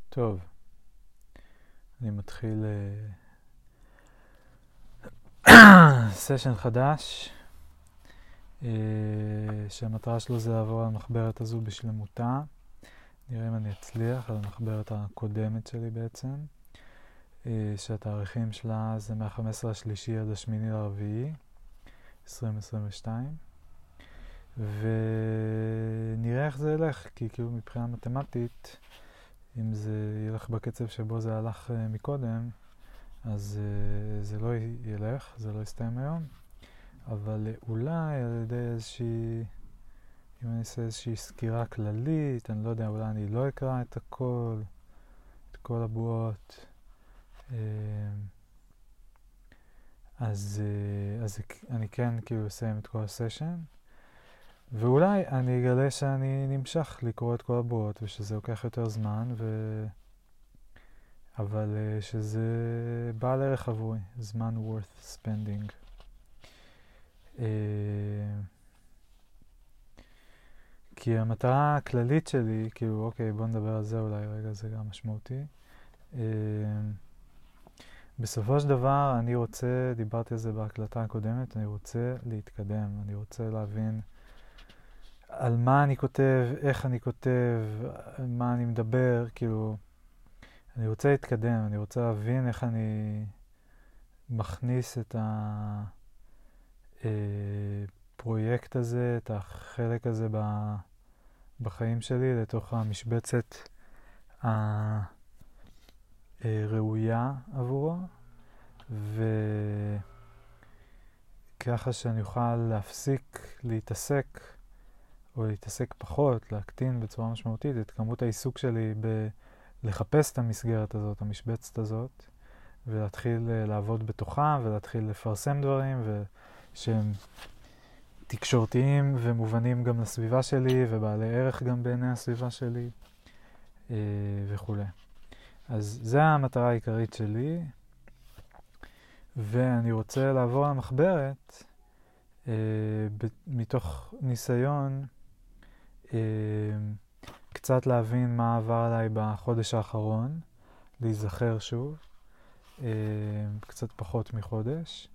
טוב, אני מתחיל סשן חדש, שהמטרה שלו זה לעבור על המחברת הזו בשלמותה. נראה אם אני אצליח, על המחברת הקודמת שלי בעצם, שהתאריכים שלה זה מה-15 לשלישי עד השמיני לרביעי 2022, ונראה איך זה ילך, כי כאילו מבחינה מתמטית, אם זה ילך בקצב שבו זה הלך מקודם, אז זה לא ילך, זה לא יסתיים היום, אבל אולי על ידי איזושהי, אם אני אעשה איזושהי סקירה כללית, אני לא יודע, אולי אני לא אקרא את הכל, את כל הבועות, אז אני כן כאילו אסיים את כל הסשן, ואולי אני אגלה שאני נמשך לקרוא את כל הבועות ושזה לוקח יותר זמן, אבל שזה בעל ערך עבורי, זמן worth spending. כי המטרה הכללית שלי, כאילו, אוקיי, בוא נדבר על זה אולי רגע, זה גם משמעותי. בסופו של דבר, אני רוצה, דיברתי על זה בהקלטה הקודמת, אני רוצה להתקדם, אני רוצה להבין על מה אני כותב, איך אני כותב, על מה אני מדבר, כאילו, אני רוצה להתקדם, אני רוצה להבין איך אני מכניס את הפרויקט הזה, את החלק הזה בחיים שלי, לתוך המשבצת הראויה עבורו, וככה שאני אוכל להפסיק להתעסק, או להתעסק פחות, להקטין בצורה משמעותית את כמות העיסוק שלי לחפש את המסגרת הזאת, המשבצת הזאת, ולהתחיל לעבוד בתוכה, ולהתחיל לפרסם דברים, שהם תקשורתיים ומובנים גם לסביבה שלי, ובעלי ערך גם בעיני הסביבה שלי, וכו'. אז זו המטרה העיקרית שלי, ואני רוצה לעבור על המחברת, מתוך ניסיון, קצת להבין מה עבר עליי בחודש האחרון, להיזכר שוב, קצת פחות מחודש.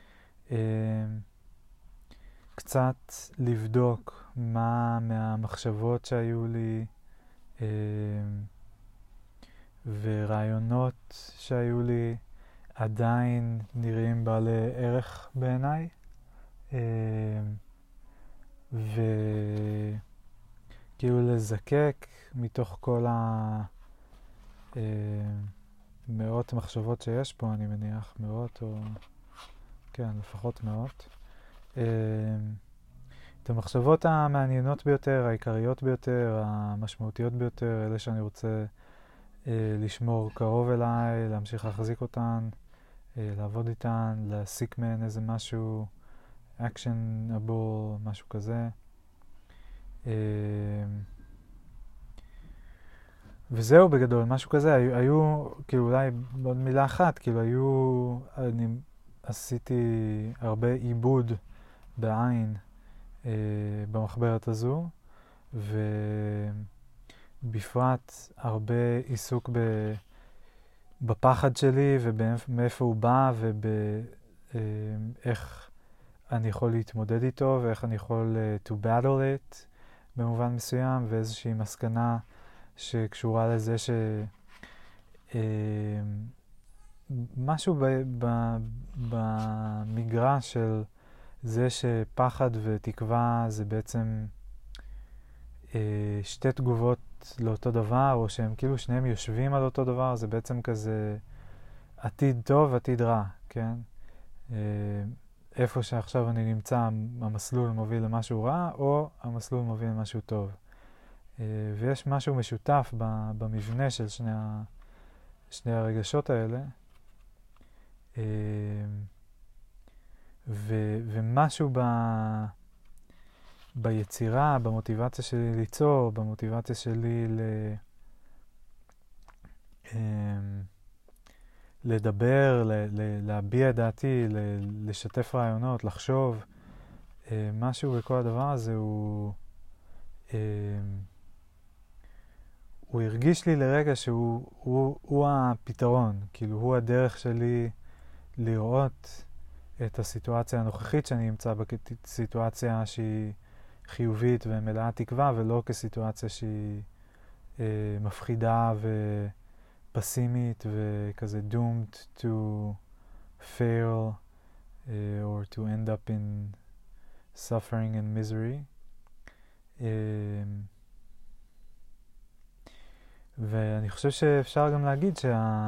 קצת לבדוק מה מהמחשבות שהיו לי ורעיונות שהיו לי עדיין נראים בעלי ערך בעיניי, וכאילו לזקק מתוך כל המאות מחשבות שיש פה, אני מניח, מאות או כן, לפחות מאות, את המחשבות המעניינות ביותר, העיקריות ביותר, המשמעותיות ביותר, אלה שאני רוצה לשמור קרוב אליי, להמשיך להחזיק אותן, לעבוד איתן, להסיק מהן איזה משהו actionable, משהו כזה. וזהו בגדול, משהו כזה. היו, כאילו אולי עוד מילה אחת, כאילו אני עשיתי הרבה עיבוד בעין במחברת הזו, ובפרט הרבה עיסוק בפחד שלי ומאיפה הוא בא ובאיך אני יכול להתמודד איתו ואיך אני יכול to battle it במובן מסוים, ואיזושהי מסקנה שקשורה לזה משהו במגרש של זה שפחד ותקווה זה בעצם שתי תגובות לאותו דבר, או שהם כאילו שניהם יושבים על אותו דבר, זה בעצם כזה עתיד טוב, עתיד רע, כן? איפה שעכשיו אני נמצא, המסלול מוביל למשהו רע, או המסלול מוביל למשהו טוב. ויש משהו משותף במבנה של שני הרגשות האלה, ומשהו ביצירה, במוטיבציה שלי ליצור, במוטיבציה שלי לדבר, להביע דעתי, לשתף רעיונות, לחשוב, משהו בכל הדבר הזה הוא הרגיש לי לרגע שהוא הפתרון, כאילו הוא הדרך שלי לראות את הסיטואציה הנוכחית שאני נמצא בה כסיטואציה שהיא חיובית ומלאה תקווה, ולא כסיטואציה שהיא מפחידה ופסימית וכזה doomed to fail or to end up in suffering and misery. ואני חושב שאפשר גם להגיד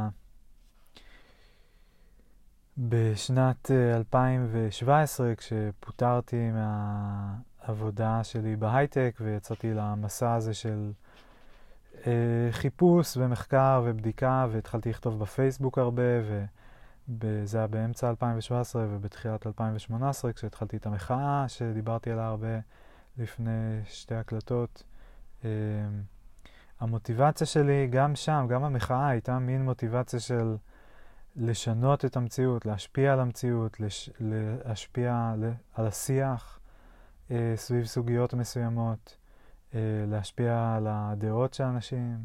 בשנת 2017, כשפוטרתי מהעבודה שלי בהייטק ויצאתי למסע הזה של חיפוש ומחקר ובדיקה, והתחלתי לכתוב בפייסבוק הרבה, וזה היה באמצע 2017 ובתחילת 2018, כשהתחלתי את המחאה שדיברתי עליה הרבה לפני שתי הקלטות. המוטיבציה שלי גם שם, גם המחאה, הייתה מין מוטיבציה של לשנות את המציאות, להשפיע על המציאות, להשפיע על השיח סביב סוגיות מסוימות, להשפיע על הדעות של אנשים.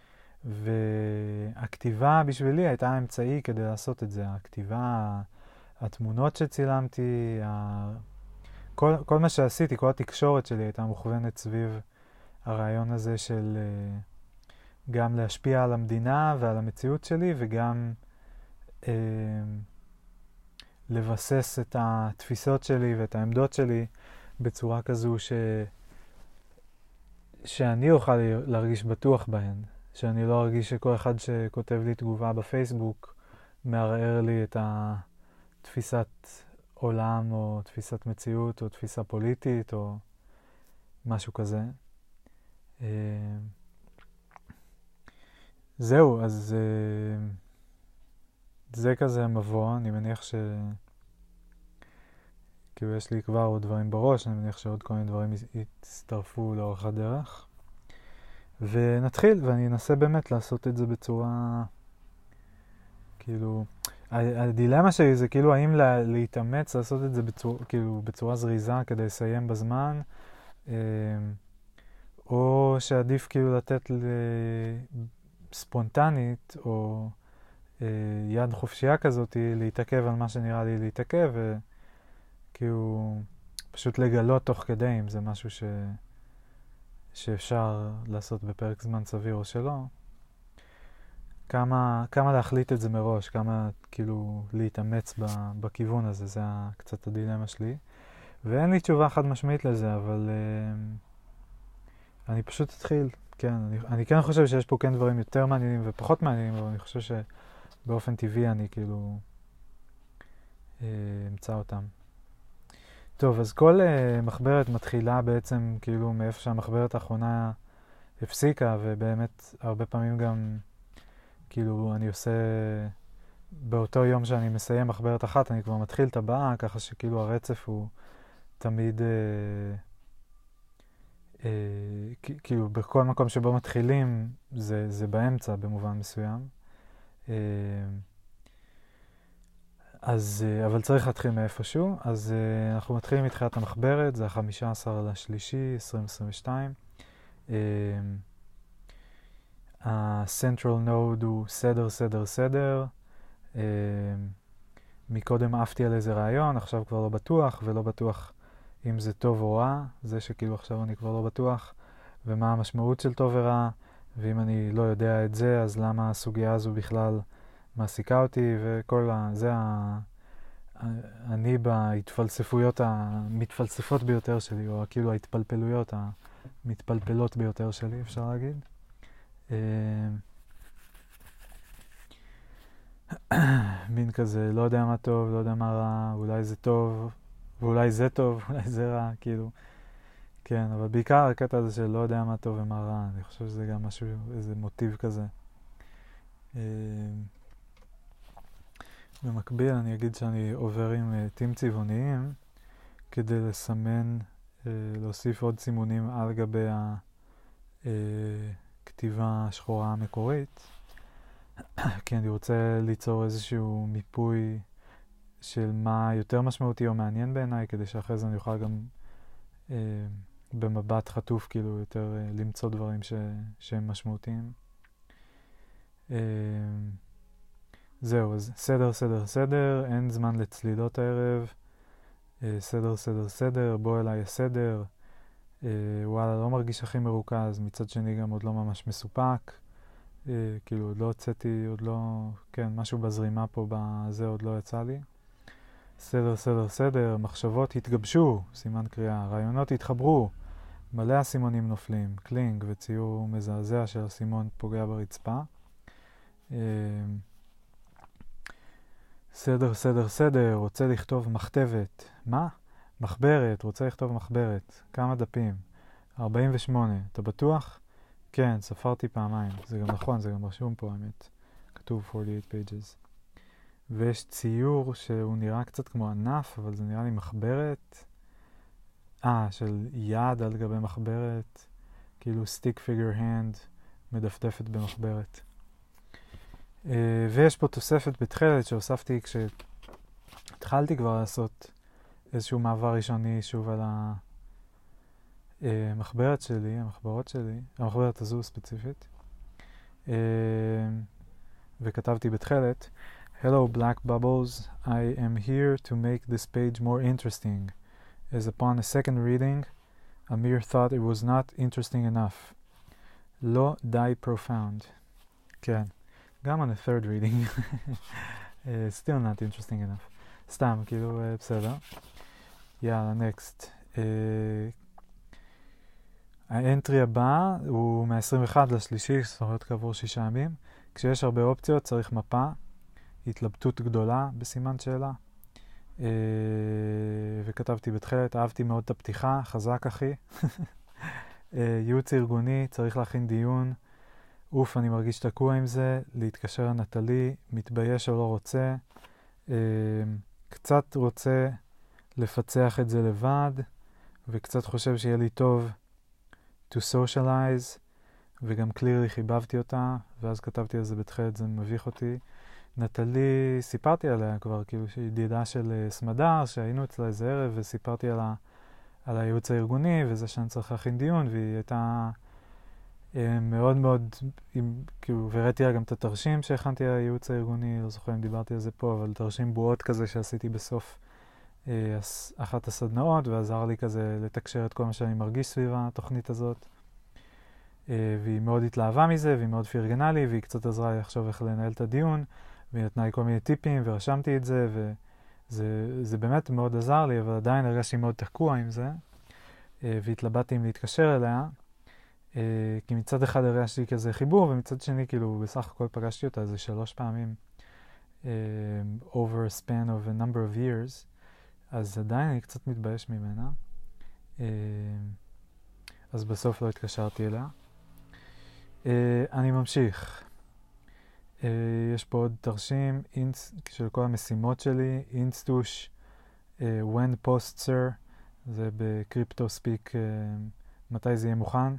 והכתיבה בשבילי הייתה האמצעי כדי לעשות את זה. הכתיבה, התמונות שצילמתי, כל מה שעשיתי, כל התקשורת שלי הייתה מוכוונת סביב הרעיון הזה של גם להשפיע על המדינה ועל המציאות שלי, וגם לבסס את התפיסות שלי ואת העמדות שלי בצורה כזו שאני אוכל להרגיש בטוח בהן, שאני לא ארגיש שכל אחד שכותב לי תגובה בפייסבוק מערער לי את התפיסת עולם או תפיסת מציאות או תפיסה פוליטית או משהו כזה. זהו, אז זה כזה מבוא. אני מניח כאילו יש לי כבר עוד דברים בראש, אני מניח שעוד כל מיני דברים יצטרפו לאורך הדרך. ונתחיל, ואני אנסה באמת לעשות את זה בצורה, כאילו, הדילמה שלי זה כאילו האם להתאמץ לעשות את זה בצורה זריזה כדי לסיים בזמן, או שעדיף כאילו לתת ספונטנית או יד חופשייה כזאת להתעכב על מה שנראה לי להתעכב, וכאילו פשוט לגלות תוך כדי אם זה משהו שאפשר לעשות בפרק זמן סביר או שלא. כמה להחליט את זה מראש, כמה כאילו להתאמץ בכיוון הזה, זה קצת הדילמה שלי. ואין לי תשובה חד משמעית לזה, אבל אני פשוט אתחיל. כן, אני כן חושב שיש פה כן דברים יותר מעניינים ופחות מעניינים, אבל אני חושב שבאופן טבעי אני כאילו אמצא אותם. טוב, אז כל מחברת מתחילה בעצם כאילו מאיפה שהמחברת האחרונה הפסיקה, ובאמת הרבה פעמים גם כאילו אני עושה באותו יום שאני מסיים מחברת אחת, אני כבר מתחיל את הבאה, ככה שכאילו הרצף הוא תמיד כאילו בכל מקום שבו מתחילים זה באמצע במובן מסוים. אז אבל צריך להתחיל מאיפשהו. אז אנחנו מתחילים מתחילת המחברת, זה ה-15/3/2022. ה-Central Node הוא סדר. מקודם עפתי על איזה רעיון, עכשיו כבר לא בטוח, ולא בטוח אם זה טוב או רע, זה שכאילו עכשיו אני כבר לא בטוח, ומה המשמעות של טוב ורע, ואם אני לא יודע את זה, אז למה הסוגיה הזו בכלל מעסיקה אותי, וכל זה אני בהתפלספויות המתפלספות ביותר שלי, או כאילו ההתפלפלויות המתפלפלות ביותר שלי, אפשר להגיד. מין כזה, לא יודע מה טוב, לא יודע מה רע, אולי זה טוב, ואולי זה טוב, אולי זה רע, כאילו. כן, אבל בעיקר הקטע הזה של לא יודע מה טוב ומה רע, אני חושב שזה גם משהו, איזה מוטיב כזה. במקביל אני אגיד שאני עובר עם עטים צבעוניים כדי לסמן, להוסיף עוד סימונים על גבי הכתיבה השחורה המקורית, כי אני רוצה ליצור איזשהו מיפוי של מה יותר משמעותי או מעניין בעיניי, כדי שאחרי זה אני אוכל גם במבט חטוף, כאילו יותר למצוא דברים שהם משמעותיים. זהו, אז סדר, סדר, סדר, אין זמן לצלילות הערב. סדר, סדר, סדר, בוא אליי הסדר. וואלה, לא מרגיש הכי מרוכז, מצד שני גם עוד לא ממש מסופק. כאילו עוד לא הוצאתי, עוד לא, כן, משהו בזרימה פה בזה עוד לא יצא לי. סדר, סדר, סדר, מחשבות התגבשו, סימן קריאה, רעיונות התחברו, מלא הסימונים נופלים, קלינג וציור מזעזע של הסימון פוגע ברצפה. סדר, סדר, סדר, רוצה לכתוב מכתבת. מה? מחברת, רוצה לכתוב מחברת. כמה דפים? 48. אתה בטוח? כן, ספרתי פעמיים. זה גם נכון, זה גם רשום פה, האמת. כתוב 48 pages. ויש ציור שהוא נראה קצת כמו ענף, אבל זה נראה לי מחברת. של יד על גבי מחברת. כאילו stick figure hand מדפדפת במחברת. ויש פה תוספת בתחילת שהוספתי כשהתחלתי כבר לעשות איזשהו מעבר ראשוני שוב על המחברת שלי, המחברות שלי, המחברת הזו ספציפית. וכתבתי בתחילת, Hello black bubbles, I am here to make this page more interesting, as upon a second reading, Amir thought it was not interesting enough. לא די profound. כן. גם on a third reading. Still not interesting enough. סתם, כאילו, בסדר. יאללה, next. האנטרי הבא הוא מה-21 לשלישי, זאת אומרת כעבור 6 ימים. כשיש הרבה אופציות צריך מפה, התלבטות גדולה בסימן שאלה. וכתבתי בתחילת, אהבתי מאוד את הפתיחה, חזק אחי. ייעוץ ארגוני, צריך להכין דיון. אוף, אני מרגיש תקוע עם זה, להתקשר לנטלי, מתבייש או לא רוצה, קצת רוצה לפצח את זה לבד, וקצת חושב שיהיה לי טוב to socialize, וגם clearly חיבבתי אותה, ואז כתבתי על זה בתחילת, זה מביך אותי. נטלי, סיפרתי עליה כבר, כאילו שהיא ידידה של סמדר, שהיינו אצלה איזה ערב, וסיפרתי על הייעוץ הארגוני, וזה שאני צריך להכין דיון, והיא הייתה מאוד מאוד, כאילו, וראיתי לה גם את התרשים שהכנתי על הייעוץ הארגוני, לא זוכר אם דיברתי על זה פה, אבל תרשים בועות כזה שעשיתי בסוף אחת הסדנאות, ועזר לי כזה לתקשר את כל מה שאני מרגיש סביב התוכנית הזאת. והיא מאוד התלהבה מזה, והיא מאוד פרגנה לי, והיא קצת עזרה לי לחשוב איך לנהל את הדיון, והיא נתנה לי כל מיני טיפים, ורשמתי את זה, וזה באמת מאוד עזר לי, אבל עדיין הרגשתי מאוד תקוע עם זה, והתלבטתי אם להתקשר אליה, כי מצד אחד הרגשתי כזה חיבור, ומצד שני כאילו בסך הכל פגשתי אותה איזה 3 פעמים over a span of a number of years, אז עדיין אני קצת מתבייש ממנה. אז בסוף לא התקשרתי אליה. אני ממשיך. יש פה עוד תרשים של כל המשימות שלי, אינסטוש, when poster, זה בקריפטו ספיק, מתי זה יהיה מוכן.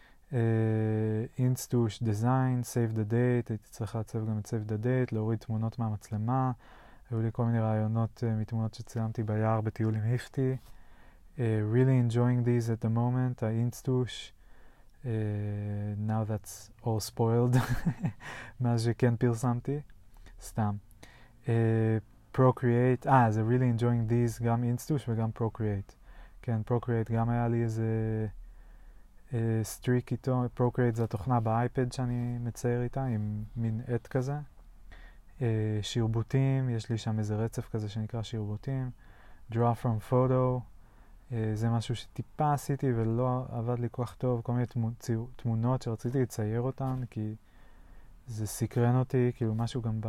אינסטוש, דיזיין, save the date, הייתי צריך לעצב גם את save the date, להוריד תמונות מהמצלמה, היו לי כל מיני רעיונות מתמונות שצילמתי ביער בטיול עם היפטי. Really enjoying these at the moment, האינסטוש, now that's all spoiled, מאז שכן פרסמתי, סתם. Procreate, זה really enjoying these, גם אינסטוש וגם Procreate. כן, Procreate גם היה לי איזה סטריק איתו, Procreate זה התוכנה באייפד שאני מצייר איתה, עם מין עט כזה. שרבוטים, יש לי שם איזה רצף כזה שנקרא שרבוטים. Draw from photo, זה משהו שטיפה עשיתי ולא עבד לי כל כך טוב, כל מיני תמונות שרציתי לצייר אותן, כי זה סקרן אותי, כאילו משהו גם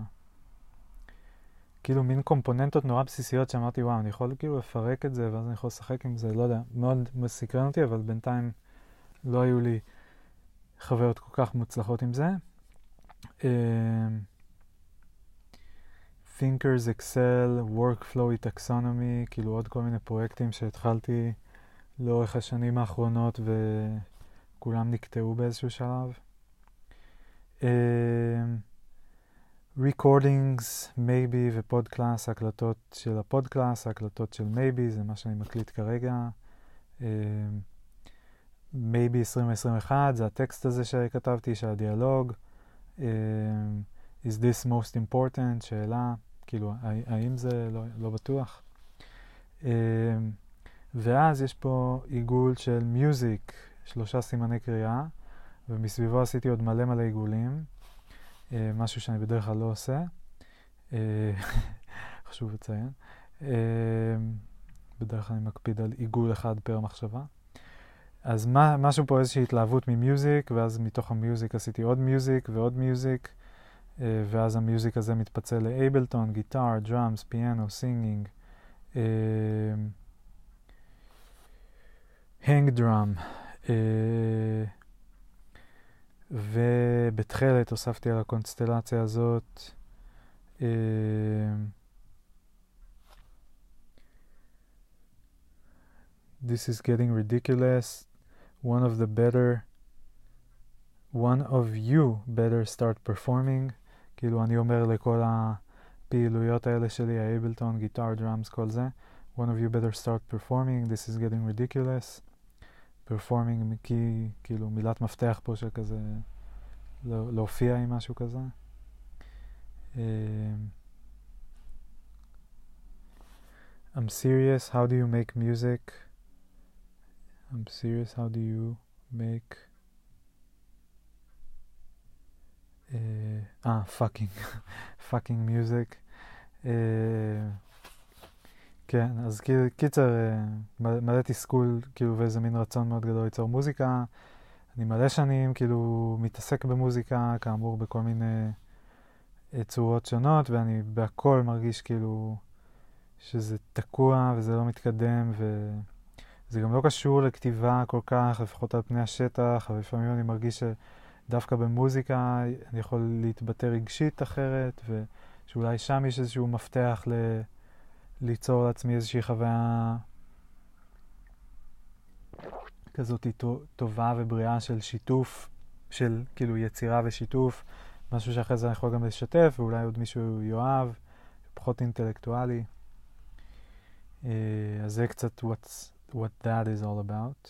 כאילו מין קומפוננטות נורא בסיסיות שאמרתי, וואו, אני יכול כאילו לפרק את זה, ואז אני יכול לשחק עם זה, לא יודע, מאוד סקרן אותי, אבל בינתיים לא היו לי חוויות כל כך מוצלחות עם זה. Thinkers, Excel, Workflow, Taxonomy, כאילו עוד כל מיני פרויקטים שהתחלתי לאורך השנים האחרונות וכולם נקטעו באיזשהו שלב. Recordings, Maybe ופודקלאס, הקלטות של הפודקלאס, הקלטות של Maybe, זה מה שאני מקליט כרגע. maybe 2021, זה הטקסט הזה שכתבתי, של הדיאלוג. Is this most important? שאלה, כאילו, האם זה לא בטוח? ואז יש פה עיגול של music, 3 סימני קריאה, ומסביבו עשיתי עוד מלא עיגולים, משהו שאני בדרך כלל לא עושה, חשוב לציין. בדרך כלל אני מקפיד על עיגול אחד פר מחשבה. אז משהו פה איזושהי התלהבות ממיוזיק, ואז מתוך המיוזיק עשיתי עוד מיוזיק ועוד מיוזיק, ואז המיוזיק הזה מתפצל לאבלטון, גיטר, דראמס, פיאנו, סינגינג, הנג דראם, ובתחילת הוספתי על הקונסטלציה הזאת This is getting ridiculous. One of you better start performing. כאילו אני אומר לכל הפעילויות האלה שלי, האבלטון, גיטר, דראמס, כל זה. One of you better start performing. This is getting ridiculous. performing כי כאילו מילת מפתח פה של כזה להופיע עם משהו כזה. I'm serious. How do you make music? I'm serious. How do you make fucking music. כן, אז קיצר, מלא תסכול, כאילו, ואיזה מין רצון מאוד גדול ליצור מוזיקה. אני מלא שנים, כאילו, מתעסק במוזיקה, כאמור, בכל מיני צורות שונות, ואני בהכל מרגיש, כאילו, שזה תקוע וזה לא מתקדם, וזה גם לא קשור לכתיבה כל כך, לפחות על פני השטח, אבל לפעמים אני מרגיש שדווקא במוזיקה אני יכול להתבטא רגשית אחרת, ושאולי שם יש איזשהו מפתח ליצור לעצמי איזושהי חוויה כזאת טובה ובריאה של שיתוף, של כאילו יצירה ושיתוף, משהו שאחרי זה אני יכול גם לשתף, ואולי עוד מישהו יאהב, פחות אינטלקטואלי. אז זה קצת what that is all about.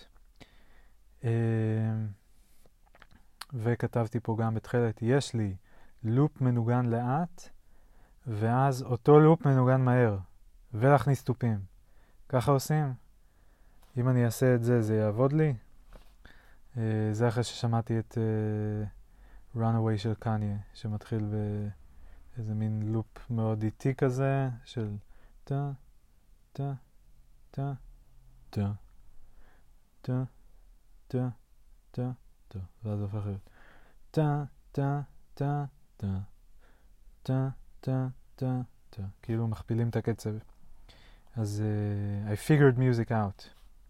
וכתבתי פה גם בתחילת, יש לי לופ מנוגן לאט, ואז אותו לופ מנוגן מהר, ולהכניס טופים. ככה עושים. אם אני אעשה את זה, זה יעבוד לי. זה אחרי ששמעתי את Runaway של קניה, שמתחיל באיזה מין לופ מאוד איטי כזה, של טה, טה, טה, טה, טה, טה, טה, טה, ואז הופך להיות טה, טה, טה, טה, טה, טה, טה, טה, כאילו מכפילים את הקצב. אז I figured music out.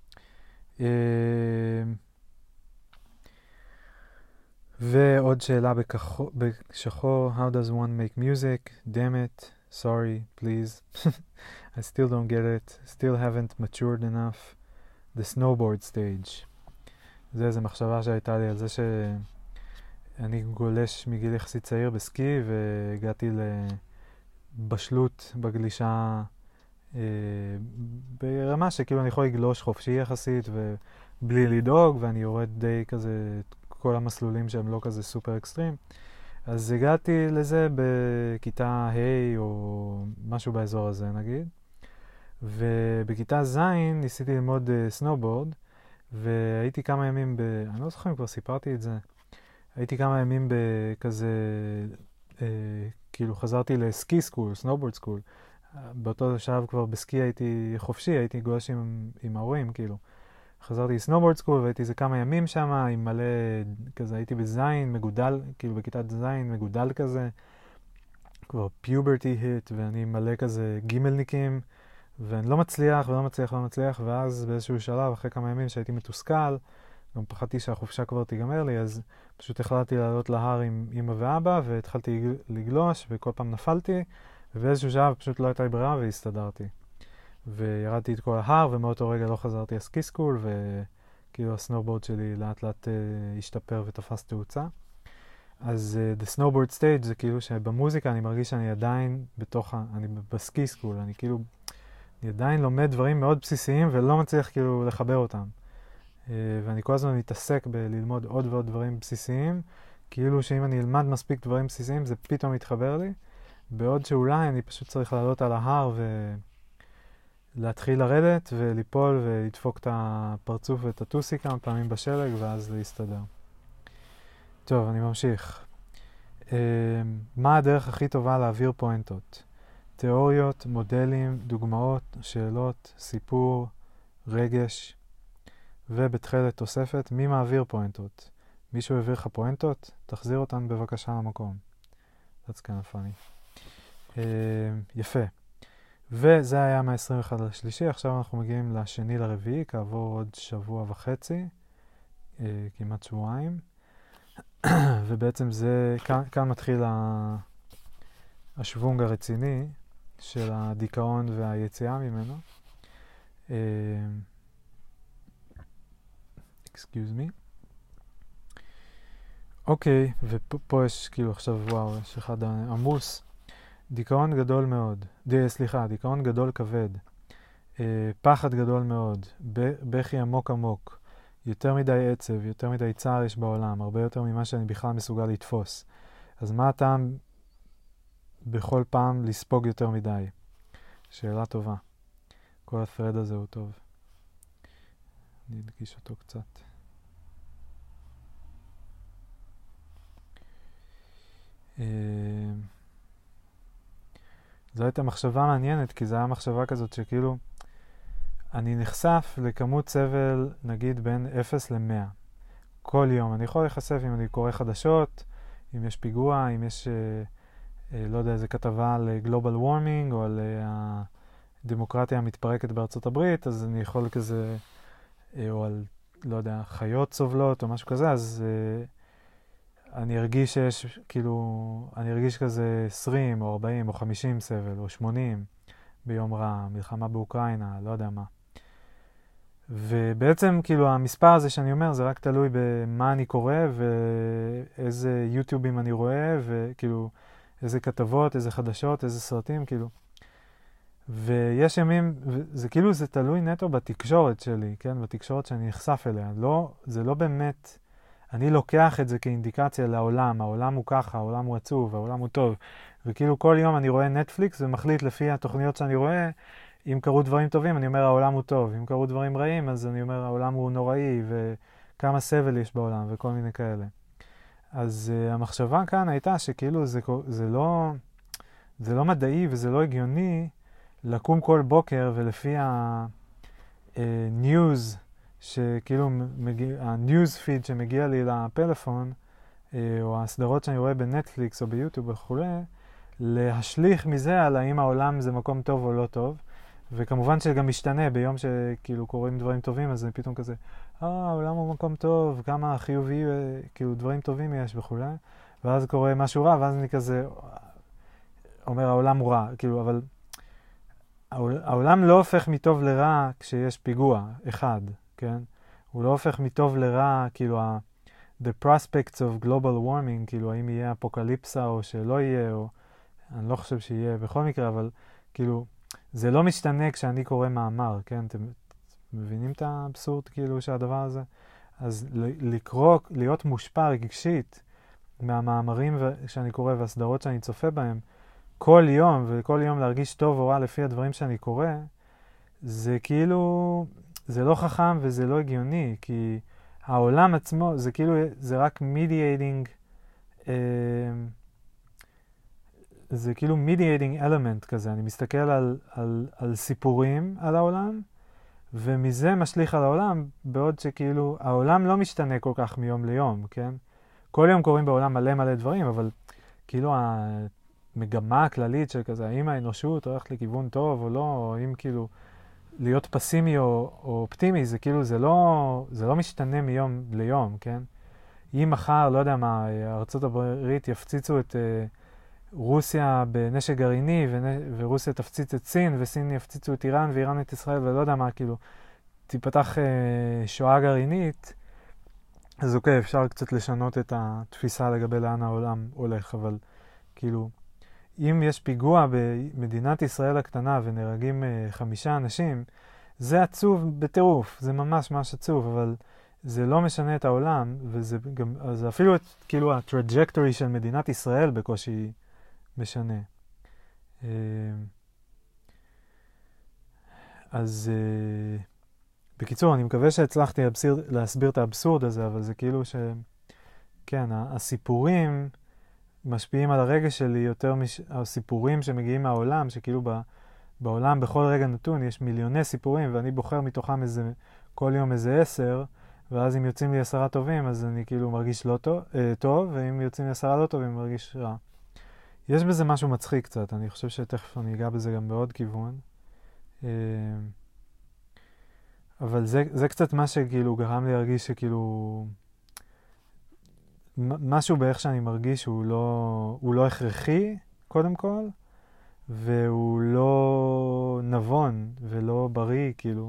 ועוד שאלה בשחור, how does one make music? Damn it, sorry, please. I still don't get it, still haven't matured enough. The snowboard stage. זה איזו מחשבה שהייתה לי על זה שאני גולש מגיל יחסית צעיר בסקי, והגעתי לבשלות בגלישה ברמה שכאילו אני יכול לגלוש חופשי יחסית ובלי לדאוג, ואני יורד די כזה כל המסלולים שהם לא כזה סופר אקסטרים. אז הגעתי לזה בכיתה ה' או משהו באזור הזה נגיד, ובכיתה ז' ניסיתי ללמוד סנובורד, והייתי כמה ימים אני לא זוכר אם כבר סיפרתי את זה, הייתי כמה ימים בכזה, כאילו חזרתי לסקי סקול, סנובורד סקול. באותו שלב כבר בסקי הייתי חופשי, הייתי גולש עם ההורים, כאילו. חזרתי לסנובורד סקול והייתי איזה כמה ימים שם, עם מלא כזה, הייתי בזין, מגודל, כאילו בכיתת זין, מגודל כזה, כבר פיוברטי היט, ואני מלא כזה גימלניקים, ואני לא מצליח, ואז באיזשהו שלב, אחרי כמה ימים שהייתי מתוסכל, גם פחדתי שהחופשה כבר תיגמר לי, אז פשוט החלטתי לעלות להר עם אמא ואבא, והתחלתי לגלוש, וכל פעם נפלתי, ובאיזשהו שלב פשוט לא הייתה לי ברירה, והסתדרתי. וירדתי את כל ההר, ומאותו רגע לא חזרתי לסקי סקול, וכאילו הסנובורד שלי לאט לאט השתפר ותפס תאוצה. אז the snowboard stage זה כאילו שבמוזיקה אני מרגיש שאני עדיין אני בסקי סקול, אני עדיין לומד דברים מאוד בסיסיים ולא מצליח כאילו לחבר אותם. ואני כל הזמן מתעסק בללמוד עוד ועוד דברים בסיסיים, כאילו שאם אני אלמד מספיק דברים בסיסיים זה פתאום יתחבר לי, בעוד שאולי אני פשוט צריך לעלות על ההר ולהתחיל לרדת וליפול ולדפוק את הפרצוף ואת הטוסי כמה פעמים בשלג ואז להסתדר. טוב, אני ממשיך. מה הדרך הכי טובה להעביר פואנטות? תיאוריות, מודלים, דוגמאות, שאלות, סיפור, רגש, ובתחילת תוספת, מי מעביר פואנטות? מישהו העביר לך פואנטות? תחזיר אותן בבקשה למקום. That's kind of funny. יפה. וזה היה מה-21 לשלישי, עכשיו אנחנו מגיעים לשני לרביעי, כעבור עוד שבוע וחצי, כמעט שבועיים. ובעצם זה, כאן מתחיל השוונג הרציני של הדיכאון והיציאה ממנו. excuse me. אוקיי, ופה יש כאילו עכשיו, וואו, יש אחד עמוס. דיכאון גדול מאוד. דיכאון גדול כבד. פחד גדול מאוד. בכי עמוק עמוק. יותר מדי עצב, יותר מדי צער יש בעולם, הרבה יותר ממה שאני בכלל מסוגל לתפוס. אז מה הטעם בכל פעם לספוג יותר מדי? שאלה טובה. כל הפרד הזה הוא טוב. אני אדגיש אותו קצת. זו הייתה מחשבה מעניינת, כי זו הייתה מחשבה כזאת שכאילו אני נחשף לכמות סבל, נגיד בין 0 ל-100. כל יום. אני יכול להיחשף אם אני קורא חדשות, אם יש פיגוע, אם יש, לא יודע, איזה כתבה על גלובל וורמינג, או על הדמוקרטיה המתפרקת בארצות הברית, אז אני יכול כזה, או על, לא יודע, חיות סובלות, או משהו כזה, אז אני ארגיש שיש, כאילו, אני ארגיש כזה 20, או 40, או 50 סבל, או 80 ביום רע, מלחמה באוקראינה, לא יודע מה. ובעצם כאילו המספר הזה שאני אומר זה רק תלוי במה אני קורא ואיזה יוטיובים אני רואה וכאילו איזה כתבות, איזה חדשות, איזה סרטים כאילו. ויש ימים, זה כאילו זה תלוי נטו בתקשורת שלי, כן? בתקשורת שאני נחשף אליה. לא, זה לא באמת, אני לוקח את זה כאינדיקציה לעולם, העולם הוא ככה, העולם הוא עצוב, העולם הוא טוב. וכאילו כל יום אני רואה נטפליקס ומחליט לפי התוכניות שאני רואה, אם קרו דברים טובים, אני אומר העולם הוא טוב. אם קרו דברים רעים, אז אני אומר העולם הוא נוראי, וכמה סבל יש בעולם, וכל מיני כאלה. אז המחשבה כאן הייתה שכאילו זה לא מדעי וזה לא הגיוני לקום כל בוקר ולפי ה-news, שכאילו ה-news feed שמגיע לי לפלאפון, או הסדרות שאני רואה בנטפליקס או ביוטיוב וכו', להשליך מזה על האם העולם זה מקום טוב או לא טוב. וכמובן שגם משתנה ביום שכאילו קוראים דברים טובים, אז זה פתאום כזה, העולם הוא מקום טוב, כמה חיובי, כאילו דברים טובים יש וכו'. ואז קורה משהו רע, ואז אני כזה אומר העולם הוא רע, כאילו, אבל העולם לא הופך מטוב לרע כשיש פיגוע אחד, כן? הוא לא הופך מטוב לרע, כאילו, the prospects of global warming, כאילו, האם יהיה אפוקליפסה או שלא יהיה, או אני לא חושב שיהיה בכל מקרה, אבל כאילו, זה לא משתנה כשאני קורא מאמר, כן? אתם מבינים את האבסורד, כאילו, שהדבר הזה? אז לקרוא, להיות מושפע רגשית מהמאמרים שאני קורא והסדרות שאני צופה בהם, כל יום, וכל יום להרגיש טוב או רע לפי הדברים שאני קורא, זה כאילו, זה לא חכם וזה לא הגיוני, כי העולם עצמו, זה כאילו, זה רק mediating, זה כאילו mediating element כזה. אני מסתכל על סיפורים על העולם, ומזה משליך על העולם, בעוד שכאילו, העולם לא משתנה כל כך מיום ליום, כן? כל יום קוראים בעולם מלא דברים, אבל כאילו המגמה הכללית של כזה, האם האנושות הולכת לכיוון טוב או לא, או אם כאילו להיות פסימי או אופטימי, זה כאילו, זה לא משתנה מיום ליום, כן? אם מחר, לא יודע מה, ארצות הברית יפציצו את רוסיה בנשק גרעיני, ורוסיה תפציץ את סין, וסין יפציצו את איראן, ואיראן את ישראל, ולא יודע מה, כאילו, תיפתח שואה גרעינית, אז אוקיי, אפשר קצת לשנות את התפיסה לגבי לאן העולם הולך, אבל כאילו, אם יש פיגוע במדינת ישראל הקטנה ונהרגים 5 אנשים, זה עצוב בטירוף, זה ממש עצוב, אבל זה לא משנה את העולם, וזה גם, אז אפילו את, כאילו, הטראג'קטורי של מדינת ישראל בקושי משנה. אז בקיצור, אני מקווה שהצלחתי להסביר את האבסורד הזה, אבל זה כאילו כן, הסיפורים משפיעים על הרגש שלי יותר הסיפורים שמגיעים מהעולם, שכאילו בעולם בכל רגע נתון יש מיליוני סיפורים, ואני בוחר מתוכם כל יום איזה 10, ואז אם יוצאים לי 10 טובים, אז אני כאילו מרגיש לא טוב, ואם יוצאים לי 10 לא טובים, מרגיש רע. יש בזה משהו מצחיק קצת, אני חושב שתכף אני אגע בזה גם בעוד כיוון. אבל זה קצת מה שכאילו גרם לי להרגיש שכאילו משהו באיך שאני מרגיש הוא לא הכרחי, קודם כל, והוא לא נבון ולא בריא, כאילו,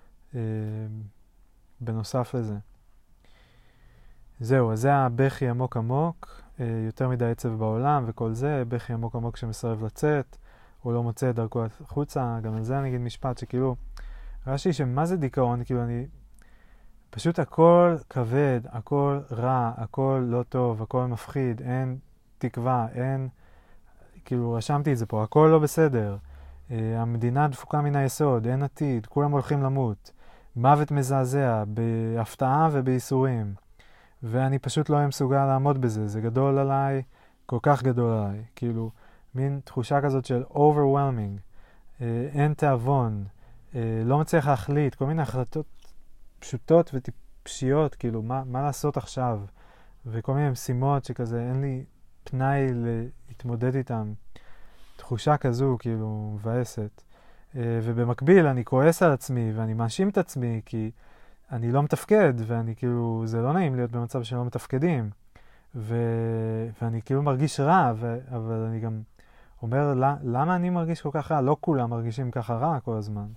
בנוסף לזה. זהו, אז זה הבכי עמוק עמוק, יותר מדי עצב בעולם וכל זה, בכי עמוק עמוק שמסרב לצאת, או לא מוצא את דרכו החוצה, גם על זה אני אגיד משפט שכאילו, ראשי שמה זה דיכאון, כאילו פשוט הכל כבד, הכל רע, הכל לא טוב, הכל מפחיד, אין תקווה, כאילו רשמתי את זה פה, הכל לא בסדר, המדינה דפוקה מן היסוד, אין עתיד, כולם הולכים למות, מוות מזעזע, בהפתעה ובייסורים, ואני פשוט לא מסוגל לעמוד בזה, זה גדול עליי, כל כך גדול עליי, כאילו מין תחושה כזאת של overwhelming, אין תאבון, לא מצליח להחליט, כל מיני החלטות פשוטות וטיפשיות, כאילו מה לעשות עכשיו, וכל מיני משימות שכזה אין לי פנאי להתמודד איתם, תחושה כזו כאילו מבאסת, ובמקביל אני כועס על עצמי ואני מאשים את עצמי כי אני לא מתפקד, ואני כאילו, זה לא נעים להיות במצב שלא מתפקדים, ואני כאילו מרגיש רע, אבל אני גם אומר, למה אני מרגיש כל כך רע? לא כולם מרגישים ככה רע כל הזמן.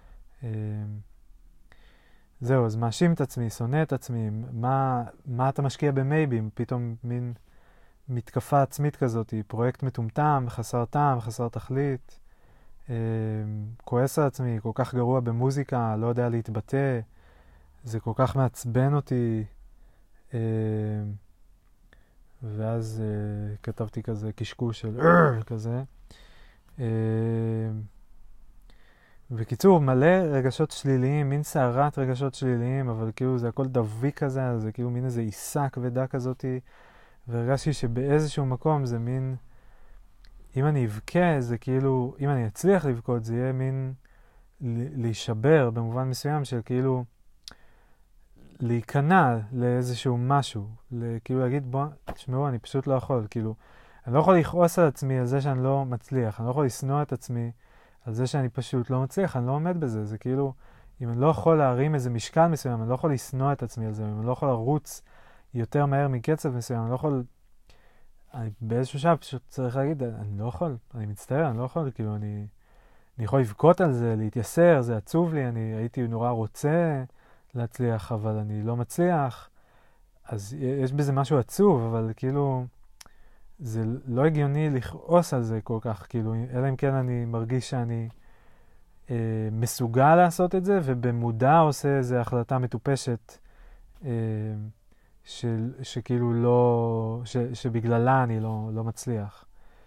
זהו, אז מאשים את עצמי, שונא את עצמי, מה אתה משקיע במייבים? פתאום מין מתקפה עצמית כזאת, פרויקט מטומטם, חסר טעם, חסר תכלית, כועס על עצמי, כל כך גרוע במוזיקה, לא יודע להתבטא, זה כל כך מעצבן אותי, ואז כתבתי כזה קשקוש של כזה. בקיצור, מלא רגשות שליליים, מין סערת רגשות שליליים, אבל כאילו זה הכל דווי כזה, זה כאילו מין איזה עיסה כבדה כזאת, והרגשתי שבאיזשהו מקום זה מין, אם אני אבכה, זה כאילו, אם אני אצליח לבכות, זה יהיה מין להישבר במובן מסוים של כאילו, להיכנע לאיזשהו משהו, כאילו להגיד, בוא, תשמעו, אני פשוט לא יכול, כאילו, אני לא יכול לכעוס על עצמי על זה שאני לא מצליח, אני לא יכול לשנוא את עצמי על זה שאני פשוט לא מצליח, אני לא עומד בזה, זה כאילו, אם אני לא יכול להרים איזה משקל מסוים, אני לא יכול לשנוא את עצמי על זה, אם אני לא יכול לרוץ יותר מהר מקצב מסוים, אני לא יכול, באיזשהו שעה פשוט צריך להגיד, אני לא יכול, אני מצטער, אני לא יכול, כאילו, אני יכול לבכות על זה, להתייסר, זה עצוב לי, אני הייתי נורא רוצה להצליח, אבל אני לא מצליח, אז יש בזה משהו עצוב, אבל כאילו, זה לא הגיוני לכעוס על זה כל כך, כאילו, אלא אם כן אני מרגיש שאני מסוגל לעשות את זה, ובמודע עושה איזו החלטה מטופשת, שכאילו לא, שבגללה אני לא מצליח.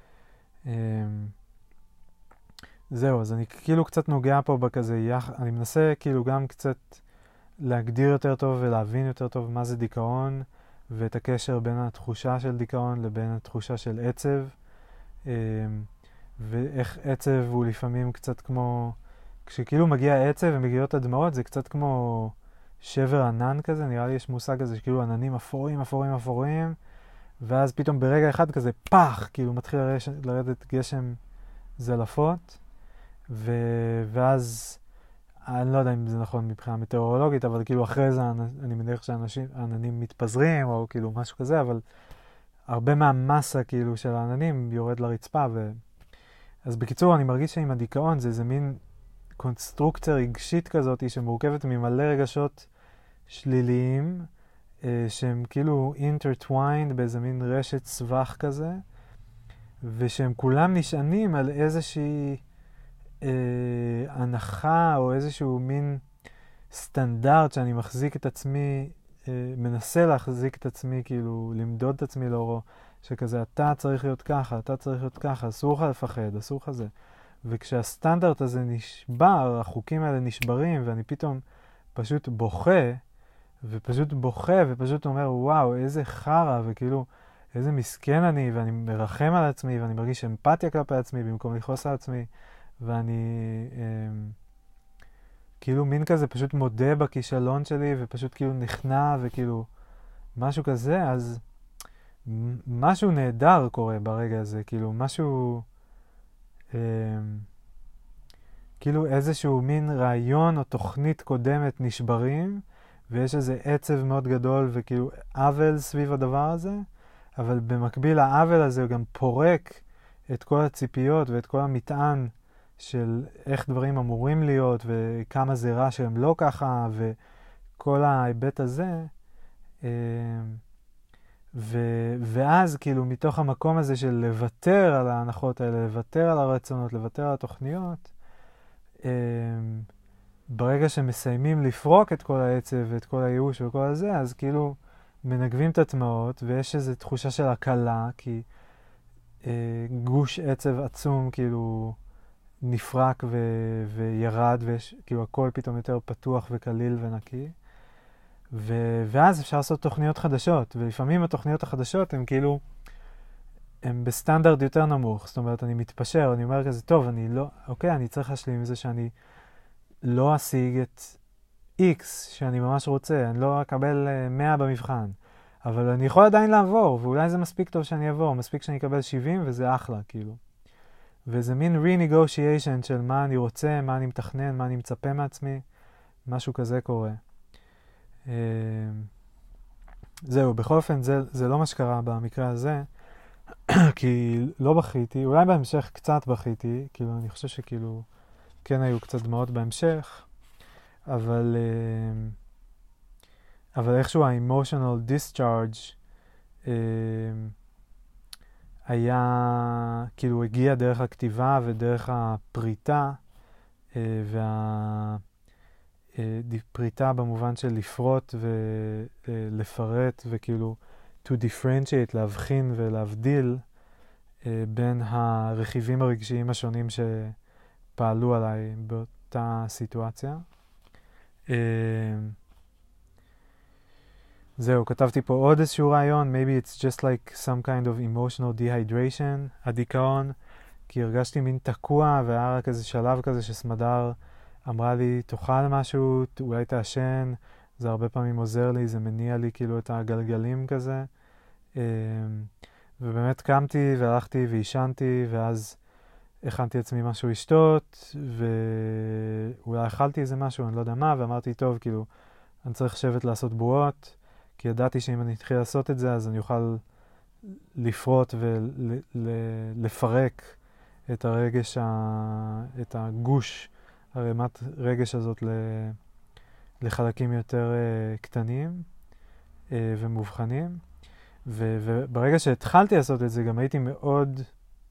זהו, אז אני כאילו קצת נוגע פה בכזה, אני מנסה כאילו גם קצת להגדיר יותר טוב ולהבין יותר טוב מה זה דיכאון, ואת הקשר בין התחושה של דיכאון לבין התחושה של עצב, ואיך עצב הוא לפעמים קצת כמו, כשכאילו מגיע עצב ומגיעות הדמעות, זה קצת כמו שבר ענן כזה, נראה לי יש מושג כזה שכאילו עננים אפורים, אפורים, אפורים, ואז פתאום ברגע אחד כזה פח, כאילו מתחיל לרדת גשם זלפות, ואז אני לא יודע אם זה נכון מבחינה מטאורולוגית, אבל כאילו אחרי זה אני מניח שהעננים מתפזרים או כאילו משהו כזה, אבל הרבה מהמסה כאילו של העננים יורד לרצפה. אז בקיצור, אני מרגיש שעם הדיכאון זה איזה מין קונסטרוקציה רגשית כזאת שמורכבת ממלא רגשות שליליים, שהם כאילו intertwined באיזה מין רשת סבך כזה, ושהם כולם נשענים על איזושהי הנחה או איזשהו מין סטנדרט שאני מחזיק את עצמי מנסה להחזיק את עצמי, כאילו למדוד את עצמי לאורו, שכזה אתה צריך להיות ככה, אתה צריך להיות ככה, אסור לך לפחד, אסור לך זה. וכשהסטנדרט הזה נשבר, החוקים האלה נשברים, ואני פתאום פשוט בוכה, ופשוט אומר, וואו, איזה חרא, וכאילו, איזה מסכן אני, ואני מרחם על עצמי, ואני מרגיש אמפתיה כלפי עצמי, במקום לכעוס על עצמי, ואני כאילו מין כזה פשוט מודה בכישלון שלי, ופשוט כאילו נכנע, וכאילו משהו כזה, אז משהו נהדר קורה ברגע הזה, כאילו משהו, כאילו איזשהו מין רעיון או תוכנית קודמת נשברים, ויש איזה עצב מאוד גדול וכאילו עוול סביב הדבר הזה, אבל במקביל העוול הזה הוא גם פורק את כל הציפיות ואת כל המטען של איך דברים אמורים להיות וכמה זה רע שהם לא ככה וכל ההיבט הזה. ואז כאילו מתוך המקום הזה של לוותר על ההנחות האלה, לוותר על הרצונות, לוותר על התוכניות, ברגע שמסיימים לפרוק את כל העצב ואת כל הייאוש וכל הזה, אז כאילו מנגבים את הדמעות, ויש איזו תחושה של הקלה, כי גוש עצב עצום כאילו נפרק וירד, ויש כאילו הכל פתאום יותר פתוח וקליל ונקי. ואז אפשר לעשות תוכניות חדשות, ולפעמים התוכניות החדשות הן כאילו, הן בסטנדרט יותר נמוך, זאת אומרת אני מתפשר, אני אומר כזה, טוב, אני צריך להשלים עם זה שאני לא אשיג את X שאני ממש רוצה, אני לא אקבל 100 במבחן, אבל אני יכול עדיין לעבור, ואולי זה מספיק טוב שאני אעבור, מספיק שאני אקבל 70 וזה אחלה, כאילו. וזה מין re-negotiation של מה אני רוצה, מה אני מתכנן, מה אני מצפה מעצמי, משהו כזה קורה. זהו, בכל אופן זה לא מה שקרה במקרה הזה, כי לא בכיתי, אולי בהמשך קצת בכיתי, כאילו אני חושב שכאילו כן היו קצת דמעות בהמשך, אבל איכשהו ה-emotional discharge היה, כאילו הגיע דרך הכתיבה ודרך הפריטה, פריטה במובן של לפרוט ולפרט וכאילו to differentiate, להבחין ולהבדיל בין הרכיבים הרגשיים השונים שפעלו עליי באותה סיטואציה. זהו, כתבתי פה עוד איזשהו רעיון, maybe it's just like some kind of emotional dehydration, הדיכאון, כי הרגשתי מין תקוע והיה רק איזה שלב כזה שסמדר אמרה לי, תאכל משהו, אולי תעשן, זה הרבה פעמים עוזר לי, זה מניע לי כאילו את הגלגלים כזה. ובאמת קמתי והלכתי וישנתי, ואז הכנתי עצמי משהו לשתות, ואולי אכלתי איזה משהו, אני לא יודע מה, ואמרתי, טוב, כאילו, אני צריך לשבת לעשות בועות, כי ידעתי שאם אני אתחיל לעשות את זה, אז אני אוכל לפרוט ולפרק את הרגש, את הגוש, הרמת רגש הזאת לחלקים יותר קטנים ומובחנים. וברגע שהתחלתי לעשות את זה, גם הייתי מאוד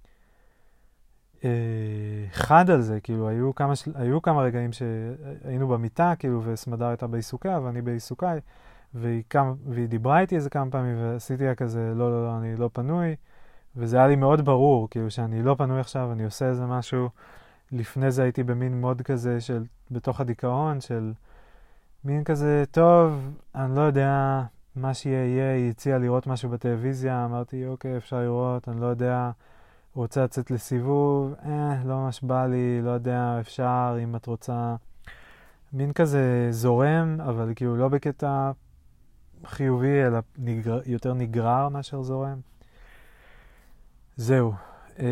חד על זה, כאילו היו כמה רגעים שהיינו במיטה, כאילו, וסמדר הייתה בעיסוקה, ואני בעיסוקיי, והיא דיברה איתי איזה כמה פעמים, ועשיתי לה כזה, לא, אני לא פנוי, וזה היה לי מאוד ברור, כאילו, שאני לא פנוי עכשיו, אני עושה איזה משהו. לפני זה הייתי במין מוד כזה של, בתוך הדיכאון, של מין כזה, טוב, אני לא יודע מה שיהיה, היא הציעה לראות משהו בטלוויזיה, אמרתי, אוקיי, אפשר לראות, אני לא יודע, רוצה לצאת לסיבוב, לא ממש בא לי, לא יודע, אפשר, אם את רוצה, מין כזה זורם, אבל כאילו לא בקטע חיובי, אלא יותר נגרר מאשר זורם. זהו.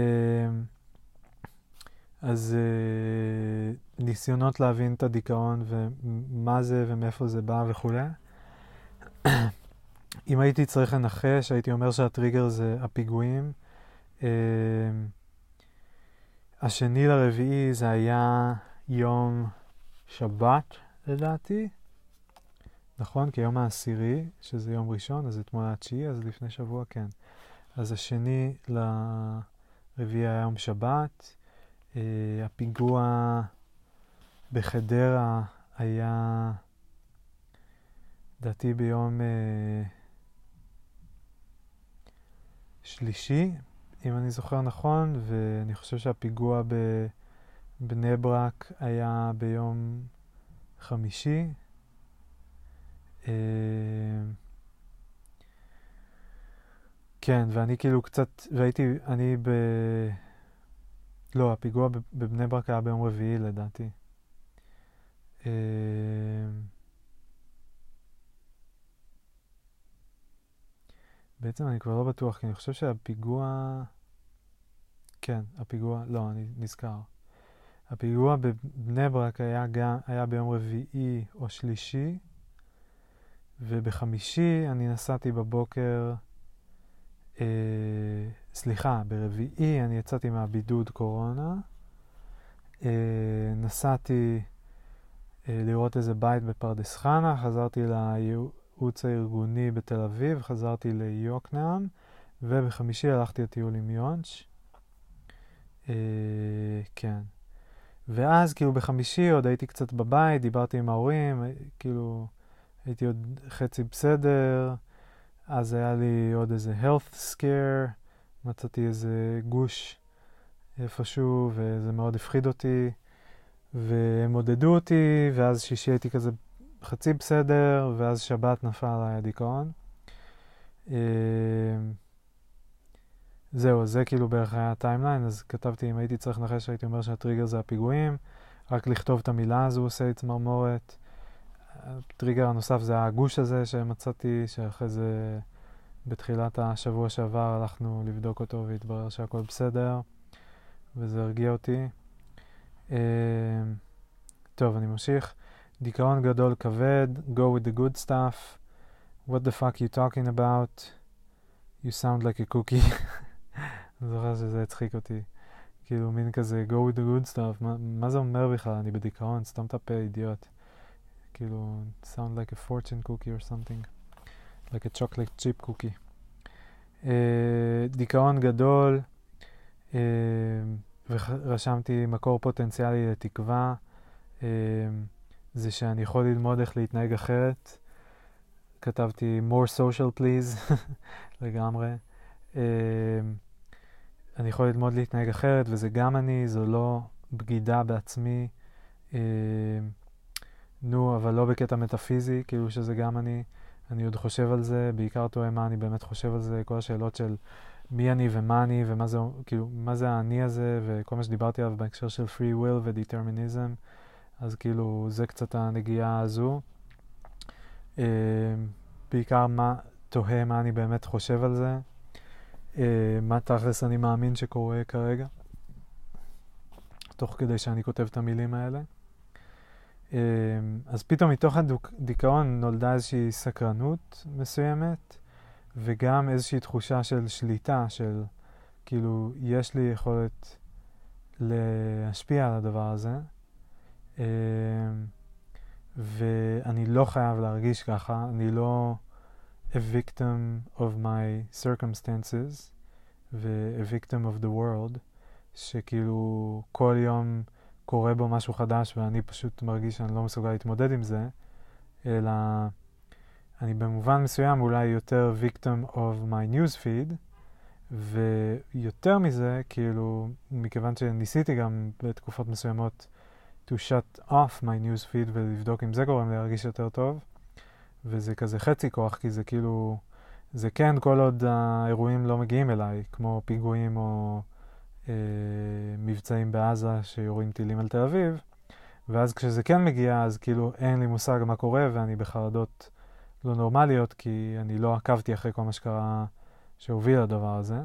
אז ניסיונות להבין את הדיכאון ומה זה ומאיפה זה בא וכו'. אם הייתי צריך לנחש, הייתי אומר שהטריגר זה הפיגועים. השני לרביעי זה היה יום שבת, לדעתי. נכון? כי יום העשירי, שזה יום ראשון, אז אתמול התשיעי, אז לפני שבוע, כן. אז השני לרביעי היה יום שבת. הפיגוע בחדרה היה לדעתי ביום שלישי, אם אני זוכר נכון, ואני חושב שהפיגוע בבני ברק היה ביום חמישי. כן, ואני כאילו קצת, לא, הפיגוע בבני ברק היה ביום רביעי לדעתי. בעצם אני כבר לא בטוח, כי אני חושב שהפיגוע... כן, לא, אני נזכר. הפיגוע בבני ברק היה ביום רביעי או שלישי, ובחמישי אני נסעתי בבוקר... ברביעי אני יצאתי מהבידוד קורונה. נסעתי לראות איזה בית בפרדס חנה, חזרתי לייעוץ הארגוני בתל אביב, חזרתי ליוקנעם, ובחמישי הלכתי לטיול עם יונץ'. כן. ואז כאילו בחמישי עוד הייתי קצת בבית, דיברתי עם ההורים, כאילו הייתי עוד חצי בסדר, אז היה לי עוד איזה health scare, מצאתי איזה גוש איפשהו, וזה מאוד הפחיד אותי, והם עודדו אותי, ואז שישי הייתי כזה חצי בסדר, ואז שבת נפל עליי הדיכאון. זהו, זה כאילו בערך היה הטיימליין, אז כתבתי, אם הייתי צריך לנחש, הייתי אומר שהטריגר זה הפיגועים, רק לכתוב את המילה הזו עושה לי צמרמורת. הטריגר הנוסף זה הגוש הזה שמצאתי, שאחרי זה בתחילת השבוע שעבר הלכנו לבדוק אותו והתברר שהכל בסדר, וזה הרגיע אותי. טוב, אני ממשיך. דיכאון גדול כבד, go with the good stuff, what the fuck you talking about, you sound like a cookie. אני זוכר שזה הצחיק אותי. כאילו מין כזה, go with the good stuff, מה זה אומר בכלל? אני בדיכאון, סתם את הפה, אידיוט. כאילו, sound like a fortune cookie or something. like a chocolate chip cookie. דיכאון גדול, ורשמתי מקור פוטנציאלי לתקווה, זה שאני יכול ללמוד איך להתנהג אחרת. כתבתי more social please, לגמרי. אני יכול ללמוד להתנהג אחרת, וזה גם אני, זו לא בגידה בעצמי. אבל לא בקטע מטאפיזי, כאילו שזה גם אני עוד חושב על זה, בעיקר תוהה מה אני באמת חושב על זה, כל השאלות של מי אני ומה אני, ומה זה, כאילו, מה זה האני הזה, וכל מה שדיברתי עליו בהקשר של free will ו-determinism, אז כאילו זה קצת הנגיעה הזו. בעיקר תוהה מה אני באמת חושב על זה, מה תכלס אני מאמין שקורה כרגע, תוך כדי שאני כותב את המילים האלה. אז פתאום מתוך הדיכאון נולדה איזושהי סקרנות מסוימת, וגם איזושהי תחושה של שליטה, של כאילו יש לי יכולת להשפיע על הדבר הזה, ואני לא חייב להרגיש ככה, אני לא a victim of my circumstances ו-a victim of the world, שכאילו כל יום קורה בו משהו חדש ואני פשוט מרגיש שאני לא מסוגל להתמודד עם זה, אלא אני במובן מסוים אולי יותר victim of my news feed, ויותר מזה, כאילו, מכיוון שניסיתי גם בתקופות מסוימות to shut off my news feed ולבדוק אם זה גורם להרגיש יותר טוב, וזה כזה חצי כוח, כי זה כאילו, זה כן כל עוד האירועים לא מגיעים אליי, כמו פיגועים או מבצעים בעזה שיורים טילים על תל אביב, ואז כשזה כן מגיע, אז כאילו אין לי מושג מה קורה, ואני בחרדות לא נורמליות, כי אני לא עקבתי אחרי כל מה שקרה שהוביל לדבר הזה.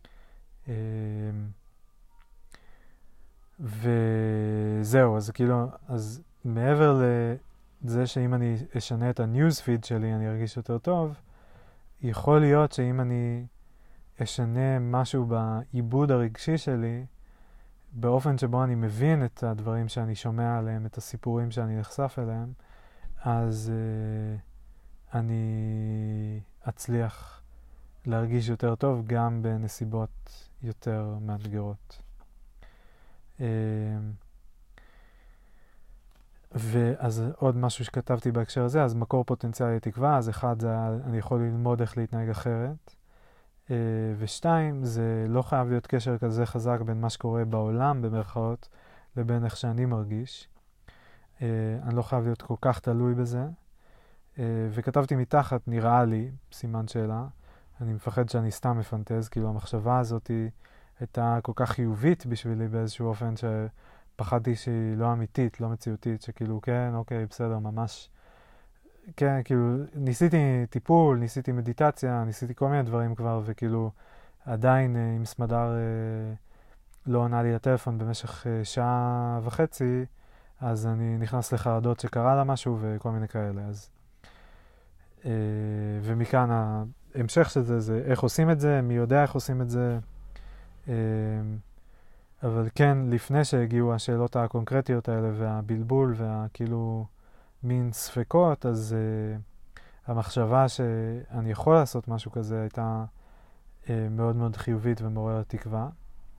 וזהו, אז כאילו, אז מעבר לזה שאם אני אשנה את הניוז פיד שלי, אני ארגיש יותר טוב, יכול להיות שאם אני אשנה משהו בעיבוד הרגשי שלי, באופן שבו אני מבין את הדברים שאני שומע עליהם, את הסיפורים שאני נחשף אליהם, אז אני אצליח להרגיש יותר טוב גם בנסיבות יותר מאתגרות. ואז עוד משהו שכתבתי בהקשר הזה, אז מקור פוטנציאלי לתקווה, אז אחד זה אני יכול ללמוד איך להתנהג אחרת, ושתיים, זה לא חייב להיות קשר כזה חזק בין מה שקורה בעולם במרכאות לבין איך שאני מרגיש. אני לא חייב להיות כל כך תלוי בזה. וכתבתי מתחת, נראה לי, סימן שאלה, אני מפחד שאני סתם מפנטז, כאילו המחשבה הזאת הייתה כל כך חיובית בשבילי באיזשהו אופן שפחדתי שהיא לא אמיתית, לא מציאותית, שכאילו כן, אוקיי, בסדר, ממש, כן, כאילו ניסיתי טיפול, ניסיתי מדיטציה, ניסיתי כל מיני דברים כבר, וכאילו עדיין עם סמדר לא עונה לי לטלפון במשך שעה וחצי, אז אני נכנס לחרדות שקרה לה משהו וכל מיני כאלה, אז ומכאן ההמשך של זה, זה איך עושים את זה, מי יודע איך עושים את זה. אבל כן, לפני שהגיעו השאלות הקונקרטיות האלה והבלבול והכאילו מין ספקות, אז המחשבה שאני יכול לעשות משהו כזה הייתה מאוד מאוד חיובית ומעוררת תקווה.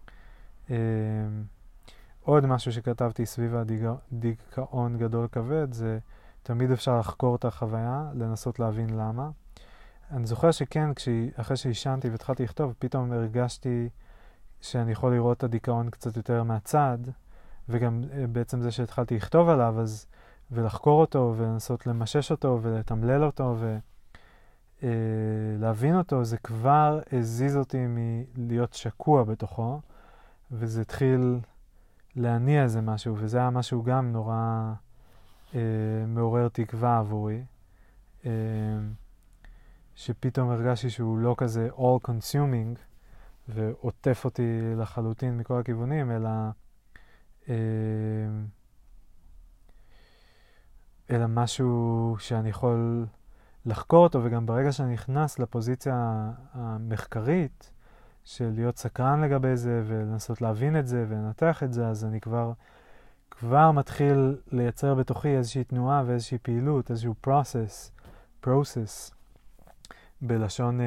עוד משהו שכתבתי סביב הדיכאון גדול כבד, זה תמיד אפשר לחקור את החוויה, לנסות להבין למה. אני זוכר שכן, אחרי שהישנתי והתחלתי לכתוב, פתאום הרגשתי שאני יכול לראות את הדיכאון קצת יותר מהצד, וגם בעצם זה שהתחלתי לכתוב עליו, ולחקור אותו, ולנסות למשש אותו, ולתמלל אותו, ולהבין אותו, זה כבר הזיז אותי מלהיות שקוע בתוכו, וזה התחיל להניע איזה משהו, וזה היה משהו גם נורא מעורר תקווה עבורי, שפתאום הרגשתי שהוא לא כזה all consuming, ועוטף אותי לחלוטין מכל הכיוונים, אלא משהו שאני יכול לחקור אותו, וגם ברגע שאני נכנס לפוזיציה המחקרית, של להיות סקרן לגבי זה, ולנסות להבין את זה, ולנתח את זה, אז אני כבר מתחיל לייצר בתוכי איזושהי תנועה ואיזושהי פעילות, איזשהו process, בלשון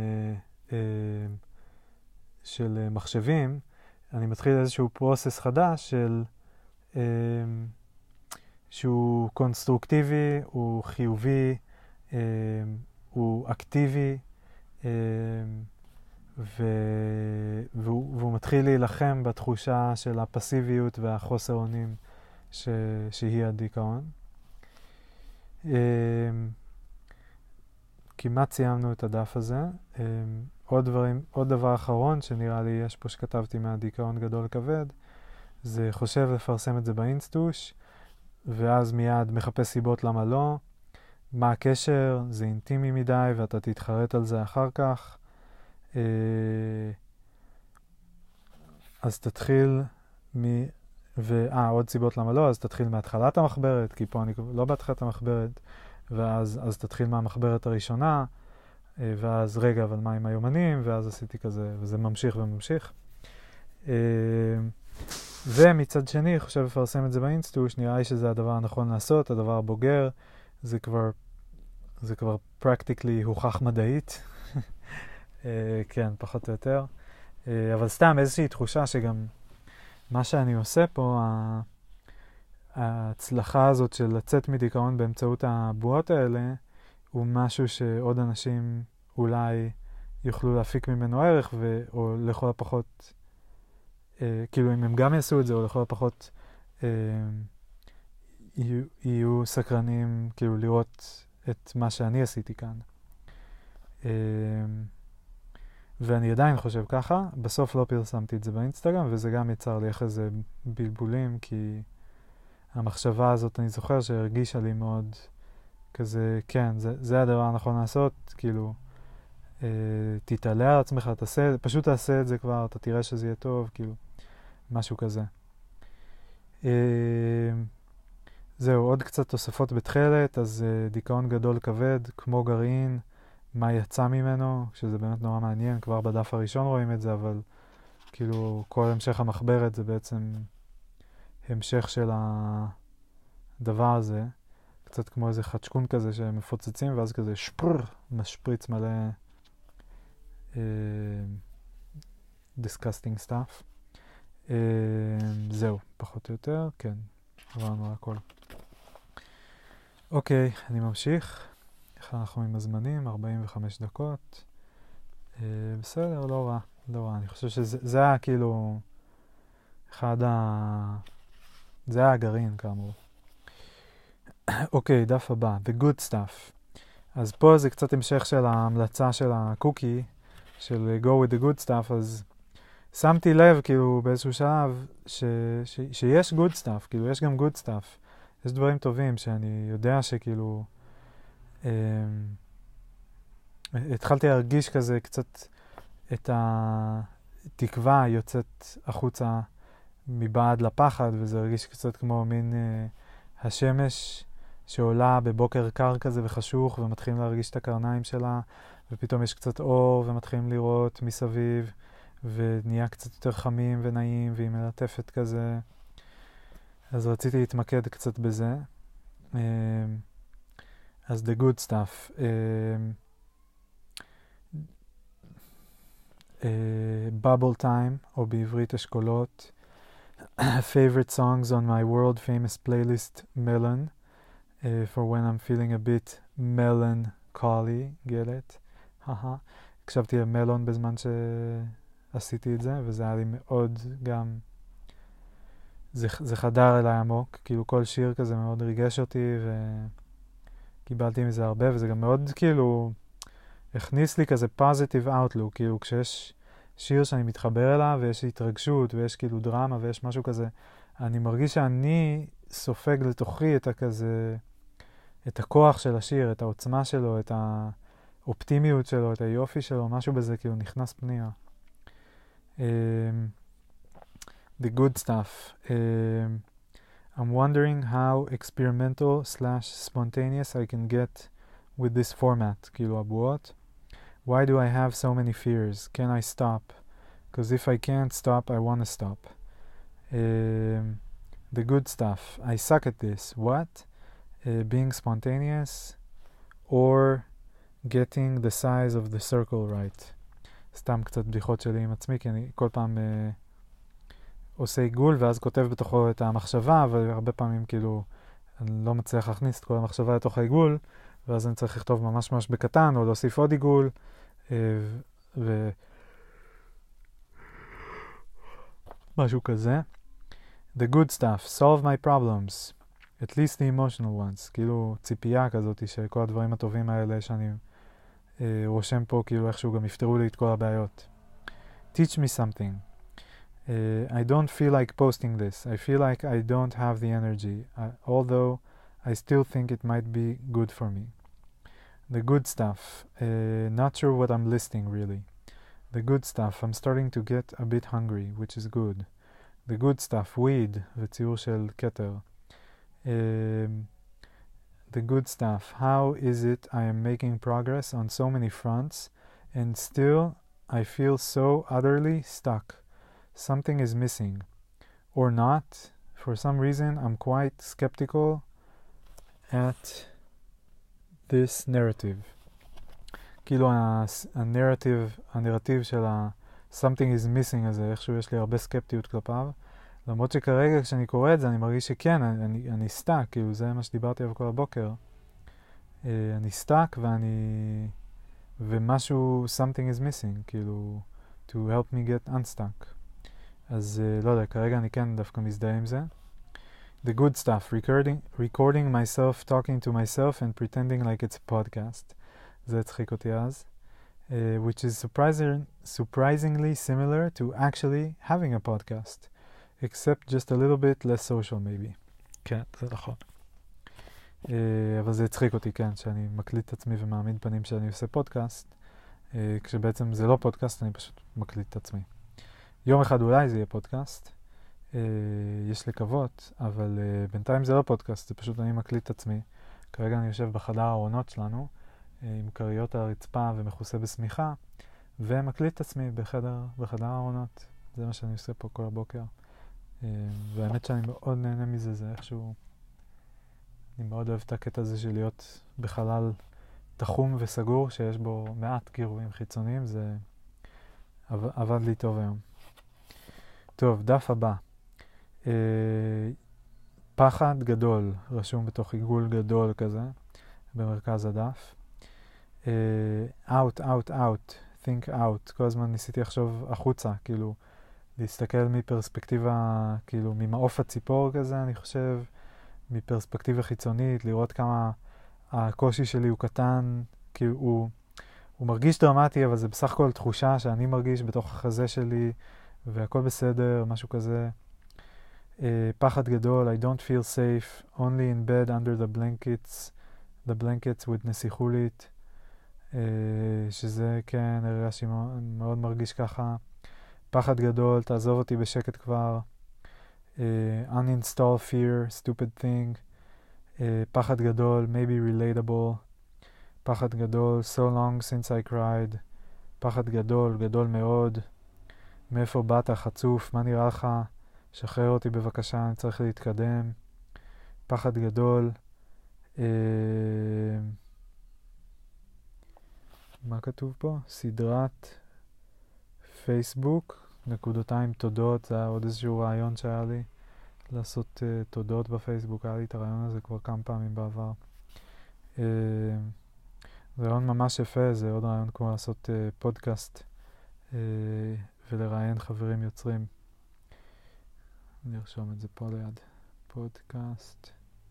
של מחשבים, אני מתחיל איזשהו process חדש שהוא קונסטרוקטיבי, הוא חיובי, הוא אקטיבי, והוא מתחיל להילחם בתחושה של הפסיביות והחוסר אונים שהיא הדיכאון. כמעט סיימנו את הדף הזה. עוד דבר אחרון שנראה לי יש פה שכתבתי מהדיכאון גדול כבד, זה חושב לפרסם את זה באינסטוש, ואז מיד מחפש סיבות למה לא, מה הקשר, זה אינטימי מדי ואתה תתחרט על זה אחר כך. אז תתחיל עוד סיבות למה לא, אז תתחיל מהתחלת המחברת, כי פה אני לא בהתחלת המחברת, ואז תתחיל מהמחברת הראשונה, ואז רגע, אבל מה עם היומנים, ואז עשיתי כזה, וזה ממשיך וממשיך. ומצד שני, חושב לפרסם את זה באינסטוש, נראה לי שזה הדבר הנכון לעשות, הדבר הבוגר, זה כבר practically הוכח מדעית. כן, פחות או יותר. אבל סתם איזושהי תחושה שגם מה שאני עושה פה, ההצלחה הזאת של לצאת מדיכאון באמצעות הבועות האלה, הוא משהו שעוד אנשים אולי יוכלו להפיק ממנו ערך, או לכל הפחות, כאילו אם הם גם יעשו את זה, או לכל הפחות יהיו סקרנים כאילו לראות את מה שאני עשיתי כאן. ואני עדיין חושב ככה, בסוף לא פרסמתי את זה באינסטגרם, וזה גם יצר לי אחרי זה בלבולים, כי המחשבה הזאת אני זוכר שהרגישה לי מאוד כזה, כן, זה הדבר הנכון לעשות, כאילו, תתעלה על עצמך, פשוט תעשה את זה כבר, אתה תראה שזה יהיה טוב, כאילו, משהו כזה. זהו, עוד קצת תוספות בתחילת, אז דיכאון גדול כבד, כמו גרעין, מה יצא ממנו, שזה באמת נורא מעניין, כבר בדף הראשון רואים את זה, אבל כאילו כל המשך המחברת זה בעצם המשך של הדבר הזה, קצת כמו איזה חדשקון כזה שמפוצצים, ואז כזה משפריץ מלא disgusting stuff. זהו, פחות או יותר, כן, עברנו על הכל. אוקיי, אני ממשיך. איך אנחנו עם הזמנים? 45 דקות. בסדר, לא רע. לא רע. אני חושב שזה היה כאילו אחד זה היה הגרעין כאמור. אוקיי, דף הבא. The good stuff. אז פה זה קצת המשך של ההמלצה של הקוקי, של go with the good stuff, אז שמתי לב כאילו באיזשהו שלב שיש good stuff, כאילו יש גם good stuff. יש דברים טובים שאני יודע שכאילו התחלתי להרגיש כזה קצת את התקווה יוצאת החוצה מבעד לפחד, וזה הרגיש קצת כמו מין השמש שעולה בבוקר קר כזה וחשוך, ומתחילים להרגיש את הקרניים שלה, ופתאום יש קצת אור, ומתחילים לראות מסביב, ונהיה קצת יותר חמים ונעים, והיא מלטפת כזה. אז רציתי להתמקד קצת בזה. אז the good stuff. Bubble time, או בעברית אשכולות. Favorite songs on my world famous playlist Melon, for when I'm feeling a bit melancholy, get it? הקשבתי למלון בזמן שעשיתי את זה, וזה היה לי מאוד גם, זה חדר אליי עמוק, כאילו כל שיר כזה מאוד ריגש אותי, וקיבלתי מזה הרבה, וזה גם מאוד כאילו הכניס לי כזה positive outlook, כאילו כשיש שיר שאני מתחבר אליו, ויש התרגשות, ויש כאילו דרמה, ויש משהו כזה, אני מרגיש שאני סופג לתוכי את הכזה, את הכוח של השיר, את העוצמה שלו, את האופטימיות שלו, את היופי שלו, משהו בזה כאילו נכנס פנימה. The good stuff. I'm wondering how experimental/spontaneous I can get with this format, כאילו הבועות. Why do I have so many fears? Can I stop? Because if I can't stop, I want to stop. The good stuff. I suck at this. What? Being spontaneous or getting the size of the circle right. סתם קצת בדיחות שלי עם עצמי, כי אני כל פעם עושה עיגול ואז כותב בתוכו את המחשבה, והרבה פעמים כאילו אני לא מצליח להכניס את כל המחשבה לתוך העיגול, ואז אני צריך לכתוב ממש ממש בקטן, או להוסיף עוד עיגול, משהו כזה. The good stuff, solve my problems, at least the emotional ones, כאילו ציפייה כזאת שכל הדברים הטובים האלה שאני רושם פה, כאילו איכשהו גם יפתרו לי את כל הבעיות. Teach me something. I don't feel like posting this. I feel like I don't have the energy, although I still think it might be good for me. The good stuff. Not sure what I'm listing really. The good stuff. I'm starting to get a bit hungry, which is good. The good stuff. Weed. וציור של כתר. The good stuff. How is it I am making progress on so many fronts and still I feel so utterly stuck? Something is missing. Or not. For some reason I'm quite skeptical at this narrative. כאילו הנרטיב של something is missing הזה, איכשהו יש לי הרבה סקפטיות כלפיו. למרות שכרגע כשאני קורא את זה אני מרגיש שכן, אני סטאק, כאילו זה מה שדיברתי עליו כל הבוקר. אני סטאק ומשהו, something is missing, כאילו, to help me get unstuck. אז לא יודע, כרגע אני כן דווקא מזדהה עם זה. The good stuff, recording myself, talking to myself and pretending like it's a podcast. זה הצחיק אותי אז. Which is surprisingly similar to actually having a podcast. Except just a little bit less social maybe. כן, זה נכון. אבל זה הצחיק אותי, כן, שאני מקליט את עצמי ומעמיד פנים שאני עושה פודקאסט, כשבעצם זה לא פודקאסט, אני פשוט מקליט את עצמי. יום אחד אולי זה יהיה פודקאסט, יש לקוות, אבל בינתיים זה לא פודקאסט, זה פשוט אני מקליט את עצמי. כרגע אני יושב בחדר הארונות שלנו, עם קריות על הרצפה ומכוסה בסמיכה, ומקליט את עצמי בחדר הארונות. זה מה שאני עושה פה כל הבוקר. והאמת שאני מאוד נהנה מזה, זה איכשהו, אני מאוד אוהב את הקטע הזה של להיות בחלל תחום וסגור, שיש בו מעט גירויים חיצוניים, זה עבד לי טוב היום. טוב, דף הבא. פחד גדול, רשום בתוך עיגול גדול כזה, במרכז הדף. out, out, out, think out. כל הזמן ניסיתי לחשוב החוצה, כאילו, להסתכל מפרספקטיבה, כאילו, ממעוף הציפור כזה, אני חושב, מפרספקטיבה חיצונית, לראות כמה הקושי שלי הוא קטן, כאילו, הוא מרגיש דרמטי, אבל זה בסך הכל תחושה שאני מרגיש בתוך החזה שלי, והכל בסדר, משהו כזה. פחד גדול, I don't feel safe, only in bed under the blankets with נסיכולית, שזה כן, הרגשתי מאוד מרגיש ככה. פחד גדול, תעזוב אותי בשקט כבר. uninstall fear, stupid thing. פחד גדול, maybe relatable. פחד גדול, so long since I cried. פחד גדול, גדול מאוד. מאיפה באת, חצוף, מה נראה לך? שחרר אותי בבקשה, אני צריך להתקדם. פחד גדול. מה כתוב פה? סדרת פייסבוק, נקודותיים תודות, זה היה עוד איזשהו רעיון שהיה לי, לעשות תודות בפייסבוק, היה לי את הרעיון הזה כבר כמה פעמים בעבר. זה רעיון ממש יפה, זה עוד רעיון כמו לעשות פודקאסט ולראיין חברים יוצרים. נרשום את זה פה ליד. פודקאסט,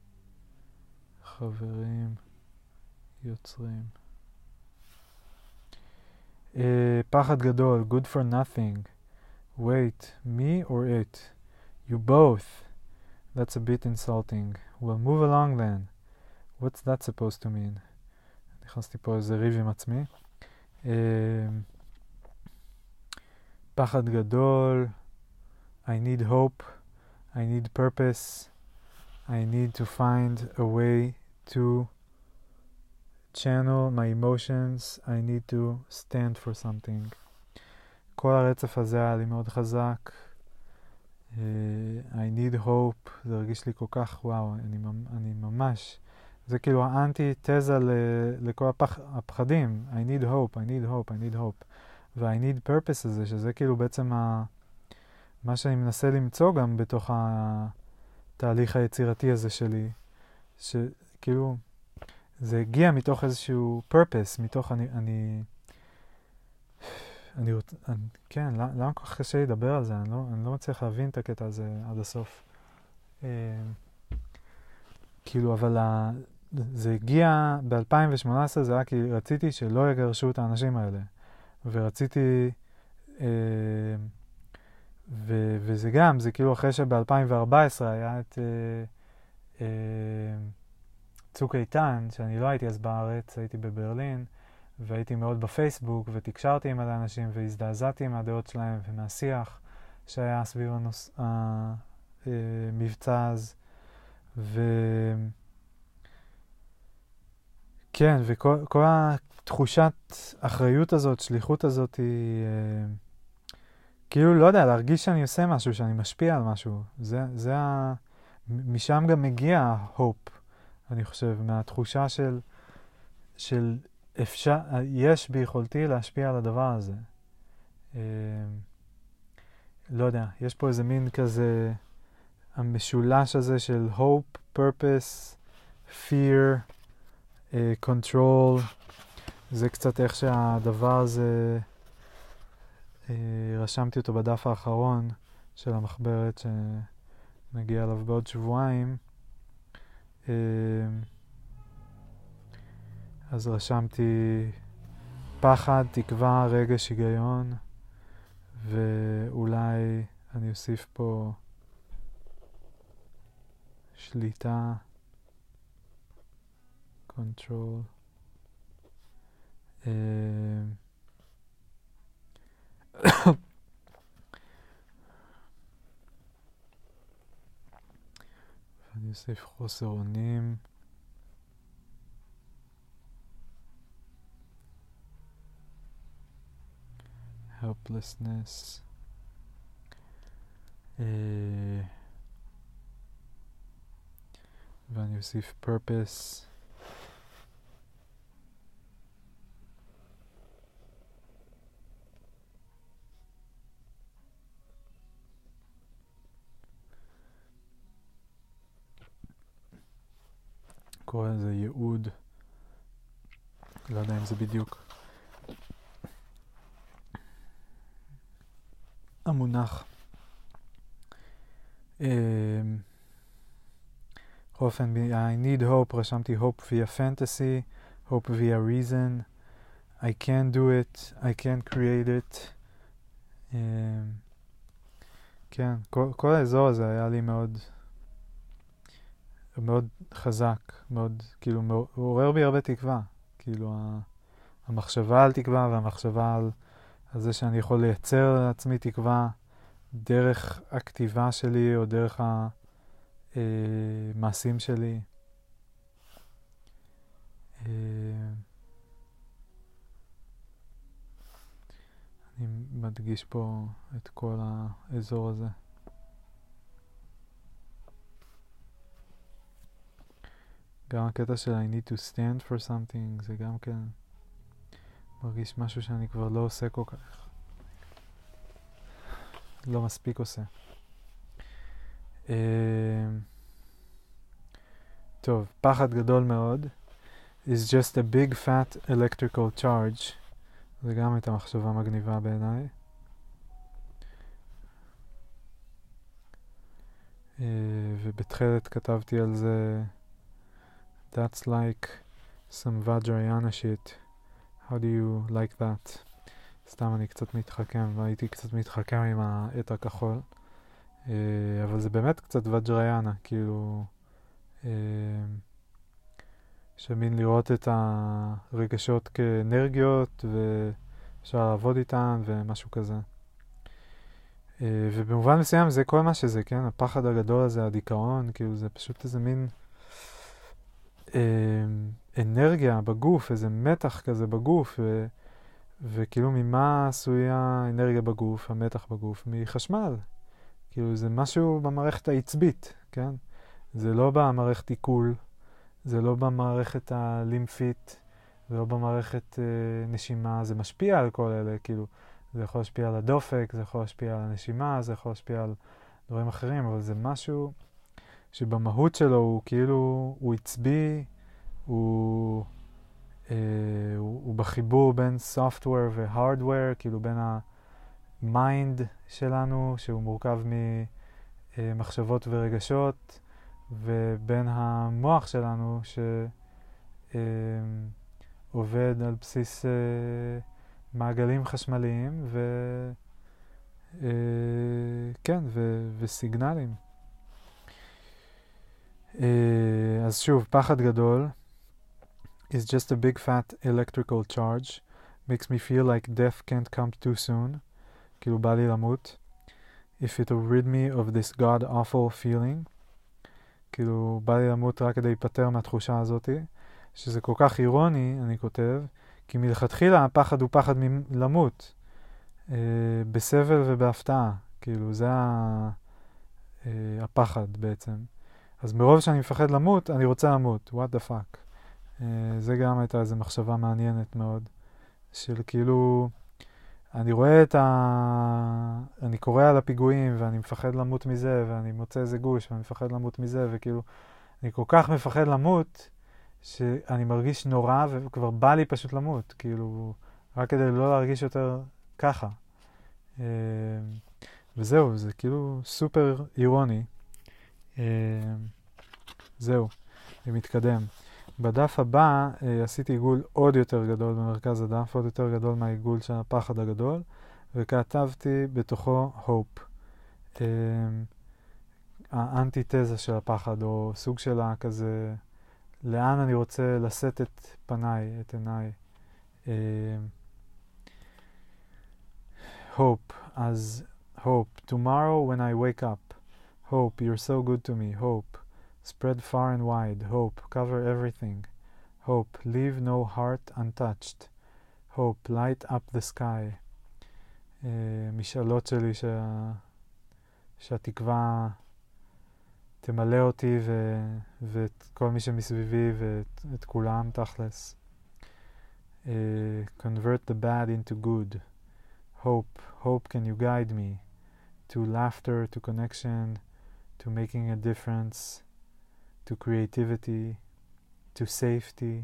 חברים יוצרים. פחד גדול, good for nothing. Wait, me or it? You both. That's a bit insulting. Well, move along then. What's that supposed to mean? נכנסתי פה איזה ריב עם עצמי. פחד גדול. I need hope. I need purpose. I need to find a way to channel my emotions. I need to stand for something. כל הרצף הזה היה לי מאוד חזק. I need hope. זה הרגיש לי כל כך, וואו, אני ממש, זה כאילו האנטי-תזה לכל הפחדים. I need hope, I need hope, I need hope. וה-I need purpose הזה, שזה כאילו בעצם מה שאני מנסה למצוא גם בתוך התהליך היצירתי הזה שלי, שכאילו, זה הגיע מתוך איזשהו purpose, מתוך כן, למה כל כך קשה לדבר על זה? אני לא מצליח להבין את הקטע הזה עד הסוף. כאילו, אבל זה הגיע ב-2018, זה היה כי רציתי שלא יגרשו את האנשים האלה. ורציתי, וזה גם, זה כאילו אחרי שב-2014 היה את צוק איתן, שאני לא הייתי אז בארץ, הייתי בברלין, והייתי מאוד בפייסבוק, ותקשרתי עם האנשים, והזדעזעתי עם הדעות שלהם, ומהשיח שהיה סביב המבצע אז. כן, וכל התחושת אחריות הזאת, שליחות הזאת, היא כאילו, לא יודע, להרגיש שאני עושה משהו, שאני משפיע על משהו. משם גם מגיע hope, אני חושב, מהתחושה של אפשר, יש ביכולתי להשפיע על הדבר הזה. לא יודע, יש פה איזה מין כזה, המשולש הזה של hope, purpose, fear, control. זה קצת איך שהדבר הזה, רשמתי אותו בדף האחרון של המחברת שנגיע אליו בעוד שבועיים. אז רשמתי פחד, תקווה, רגש, היגיון, ואולי אני אוסיף פה שליטה, control. ואני אוסיף חוסר אונים. helplessness, ואני אוסיף purpose, קורא לזה ייעוד. לא יודע אם זה בדיוק המונח. אופן, I need hope, רשמתי hope via fantasy, hope via reason, I can do it, I can create it. כן, כל האזור הזה היה לי מאוד מאוד חזק, מאוד, כאילו, הוא עורר בי הרבה תקווה. כאילו, המחשבה על תקווה והמחשבה על זה שאני יכול לייצר לעצמי תקווה דרך הכתיבה שלי או דרך המעשים שלי. אני מדגיש פה את כל האזור הזה. גם הקטע של I need to stand for something, זה גם כן מרגיש משהו שאני כבר לא עושה כל כך. לא מספיק עושה. טוב, פחד גדול מאוד. is just a big fat electrical charge. זה גם הייתה מחשבה מגניבה בעיניי. ובתחילת כתבתי על זה That's like some Vajrayana shit. How do you like that? סתם אני קצת מתחכם, והייתי קצת מתחכם עם העט הכחול. אבל זה באמת קצת וג'ריינה, כאילו שמין לראות את הרגשות כאנרגיות ואפשר לעבוד איתן ומשהו כזה. ובמובן מסוים זה כל מה שזה, כן? הפחד הגדול הזה, הדיכאון, כאילו זה פשוט איזה מין אנרגיה בגוף, איזה מתח כזה בגוף, וכאילו ממה עשויה האנרגיה בגוף, המתח בגוף? מחשמל. כאילו זה משהו במערכת העצבית, כן? זה לא במערכת עיכול, זה לא במערכת הלימפית, זה לא במערכת נשימה, זה משפיע על כל אלה, כאילו זה יכול להשפיע על הדופק, זה יכול להשפיע על הנשימה, זה יכול להשפיע על דברים אחרים, אבל זה משהו שבמהות שלו הוא כאילו, הוא עצבי, הוא בחיבור בין software ו-hardware, כאילו בין המיינד שלנו, שהוא מורכב ממחשבות ורגשות, ובין המוח שלנו, שעובד על בסיס מעגלים חשמליים, כן, וסיגנלים. אז שוב, פחד גדול. is just a big fat electrical charge. Makes me feel like death can't come too soon. כאילו בא לי למות. If it will rid me of this god awful feeling. כאילו בא לי למות רק כדי להיפטר מהתחושה הזאת. שזה כל כך אירוני, אני כותב, כי מלכתחילה הפחד הוא פחד למות. בסבל ובהפתעה. כאילו זה הפחד בעצם. אז מרוב שאני מפחד למות, אני רוצה למות. What the fuck. זה גם הייתה איזו מחשבה מעניינת מאוד, של כאילו, אני רואה אני קורא על הפיגועים, ואני מפחד למות מזה, ואני מוצא איזה גוש, ואני מפחד למות מזה, וכאילו, אני כל כך מפחד למות, שאני מרגיש נורא, וכבר בא לי פשוט למות, כאילו, רק כדי לא להרגיש יותר ככה. וזהו, זה כאילו סופר אירוני. זהו, אני מתקדם. בדף הבא עשיתי עיגול עוד יותר גדול במרכז הדף, עוד יותר גדול מהעיגול של הפחד הגדול, וכתבתי בתוכו hope. האנטיתזה של הפחד, או סוג שלה כזה, לאן אני רוצה לשאת את פניי, את עיניי. hope, אז hope. Tomorrow when I wake up. Hope, you're so good to me. Hope. Spread far and wide. Hope. Cover everything. Hope. Leave no heart untouched. Hope. Light up the sky. משאלות שלי שהתקווה תמלא אותי ואת כל מי שמסביבי ואת כולם תכלס. Convert the bad into good. Hope. Hope, can you guide me to laughter, to connection, to making a difference, to creativity. to safety.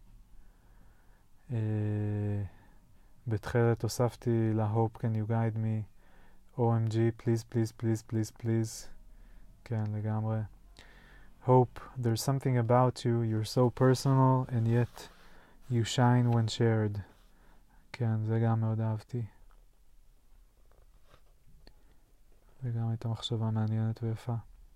בתחילת הוספתי ל-hope can you guide me, OMG, please, please, please, please, please. כן, לגמרי. Hope, there's something about you, you're so personal, and yet you shine when shared. כן, זה גם מאוד אהבתי. וגם הייתה מחשבה מעניינת ויפה.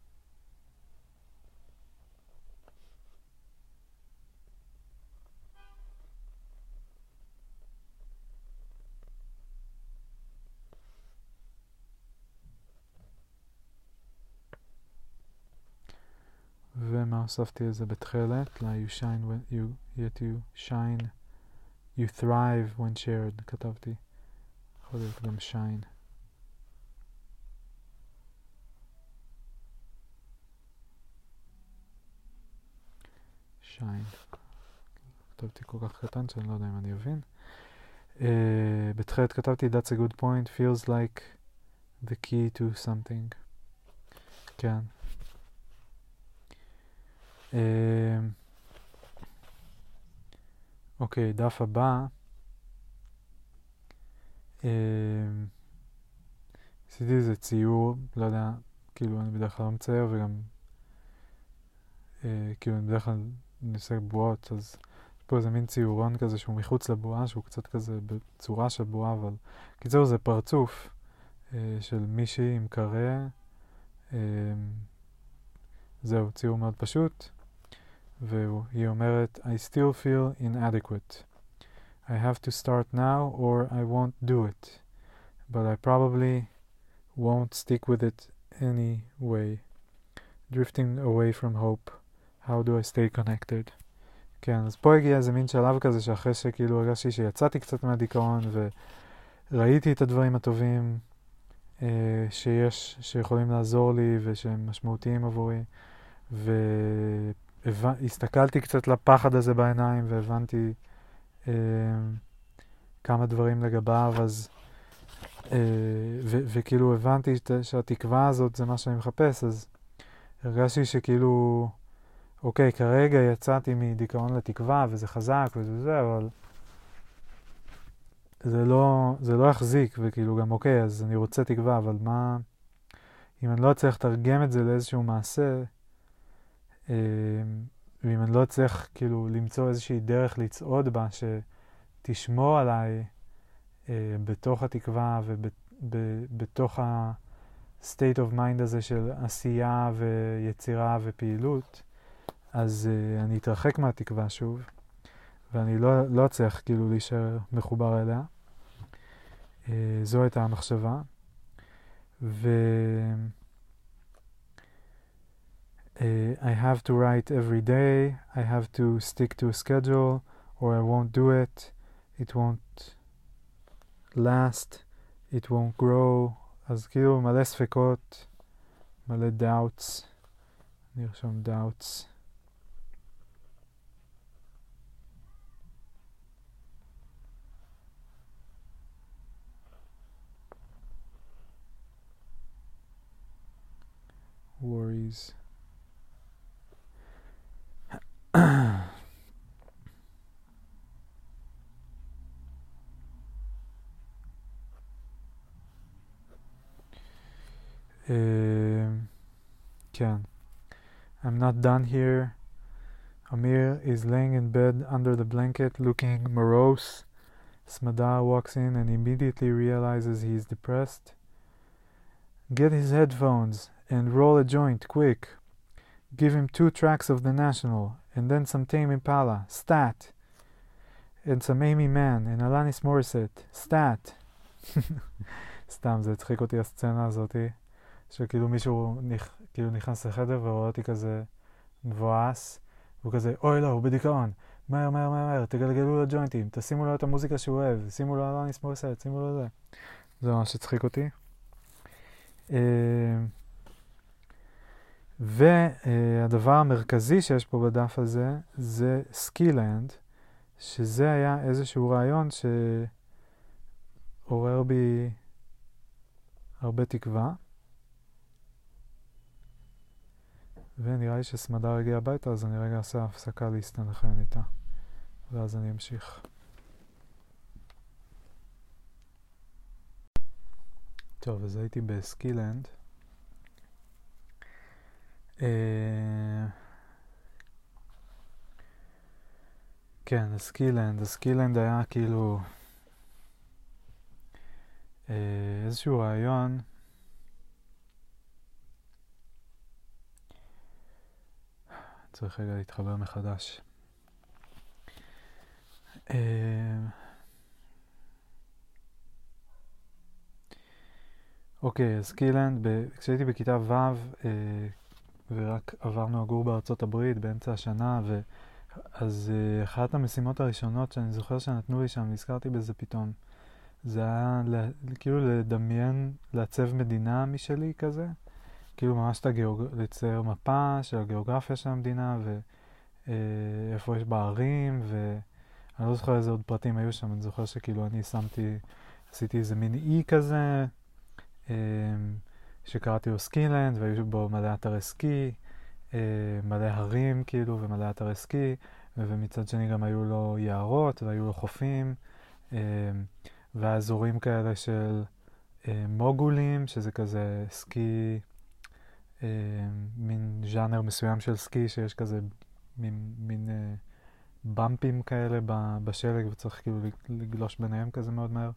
ומה הוספתי לזה בתחילת? you shine when yet you shine, you thrive when shared, כתבתי. יכול להיות גם shine. shine. כתבתי כל כך קטן שאני לא יודע אם אני אבין. בתחילת כתבתי that's a good point, feels like the key to something. כן. אוקיי, דף הבא. עשיתי איזה ציור, לא יודע, כאילו אני בדרך כלל לא מצייר וגם כאילו אני בדרך כלל עושה בועות, אז יש פה איזה מין ציורון כזה שהוא מחוץ לבועה, שהוא קצת כזה בצורה של בועה, אבל קיצור זה פרצוף של מישהי עם קרא. זהו, ציור מאוד פשוט. והיא אומרת, I still feel inadequate. I have to start now or I won't do it. But I probably won't stick with it anyway. Drifting away from hope. How do I stay connected? כן, אז פה הגיע איזה מין שלב כזה שאחרי שכאילו הרגשתי שיצאתי קצת מהדיכאון וראיתי את הדברים הטובים שיכולים לעזור לי ושהם משמעותיים עבורי, והסתכלתי קצת לפחד הזה בעיניים והבנתי כמה דברים לגביו, אז וכאילו הבנתי שהתקווה הזאת זה מה שאני מחפש, אז הרגשתי שכאילו אוקיי, כרגע יצאתי מדיכאון לתקווה וזה חזק וזה, אבל זה לא יחזיק, וכאילו גם אוקיי, אז אני רוצה תקווה, אבל מה אם אני לא אצליח לתרגם את זה לאיזשהו מעשה, ואם אני לא אצליח כאילו למצוא איזושהי דרך לצעוד בה שתשמור עליי בתוך התקווה ובתוך ה-state of mind הזה של עשייה ויצירה ופעילות, אז אני אתרחק מהתקווה שוב, ואני לא אצליח כאילו להישאר מחובר אליה. זו הייתה המחשבה. I have to write every day, I have to stick to a schedule, or I won't do it, it won't last, it won't grow. אז כאילו מלא ספקות, מלא doubts, נרשום doubts. Worries. כן. I'm not done here. Amir is laying in bed under the blanket looking morose. Smadar walks in and immediately realizes he is depressed. Get his headphones and roll a joint, quick. Give him 2 tracks of The National, and then some Tame Impala, stat. And some Amy Mann and Alanis Morissette, stat. סתם, זה הצחיק אותי הסצנה הזאת, שכאילו מישהו כאילו נכנס לחדר ורואה אותי כזה מבואס, והוא כזה, אוי לא, הוא בדיכאון, מהר, מהר, מהר, תגלגלו לו ג'וינטים, תשימו לו את המוזיקה שהוא אוהב, שימו לו אלניס מורסט, שימו לו זה. זה ממש הצחיק אותי. והדבר המרכזי שיש פה בדף הזה, זה סקילנד, שזה היה איזשהו רעיון שעורר בי הרבה תקווה. ונראה לי שסמדר הגיע הביתה, אז אני רגע אעשה הפסקה להסתנכרן איתה, ואז אני אמשיך. טוב, אז הייתי בסקילנד. כן, הסקילנד היה כאילו איזשהו רעיון צריך רגע להתחבר מחדש. אוקיי, אז סקילנד, כשהייתי בכיתה ו' ורק עברנו לגור בארצות הברית באמצע השנה, אז אחת המשימות הראשונות שאני זוכר שנתנו לי שם, נזכרתי בזה פתאום, זה היה כאילו לדמיין, לעצב מדינה משלי כזה, כאילו ממש לצייר מפה של הגיאוגרפיה של המדינה ואיפה יש בה ערים, ואני לא זוכר איזה עוד פרטים היו שם. אני זוכר שכאילו אני עשיתי איזה מין אי כזה שקראתי לו סקילנד, והיו בו מלא אתרי סקי, מלא הרים כאילו ומלא אתרי סקי, ומצד שני גם היו לו יערות והיו לו חופים, והאזורים כאלה של מוגולים, שזה כזה סקי, מין ז'אנר מסוים של סקי, שיש כזה מין במפים כאלה בשלג, וצריך כאילו לגלוש ביניהם כזה מאוד מהר.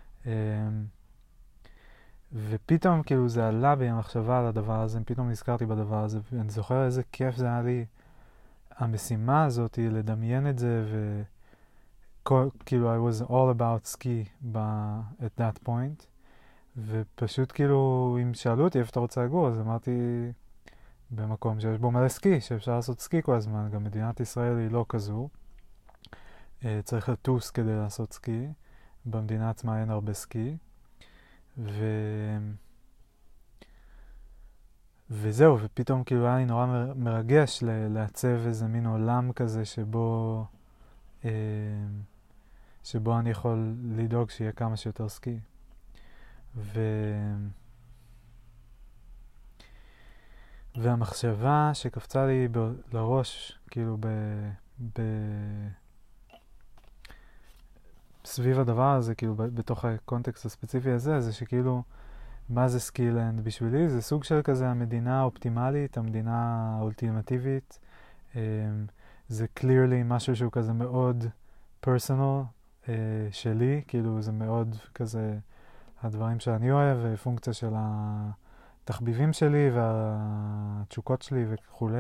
ופתאום כאילו זה עלה בי המחשבה על הדבר הזה, פתאום נזכרתי בדבר הזה, ואני זוכר איזה כיף זה היה לי, המשימה הזאת היא לדמיין את זה, כאילו I was all about ski at that point, ופשוט כאילו אם שאלו אותי איפה אתה רוצה לגור, אז אמרתי במקום שיש בו מלא סקי, שאפשר לעשות סקי כל הזמן. גם מדינת ישראל היא לא כזו, צריך לטוס כדי לעשות סקי, במדינה עצמה אין הרבה סקי, וזהו, ופתאום כאילו היה לי נורא מרגש לעצב איזה מין עולם כזה שבו אני יכול לדאוג שיהיה כמה שיותר סקי. והמחשבה שקפצה לי לראש, כאילו סביב הדבר הזה, כאילו בתוך הקונטקסט הספציפי הזה, זה שכאילו, מה זה סקילנד בשבילי? זה סוג של כזה המדינה האופטימלית, המדינה האולטימטיבית. זה clearly משהו שהוא כזה מאוד personal שלי, כאילו זה מאוד כזה הדברים שאני אוהב, פונקציה של התחביבים שלי והתשוקות שלי וכו'.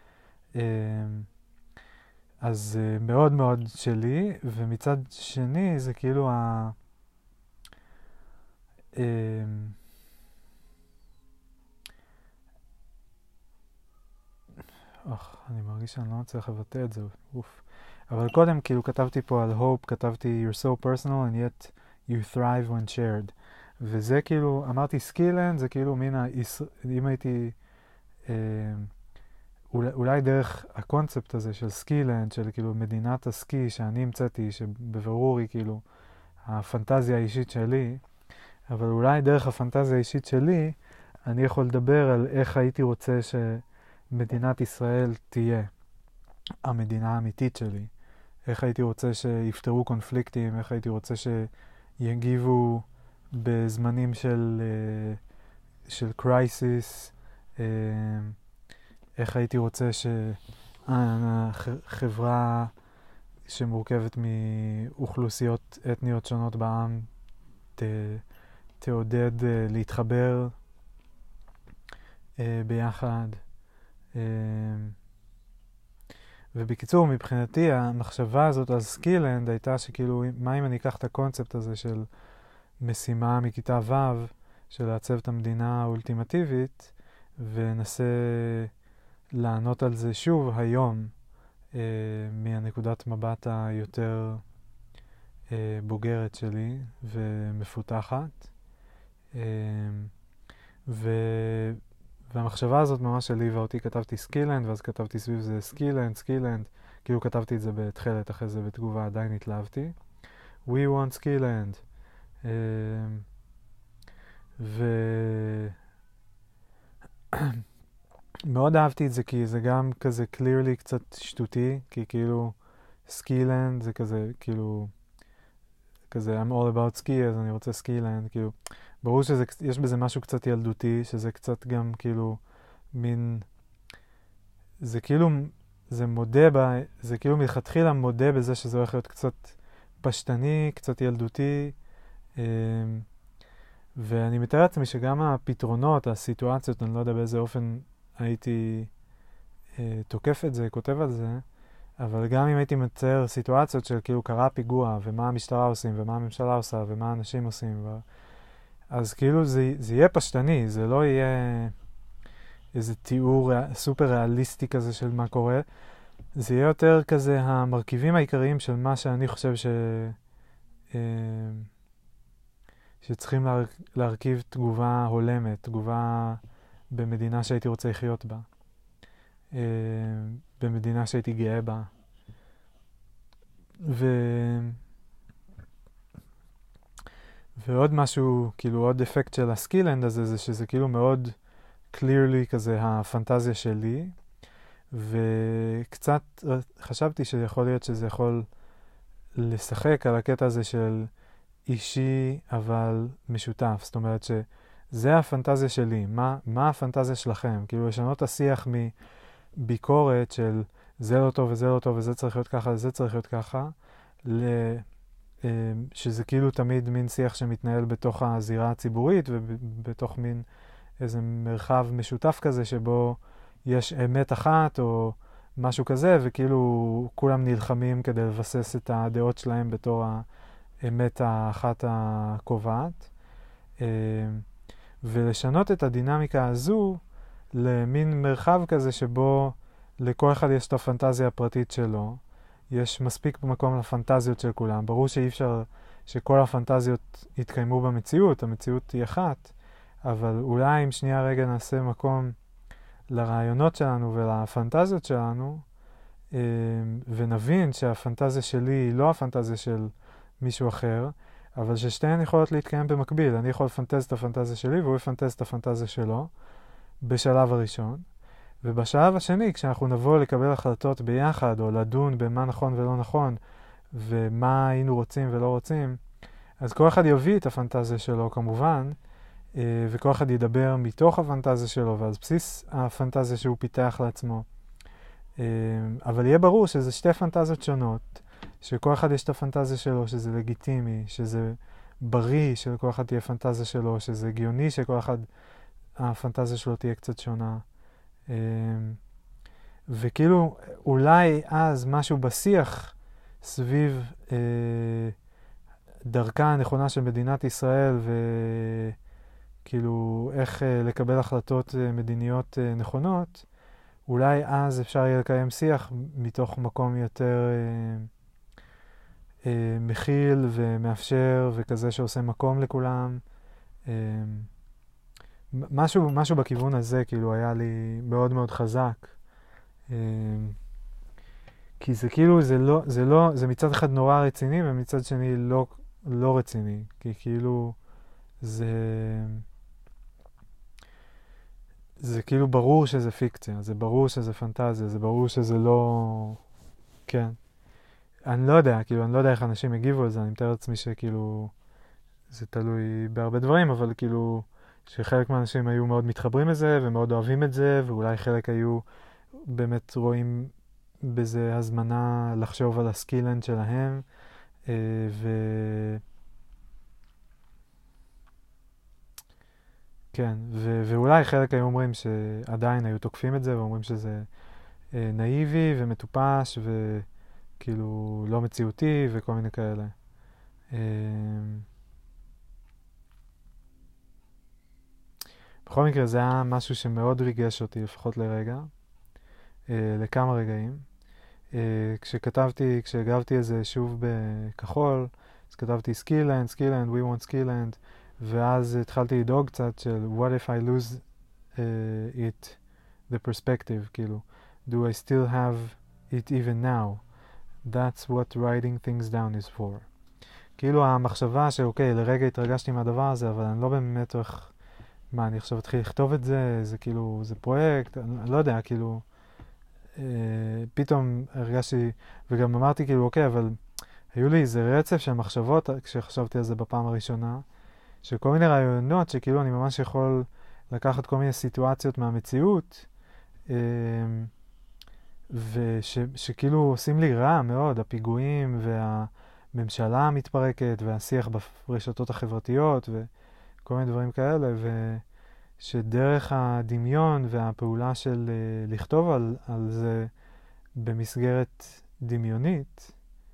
אז מאוד מאוד שלי, ומצד שני זה כאילו אני מרגיש שאני לא מצליח לבטא את זה, אוף. אבל קודם כאילו כתבתי פה על hope, כתבתי you're so personal and yet you thrive when shared. וזה כאילו, אמרתי סקילנד, זה כאילו מין, אם הייתי, אולי דרך הקונספט הזה של סקילנד, של כאילו מדינת הסקי שאני המצאתי, שבברור היא כאילו הפנטזיה האישית שלי, אבל אולי דרך הפנטזיה האישית שלי, אני יכול לדבר על איך הייתי רוצה שמדינת ישראל תהיה המדינה האמיתית שלי. איך הייתי רוצה שיפתרו קונפליקטים, איך הייתי רוצה שיגיבו בזמנים של קרייסיס, איך הייתי רוצה שהחברה שמורכבת מאוכלוסיות אתניות שונות בעם תעודד להתחבר ביחד. ובקיצור, מבחינתי המחשבה הזאת על סקילנד הייתה שכאילו, מה אם אני אקח את הקונספט הזה של משימה מכיתה ו' של לעצב את המדינה האולטימטיבית, ונסה לענות על זה שוב היום מהנקודת מבט היותר בוגרת שלי ומפותחת. והמחשבה הזאת ממש הליבה אותי, כתבתי סקילנד, ואז כתבתי סביב זה סקילנד, כאילו כתבתי את זה בתחילת, אחרי זה בתגובה עדיין התלהבתי. We want skillend. מאוד אהבתי את זה, כי זה גם כזה clearly קצת שטותי, כי כאילו סקילנד זה כזה, כאילו, כזה I'm all about ski, אז אני רוצה סקילנד, כאילו, ברור שיש בזה משהו קצת ילדותי, שזה קצת גם כאילו מין, זה כאילו, זה כאילו מלכתחילה מודה בזה שזה הולך להיות קצת פשטני, קצת ילדותי, ואני מתאר לעצמי שגם הפתרונות, הסיטואציות, אני לא יודע באיזה אופן הייתי תוקף את זה, כותב על זה, אבל גם אם הייתי מצייר סיטואציות של כאילו קרה פיגוע, ומה המשטרה עושים, ומה הממשלה עושה, ומה האנשים עושים, אז כאילו זה יהיה פשטני, זה לא יהיה איזה תיאור סופר ריאליסטי כזה של מה קורה, זה יהיה יותר כזה המרכיבים העיקריים של מה שאני חושב שצריכים להרכיב תגובה הולמת, תגובה במדינה שהייתי רוצה לחיות בה, במדינה שהייתי גאה בה. ועוד משהו, כאילו עוד אפקט של הסקילנד הזה, זה שזה כאילו מאוד clearly כזה הפנטזיה שלי, וקצת חשבתי שיכול להיות שזה יכול לשחק על הקטע הזה של אישי אבל משותף. זאת אומרת שזה הפנטזיה שלי. מה הפנטזיה שלכם? כאילו לשנות השיח מביקורת של זה לא טוב וזה לא טוב וזה צריך להיות ככה וזה צריך להיות ככה, שזה כאילו תמיד מין שיח שמתנהל בתוך הזירה הציבורית ובתוך מין איזה מרחב משותף כזה שבו יש אמת אחת או משהו כזה, וכאילו כולם נלחמים כדי לבסס את הדעות שלהם בתור האמת האחת הקובעת. ולשנות את הדינמיקה הזו למין מרחב כזה שבו לכל אחד יש את הפנטזיה הפרטית שלו. יש מספיק מקום לפנטזיות של כולם. ברור שאי אפשר שכל הפנטזיות יתקיימו במציאות, המציאות היא אחת, אבל אולי אם שנייה רגע נעשה מקום לרעיונות שלנו ולפנטזיות שלנו, ונבין שהפנטזיה שלי היא לא הפנטזיה של מישהו אחר, אבל ששתיהן יכולות להתקיים במקביל. אני יכול לפנטז את הפנטזיה שלי והוא יפנטז את הפנטזיה שלו בשלב הראשון. ובשלב השני, כשאנחנו נבוא לקבל החלטות ביחד, או לדון במה נכון ולא נכון, ומה היינו רוצים ולא רוצים, אז כל אחד יביא את הפנטזיה שלו כמובן, וכל אחד ידבר מתוך הפנטזיה שלו, ועל בסיס הפנטזיה שהוא פיתח לעצמו. אבל יהיה ברור שזה שתי פנטזיות שונות, שכל אחד יש את הפנטזיה שלו, שזה לגיטימי, שזה בריא שלכל אחד תהיה פנטזיה שלו, שזה הגיוני שכל אחד הפנטזיה שלו תהיה קצת שונה. וכאילו אולי אז משהו בשיח סביב דרכה הנכונה של מדינת ישראל וכאילו איך לקבל החלטות מדיניות נכונות, אולי אז אפשר יהיה לקיים שיח מתוך מקום יותר מכיל ומאפשר וכזה שעושה מקום לכולם. משהו בכיוון הזה כאילו היה לי מאוד מאוד חזק. כי זה כאילו, זה מצד אחד נורא רציני ומצד שני לא רציני. כי כאילו זה כאילו ברור שזה פיקציה, זה ברור שזה פנטזיה, זה ברור שזה לא... כן. אני לא יודע, כאילו, אני לא יודע איך אנשים הגיבו על זה, אני מתאר לעצמי שכאילו, זה תלוי בהרבה דברים, אבל כאילו, שחלק מהאנשים היו מאוד מתחברים לזה ומאוד אוהבים את זה, ואולי חלק היו באמת רואים בזה הזמנה לחשוב על הסקילנד שלהם, כן, ואולי חלק היו אומרים שעדיין היו תוקפים את זה, ואומרים שזה נאיבי ומטופש וכאילו לא מציאותי וכל מיני כאלה. בכל מקרה זה היה משהו שמאוד ריגש אותי, לפחות לרגע, לכמה רגעים. כשהגבתי את זה שוב בכחול, אז כתבתי skillland, we want skillland, ואז התחלתי לדאוג קצת של what if I lose it, the perspective, כאילו, do I still have it even now? That's what writing things down is for. כאילו המחשבה שאוקיי, לרגע התרגשתי מהדבר הזה, אבל אני לא באמת הולך מה, אני עכשיו אתחיל לכתוב את זה, זה כאילו, זה פרויקט, אני לא יודע, כאילו, פתאום הרגשתי, וגם אמרתי כאילו, אוקיי, אבל היו לי איזה רצף של מחשבות כשחשבתי על זה בפעם הראשונה, של כל מיני רעיונות שכאילו אני ממש יכול לקחת כל מיני סיטואציות מהמציאות, ושכאילו עושים לי רע מאוד, הפיגועים והממשלה המתפרקת והשיח ברשתות החברתיות וכל מיני דברים כאלה, ושדרך הדמיון והפעולה של לכתוב על זה במסגרת דמיונית,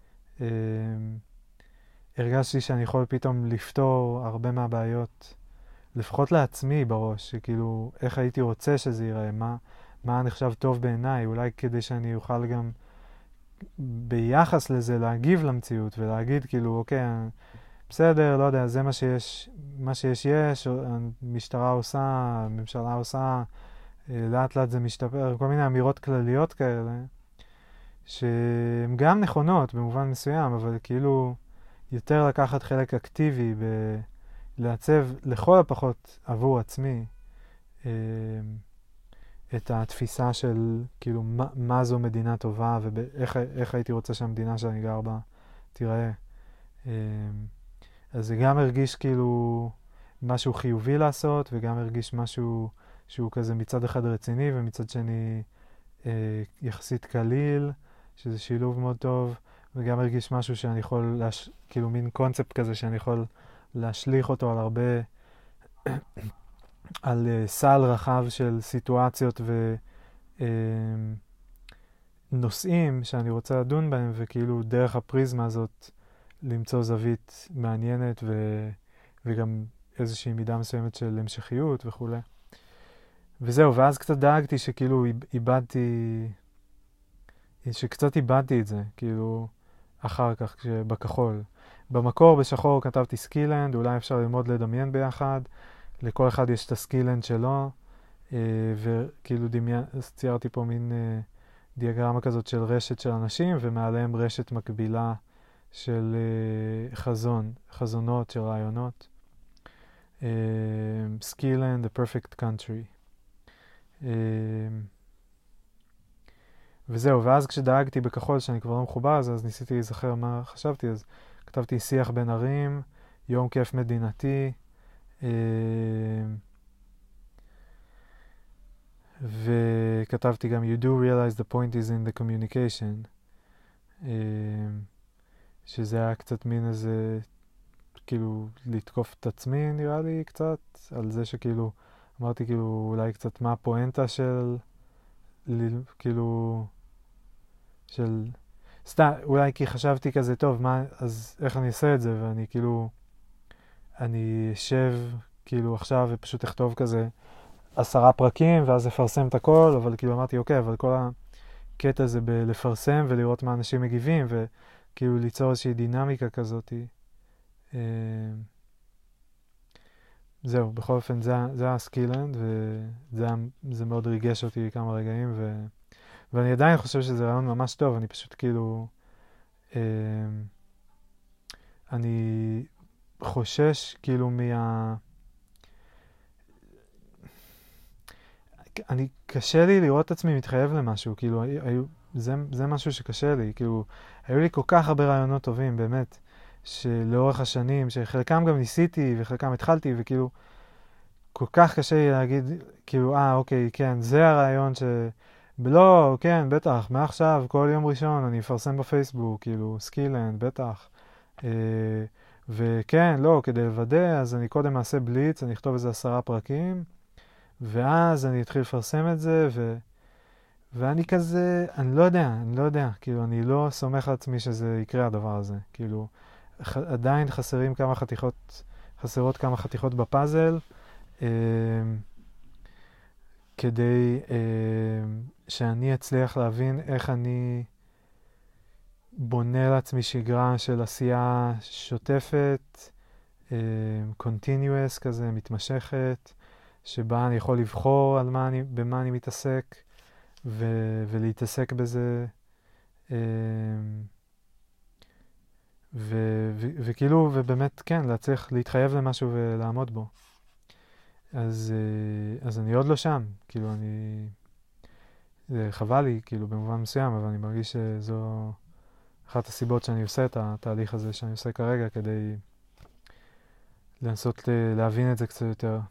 הרגשתי שאני יכול פתאום לפתור הרבה מהבעיות, לפחות לעצמי בראש, שכאילו איך הייתי רוצה שזה ייראה, מה נחשב טוב בעיניי, אולי כדי שאני אוכל גם ביחס לזה להגיב למציאות ולהגיד כאילו אוקיי, בסדר, לא יודע, זה מה שיש, המשטרה עושה, הממשלה עושה, לאט לאט זה משתפר, כל מיני אמירות כלליות כאלה, שהן גם נכונות במובן מסוים, אבל כאילו יותר לקחת חלק אקטיבי לעצב לכל הפחות עבור עצמי את התפיסה של כאילו מה זו מדינה טובה ואיך הייתי רוצה שהמדינה שאני גר בה תיראה. אז זה גם הרגיש כאילו משהו חיובי לעשות, וגם הרגיש משהו שהוא כזה מצד אחד רציני ומצד שני יחסית קליל, שזה שילוב מאוד טוב, וגם הרגיש משהו שאני יכול, כאילו מין קונספט כזה שאני יכול להשליך אותו על הרבה, על סל רחב של סיטואציות ונושאים שאני רוצה לדון בהם, וכאילו דרך הפריזמה הזאת למצוא זווית מעניינת וגם איזושהי מידה מסוימת של המשכיות וכו'. וזהו, ואז קצת דאגתי שכאילו שקצת איבדתי את זה, כאילו אחר כך בכחול. במקור בשחור כתבתי סקילנד, אולי אפשר ללמוד לדמיין ביחד, לכל אחד יש את הסקילנד שלו, וכאילו ציירתי פה מין דיאגרמה כזאת של רשת של אנשים, ומעליהם רשת מקבילה של חזונות של רעיונות. Skillend, the perfect country. וזהו, ואז כשדאגתי בכחול שאני כבר לא מחובר אז ניסיתי להיזכר מה חשבתי, אז כתבתי שיח בין ערים, יום כיף מדינתי, וכתבתי גם You do realize the point is in the communication, שזה היה קצת מין איזה, כאילו לתקוף את עצמי נראה לי קצת, על זה שכאילו, אמרתי כאילו אולי קצת מה הפואנטה של, כאילו, של, סתם, אולי כי חשבתי כזה, טוב, אז איך אני אעשה את זה, ואני כאילו, אני אשב כאילו עכשיו ופשוט אכתוב כזה 10 פרקים, ואז אפרסם את הכל, אבל כאילו אמרתי, אוקיי, אבל כל הקטע זה בלפרסם ולראות מה אנשים מגיבים, וכאילו ליצור איזושהי דינמיקה כזאת. זהו, בכל אופן, זה הסקילנד, וזה מאוד ריגש אותי כמה רגעים, ואני עדיין חושב שזה רעיון ממש טוב, אני פשוט כאילו, אני חושש כאילו קשה לי לראות את עצמי מתחייב למשהו, כאילו, זה משהו שקשה לי, כאילו, היו לי כל כך הרבה רעיונות טובים, באמת, שלאורך השנים, שחלקם גם ניסיתי וחלקם התחלתי, וכאילו, כל כך קשה לי להגיד, כאילו, אוקיי, כן, זה הרעיון לא, כן, בטח, מעכשיו, כל יום ראשון אני אפרסם בפייסבוק, כאילו, סקילנד, בטח. וכן, לא, כדי לוודא, אז אני קודם אעשה בליץ, אני אכתוב איזה 10 פרקים, ואז אני אתחיל לפרסם את זה, ואני כזה, אני לא יודע, כאילו, אני לא סומך על עצמי שזה יקרה הדבר הזה, כאילו, עדיין חסרות כמה חתיכות בפאזל, כדי שאני אצליח להבין איך אני בונה לעצמי שגרה של עשייה שוטפת, continuous כזה, מתמשכת, שבה אני יכול לבחור במה אני מתעסק, ולהתעסק בזה, וכאילו, ובאמת, כן, להצליח להתחייב למשהו ולעמוד בו. אז אני עוד לא שם, כאילו זה חבל לי, כאילו במובן מסוים, אבל אני מרגיש שזו אחת הסיבות שאני עושה את התהליך הזה שאני עושה כרגע, כדי לנסות להבין את זה קצת יותר.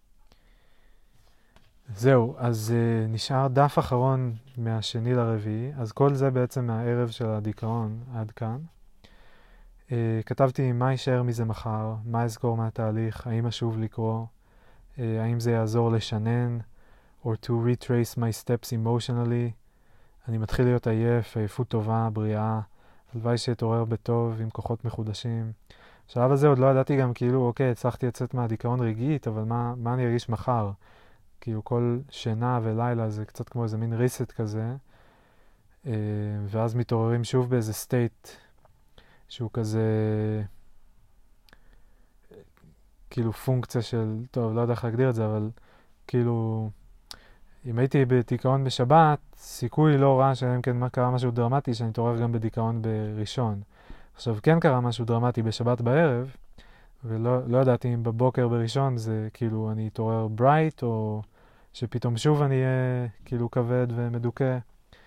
זהו, אז נשאר דף אחרון מהשני לרביעי, אז כל זה בעצם מהערב של הדיכאון עד כאן. כתבתי מה יישאר מזה מחר, מה אזכור מהתהליך, האם אשוב לקרוא, האם זה יעזור לשנן, or to retrace my steps emotionally. אני מתחיל להיות עייף, עייפות טובה, בריאה, הלוואי שיתעורר בטוב עם כוחות מחודשים. בשלב הזה עוד לא ידעתי גם כאילו, אוקיי, הצלחתי לצאת מהדיכאון רגעית, אבל מה אני ארגיש מחר? כאילו כל שינה ולילה זה קצת כמו איזה מין ריסט כזה, ואז מתעוררים שוב באיזה סטייט שהוא כזה, כאילו פונקציה של, טוב, לא יודע איך להגדיר את זה, אבל כאילו, אם הייתי בדיכאון בשבת, סיכוי לא רע שאם כן קרה משהו דרמטי, שאני אתעורר גם בדיכאון בראשון. עכשיו, כן קרה משהו דרמטי בשבת בערב, ולא ידעתי אם בבוקר בראשון זה כאילו אני אתעורר ברייט, או שפתאום שוב אני אהיה כאילו כבד ומדוכא.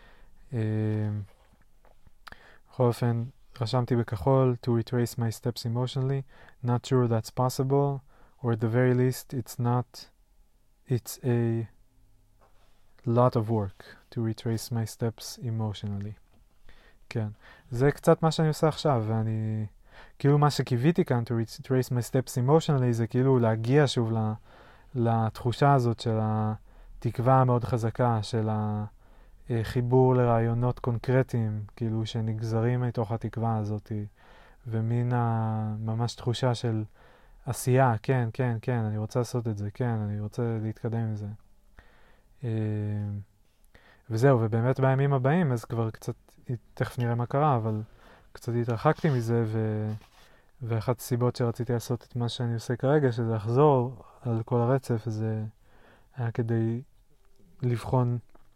בכל אופן, רשמתי בכחול, to retrace my steps emotionally, not sure that's possible, or at the very least it's a lot of work to retrace my steps emotionally. כן, זה קצת מה שאני עושה עכשיו, ואני, כאילו מה שקיוויתי כאן, to retrace my steps emotionally, זה כאילו להגיע שוב לתחושה הזאת של התקווה המאוד חזקה, של החיבור לרעיונות קונקרטיים, כאילו שנגזרים מתוך התקווה הזאת, ומין ממש תחושה של עשייה, כן, כן, כן, אני רוצה לעשות את זה, כן, אני רוצה להתקדם עם זה. וזהו, ובאמת בימים הבאים, אז כבר קצת, תכף נראה מה קרה, אבל קצת התרחקתי מזה, ואחת הסיבות שרציתי לעשות את מה שאני עושה כרגע, שזה לחזור על כל הרצף, זה היה כדי לבחון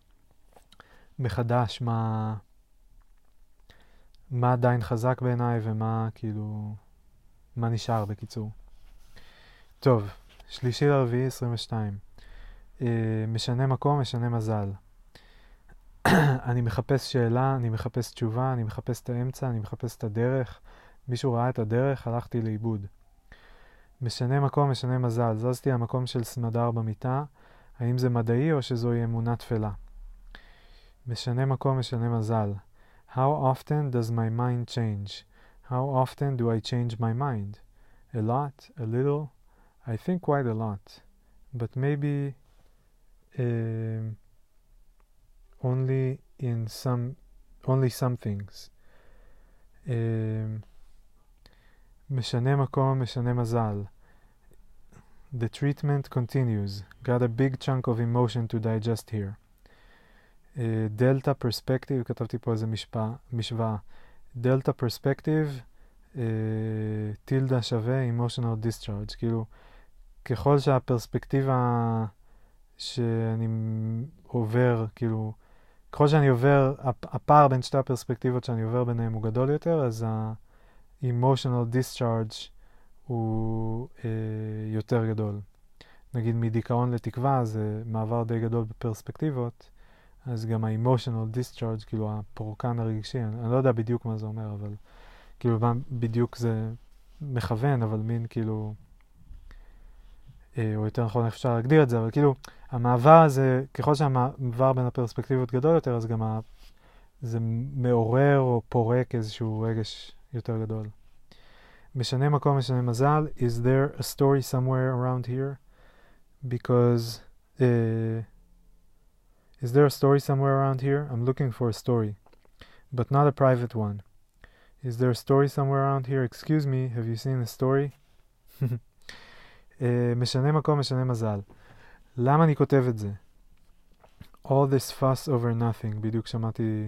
מחדש מה עדיין חזק בעיניי, ומה כאילו, מה נשאר בקיצור. טוב, 3/4/22. משנה מקום, משנה מזל. אני מחפש שאלה, אני מחפש תשובה, אני מחפש את האמצע, אני מחפש את הדרך. מישהו ראה את הדרך, הלכתי לאיבוד. משנה מקום, משנה מזל. זזתי למקום של סמדר במיטה. האם זה מדעי או שזוהי אמונה תפלה? משנה מקום, משנה מזל. How often does my mind change? How often do I change my mind? A lot? A little? I think quite a lot. But maybe only some things. משנה מקום, משנה מזל. The treatment continues. Got a big chunk of emotion to digest here. Delta perspective, כתבתי פה איזה משוואה. Delta perspective, טילדה שווה emotional discharge. כאילו, ככל שהפרספקטיבה שאני עובר, כאילו, ככל שאני עובר, הפער בין שתי הפרספקטיבות שאני עובר ביניהם הוא גדול יותר, אז ה-emotional discharge הוא יותר גדול. נגיד מדיכאון לתקווה זה מעבר די גדול בפרספקטיבות, אז גם ה-emotional discharge, כאילו הפורקן הרגשי, אני לא יודע בדיוק מה זה אומר, אבל כאילו בדיוק זה מכוון, אבל מין כאילו, או יותר נכון אפשר להגדיר את זה, אבל כאילו המעבר הזה, ככל שהמעבר בין הפרספקטיבות גדול יותר, אז גם זה מעורר או פורק איזשהו רגש יותר גדול. משנה מקום, משנה מזל. Is there a story somewhere around here? Because is there a story somewhere around here? I'm looking for a story, but not a private one. Is there a story somewhere around here? Excuse me, have you seen a story? משנה מקום, משנה מזל. למה אני כותב את זה? All this fuss over nothing. בדיוק שמעתי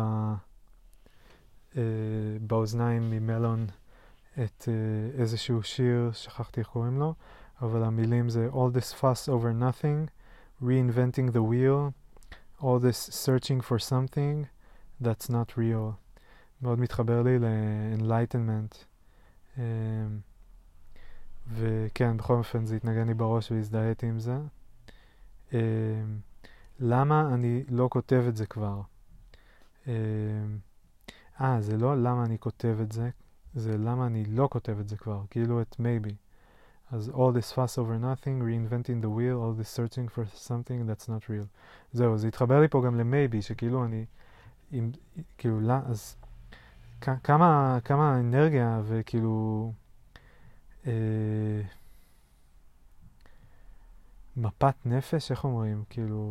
באוזניים ממלון את איזשהו שיר, שכחתי איך קוראים לו, אבל המילים זה All this fuss over nothing, reinventing the wheel, all this searching for something that's not real. מאוד מתחבר לי ל-enlightenment. וכן, בכל אופן זה התנגן לי בראש והזדהיתי עם זה. למה אני לא כותב את זה כבר? זה לא למה אני כותב את זה, זה למה אני לא כותב את זה כבר, כאילו את maybe. אז all this fuss over nothing, reinventing the wheel, all this searching for something that's not real. זהו, זה התחבר לי פה גם ל-maybe, שכאילו אני, כאילו, אז כמה אנרגיה וכאילו, מפת נפש, איך אומרים?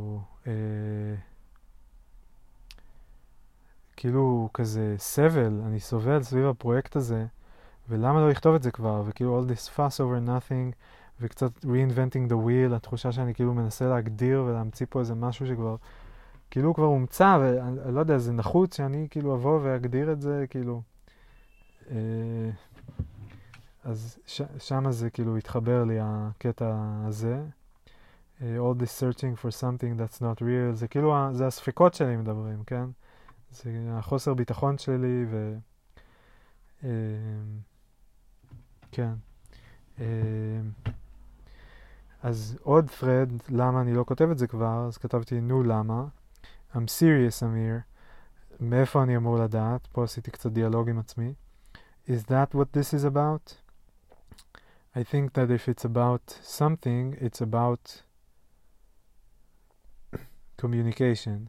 כאילו כזה סבל, אני סובל סביב הפרויקט הזה, ולמה לא לכתוב את זה כבר? וכאילו all this fuss over nothing, וקצת reinventing the wheel, התחושה שאני כאילו מנסה להגדיר ולהמציא פה איזה משהו שכבר, כאילו הוא כבר הומצא, ואני לא יודע, זה נחוץ שאני כאילו אבוא ואגדיר את זה, כאילו. אז שמה זה כאילו התחבר לי הקטע הזה. All this searching for something that's not real, זה כאילו, זה הספקות שלי מדברים, כן? זה החוסר ביטחון שלי, כן. אז עוד thread, למה אני לא כותב את זה כבר, אז כתבתי, נו למה? I'm serious, אמיר. מאיפה אני אמור לדעת? פה עשיתי קצת דיאלוג עם עצמי. Is that what this is about? I think that if it's about something, it's about communication.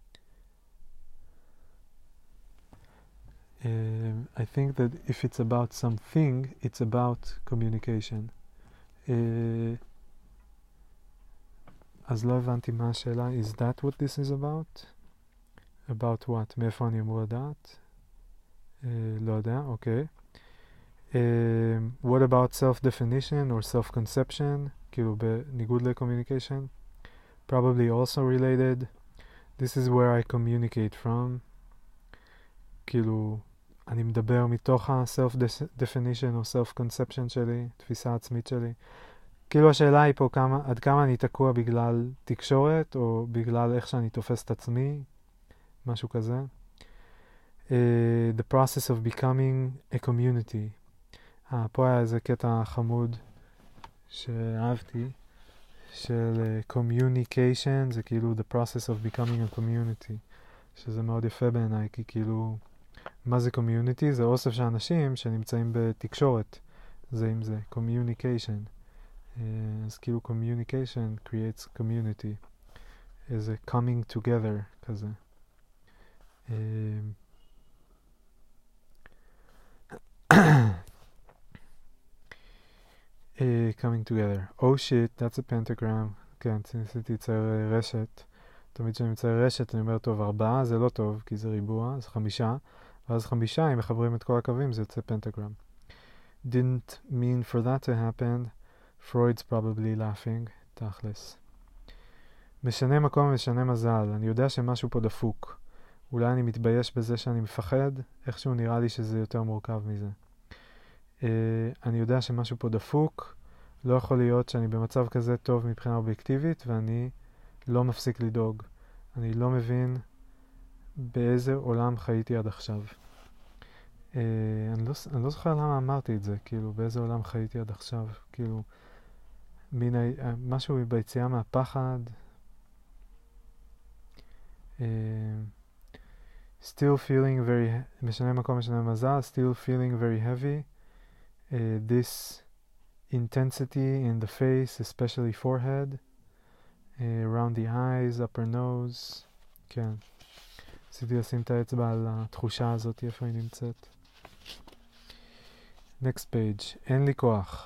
I think that if it's about something, it's about communication. אז לא הבנתי מה השאלה. Is that what this is about? About what? מאיפה אני אמור לדעת? לא יודע, אוקיי. What about self-definition or self-conception? כאילו בניגוד ל-communication. Probably also related. This is where I communicate from. כאילו, אני מדבר מתוך ה-self-definition או self-conception שלי, תפיסה עצמית שלי. כאילו השאלה היא פה עד כמה אני תקוע בגלל תקשורת, או בגלל איך שאני תופס את עצמי, משהו כזה. The process of becoming a community. פה היה איזה קטע חמוד שאהבתי, של communication, זה כאילו the process of becoming a community, שזה מאוד יפה בעיניי, כי כאילו, מה זה community? זה אוסף של אנשים שנמצאים בתקשורת, זה עם זה, communication. אז כאילו communication creates community, איזה coming together כזה. Coming together. Oh shit, that's a pentagram. כן, ניסיתי לצייר רשת. תמיד כשאני מצייר רשת אני אומר, טוב, 4 זה לא טוב, כי זה ריבוע, אז 5. ואז 5, אם מחברים את כל הקווים, זה יוצא פנטגרם. Didn't mean for that to happen. Freud's probably laughing. תכלס. משנה מקום ומשנה מזל. אני יודע שמשהו פה דפוק. אולי אני מתבייש בזה שאני מפחד, איכשהו נראה לי שזה יותר מורכב מזה. אני יודע שמשהו פה דפוק, לא יכול להיות שאני במצב כזה טוב מבחינה אובייקטיבית, ואני לא מפסיק לדאוג. אני לא מבין באיזה עולם חייתי עד עכשיו. אני לא זוכר למה אמרתי את זה, כאילו, באיזה עולם חייתי עד עכשיו, כאילו, משהו ביציאה מהפחד. Still feeling very, משנה מקום, משנה מזל, still feeling very heavy. This intensity in the face, especially forehead, around the eyes, upper nose. כן. רציתי לשים את האצבע על התחושה הזאת, איפה היא נמצאת. Next page. אין לי כוח.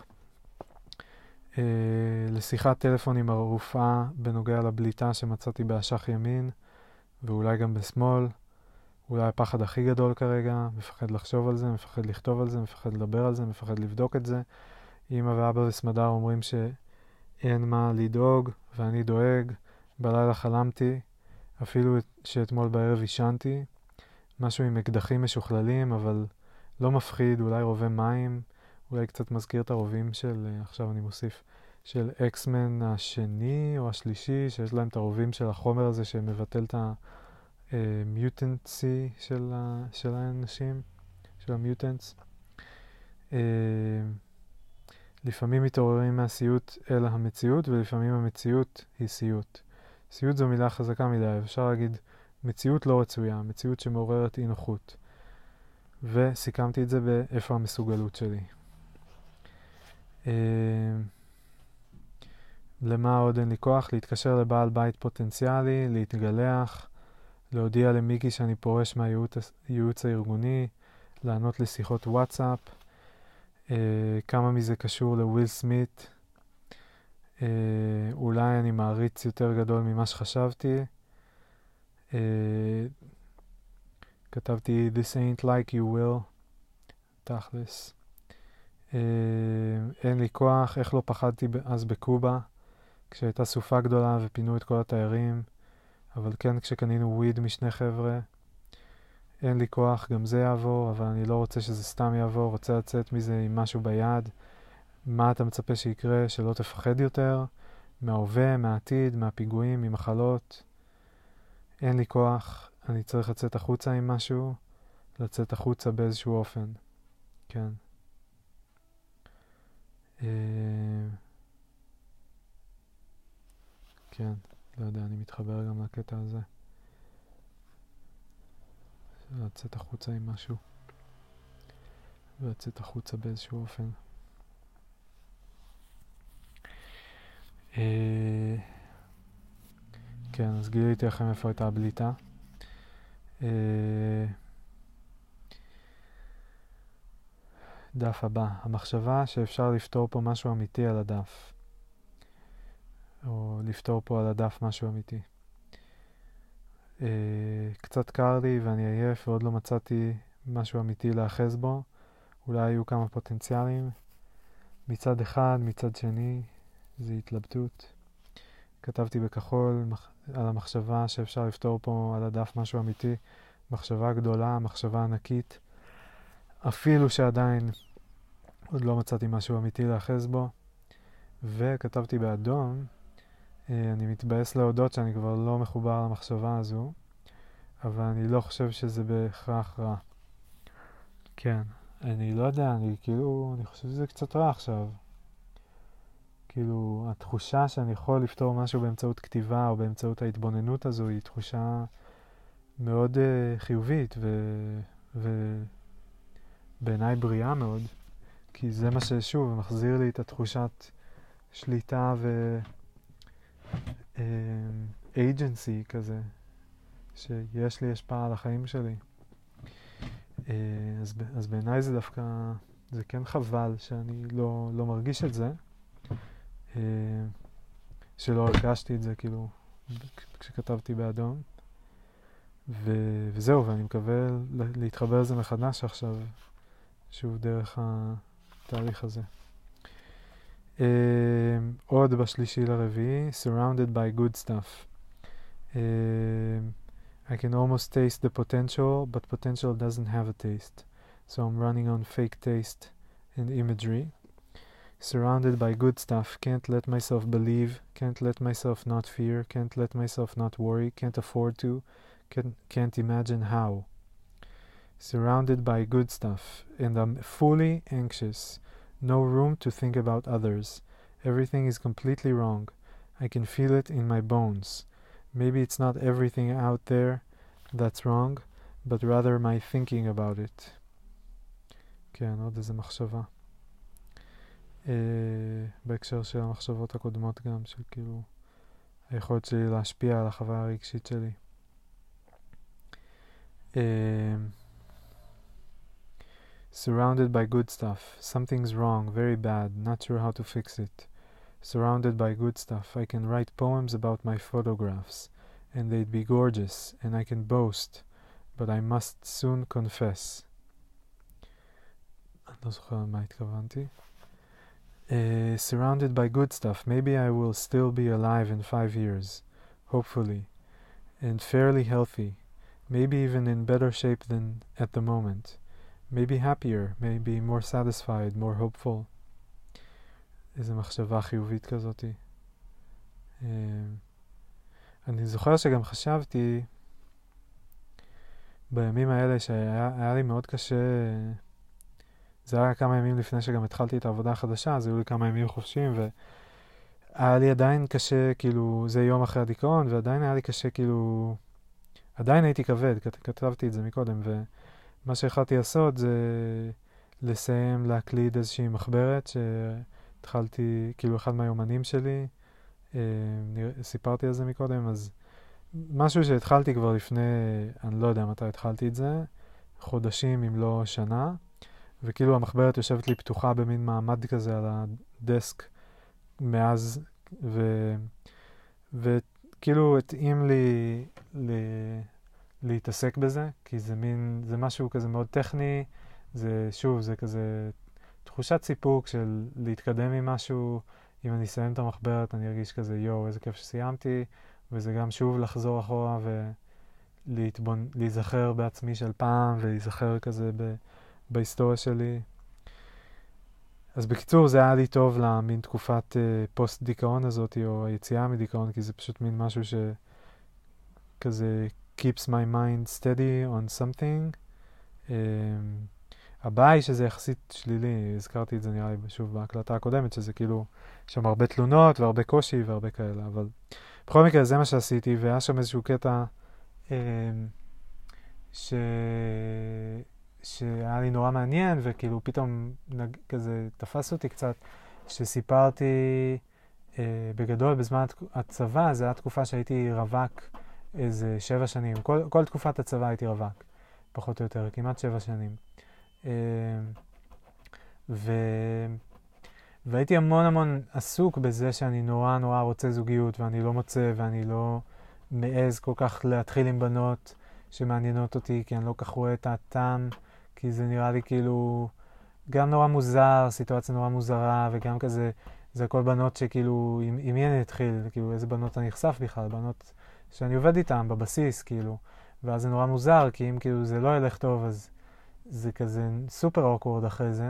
לשיחת טלפון עם הרופאה בנוגע לבליטה שמצאתי באשך ימין, ואולי גם בשמאל. אולי הפחד הכי גדול כרגע, מפחד לחשוב על זה, מפחד לכתוב על זה, מפחד לדבר על זה, מפחד לבדוק את זה. אמא ואבא וסמדר אומרים שאין מה לדאוג, ואני דואג. בלילה חלמתי, אפילו שאתמול בערב ישנתי. משהו עם אקדחים משוכללים, אבל לא מפחיד, אולי רובה מים, אולי קצת מזכיר את הרובים של, עכשיו אני מוסיף, של אקסמן השני או השלישי, שיש להם את הרובים של החומר הזה שמבטל את המיוטנטסי של האנשים, של המיוטנטס. לפעמים מתעוררים מהסיוט אל המציאות, ולפעמים המציאות היא סיוט. סיוט זו מילה חזקה מדי, אפשר להגיד מציאות לא רצויה, מציאות שמעוררת אי נוחות. וסיכמתי את זה באיפה המסוגלות שלי. למה עוד אין לי כוח? להתקשר לבעל בית פוטנציאלי, להתגלח, להודיע למיקי שאני פורש מהייעוץ הארגוני, לענות לשיחות וואטסאפ, כמה מזה קשור לוויל סמית, אולי אני מעריץ יותר גדול ממה שחשבתי, כתבתי This ain't like you will, תכלס. אין לי כוח, איך לא פחדתי אז בקובה, כשהייתה סופה גדולה ופינו את כל התיירים, אבל כן כשקנינו וויד משני חבר'ה. אין לי כוח, גם זה יעבור, אבל אני לא רוצה שזה סתם יעבור, רוצה לצאת מזה עם משהו ביד. מה אתה מצפה שיקרה? שלא תפחד יותר? מההווה, מהעתיד, מהפיגועים, ממחלות? אין לי כוח, אני צריך לצאת החוצה עם משהו, לצאת החוצה באיזשהו אופן. כן. כן, לא יודע, אני מתחבר גם לקטע הזה. לצאת החוצה עם משהו. ולצאת החוצה באיזשהו אופן. כן, אז גיליתי לכם איפה הייתה הבליטה. דף הבא. המחשבה שאפשר לפתור פה משהו אמיתי על הדף. או לפתור פה על הדף משהו אמיתי. קצת קר לי ואני עייף ועוד לא מצאתי משהו אמיתי לאחז בו. אולי היו כמה פוטנציאלים. מצד אחד, מצד שני, זו התלבטות. כתבתי בכחול על המחשבה שאפשר לפתור פה על הדף משהו אמיתי. מחשבה גדולה, מחשבה ענקית. אפילו שעדיין עוד לא מצאתי משהו אמיתי לאחז בו. וכתבתי באדום, אני מתבאס להודות שאני כבר לא מחובר למחשבה הזו, אבל אני לא חושב שזה בהכרח רע. כן, אני לא יודע, אני חושב שזה קצת רע עכשיו. כאילו, התחושה שאני יכול לפתור משהו באמצעות כתיבה או באמצעות ההתבוננות הזו היא תחושה מאוד חיובית ובעיניי בריאה מאוד, כי זה מה ששוב מחזיר לי את התחושת שליטה agency כזה, שיש לי השפעה על החיים שלי. אז בעיניי זה דווקא, זה כן חבל שאני לא מרגיש את זה, שלא הרגשתי את זה כאילו כשכתבתי באדום. וזהו, ואני מקווה להתחבר לזה מחדש עכשיו, שוב דרך התהליך הזה. עוד בשלישי לרביעי, surrounded by good stuff. I can almost taste the potential, but potential doesn't have a taste. So I'm running on fake taste and imagery. Surrounded by good stuff, can't let myself believe, can't let myself not fear, can't let myself not worry, can't afford to, can't imagine how. Surrounded by good stuff, and I'm fully anxious. No room to think about others. Everything is completely wrong. I can feel it in my bones. Maybe it's not everything out there that's wrong, but rather my thinking about it. כן, עוד איזה מחשבה. בהקשר של המחשבות הקודמות גם, של כאילו היכולת שלי להשפיע על החוויה הרגשית שלי. Surrounded by good stuff. Something's wrong, very bad, not sure how to fix it. Surrounded by good stuff. I can write poems about my photographs, and they'd be gorgeous, and I can boast, but I must soon confess. אני לא זוכר מה התכוונתי. Surrounded by good stuff. Maybe I will still be alive in 5 years, hopefully, and fairly healthy. Maybe even in better shape than at the moment. Maybe happier, maybe more satisfied, more hopeful. איזו מחשבה חיובית כזאתי. אני זוכר שגם חשבתי בימים האלה שהיה לי מאוד קשה זה היה כמה ימים לפני שגם התחלתי את העבודה החדשה, אז היו לי כמה ימים חופשיים, והיה לי עדיין קשה, כאילו, זה יום אחרי הדיכאון, ועדיין היה לי קשה, כאילו, עדיין הייתי כבד, כתבתי את זה מקודם, ומה שהחלטתי לעשות זה לסיים להקליד איזושהי מחברת שהתחלתי, כאילו, אחד מהיומנים שלי, סיפרתי על זה מקודם, אז משהו שהתחלתי כבר לפני, אני לא יודע מתי התחלתי את זה, חודשים אם לא שנה, וכאילו המחברת יושבת לי פתוחה במין מעמד כזה על הדסק מאז, וכאילו התאים לי להתעסק בזה, כי זה מין, זה משהו כזה מאוד טכני, זה שוב, זה כזה תחושת סיפוק של להתקדם עם משהו, אם אני אסיים את המחברת אני ארגיש כזה יואו, איזה כיף שסיימתי, וזה גם שוב לחזור אחורה ולהיזכר בעצמי של פעם, ולהיזכר כזה בהיסטוריה שלי. אז בקיצור, זה היה לי טוב למין תקופת פוסט דיכאון הזאת, או היציאה מדיכאון, כי זה פשוט מין משהו שכזה keeps my mind steady on something. הבעיה היא שזה יחסית שלילי, הזכרתי את זה נראה לי שוב בהקלטה הקודמת, שזה כאילו, יש שם הרבה תלונות והרבה קושי והרבה כאלה, אבל בכל מקרה זה מה שעשיתי, והיה שם איזשהו קטע שהיה לי נורא מעניין, וכאילו פתאום כזה תפס אותי קצת, שסיפרתי בגדול בזמן הצבא, זו הייתה תקופה שהייתי רווק איזה 7 שנים, כל תקופת הצבא הייתי רווק, פחות או יותר, כמעט 7 שנים. והייתי המון עסוק בזה שאני נורא רוצה זוגיות, ואני לא מוצא, ואני לא מעז כל כך להתחיל עם בנות שמעניינות אותי, כי אני לא כך רואה את הטעם, כי זה נראה לי כאילו גם נורא מוזר, סיטואציה נורא מוזרה, וגם כזה, זה הכל בנות שכאילו, עם מי אני אתחיל, כאילו איזה בנות אני נחשף בכלל, בנות שאני עובד איתן בבסיס, כאילו, ואז זה נורא מוזר, כי אם כאילו זה לא ילך טוב, אז זה כזה סופר אוקוורד אחרי זה.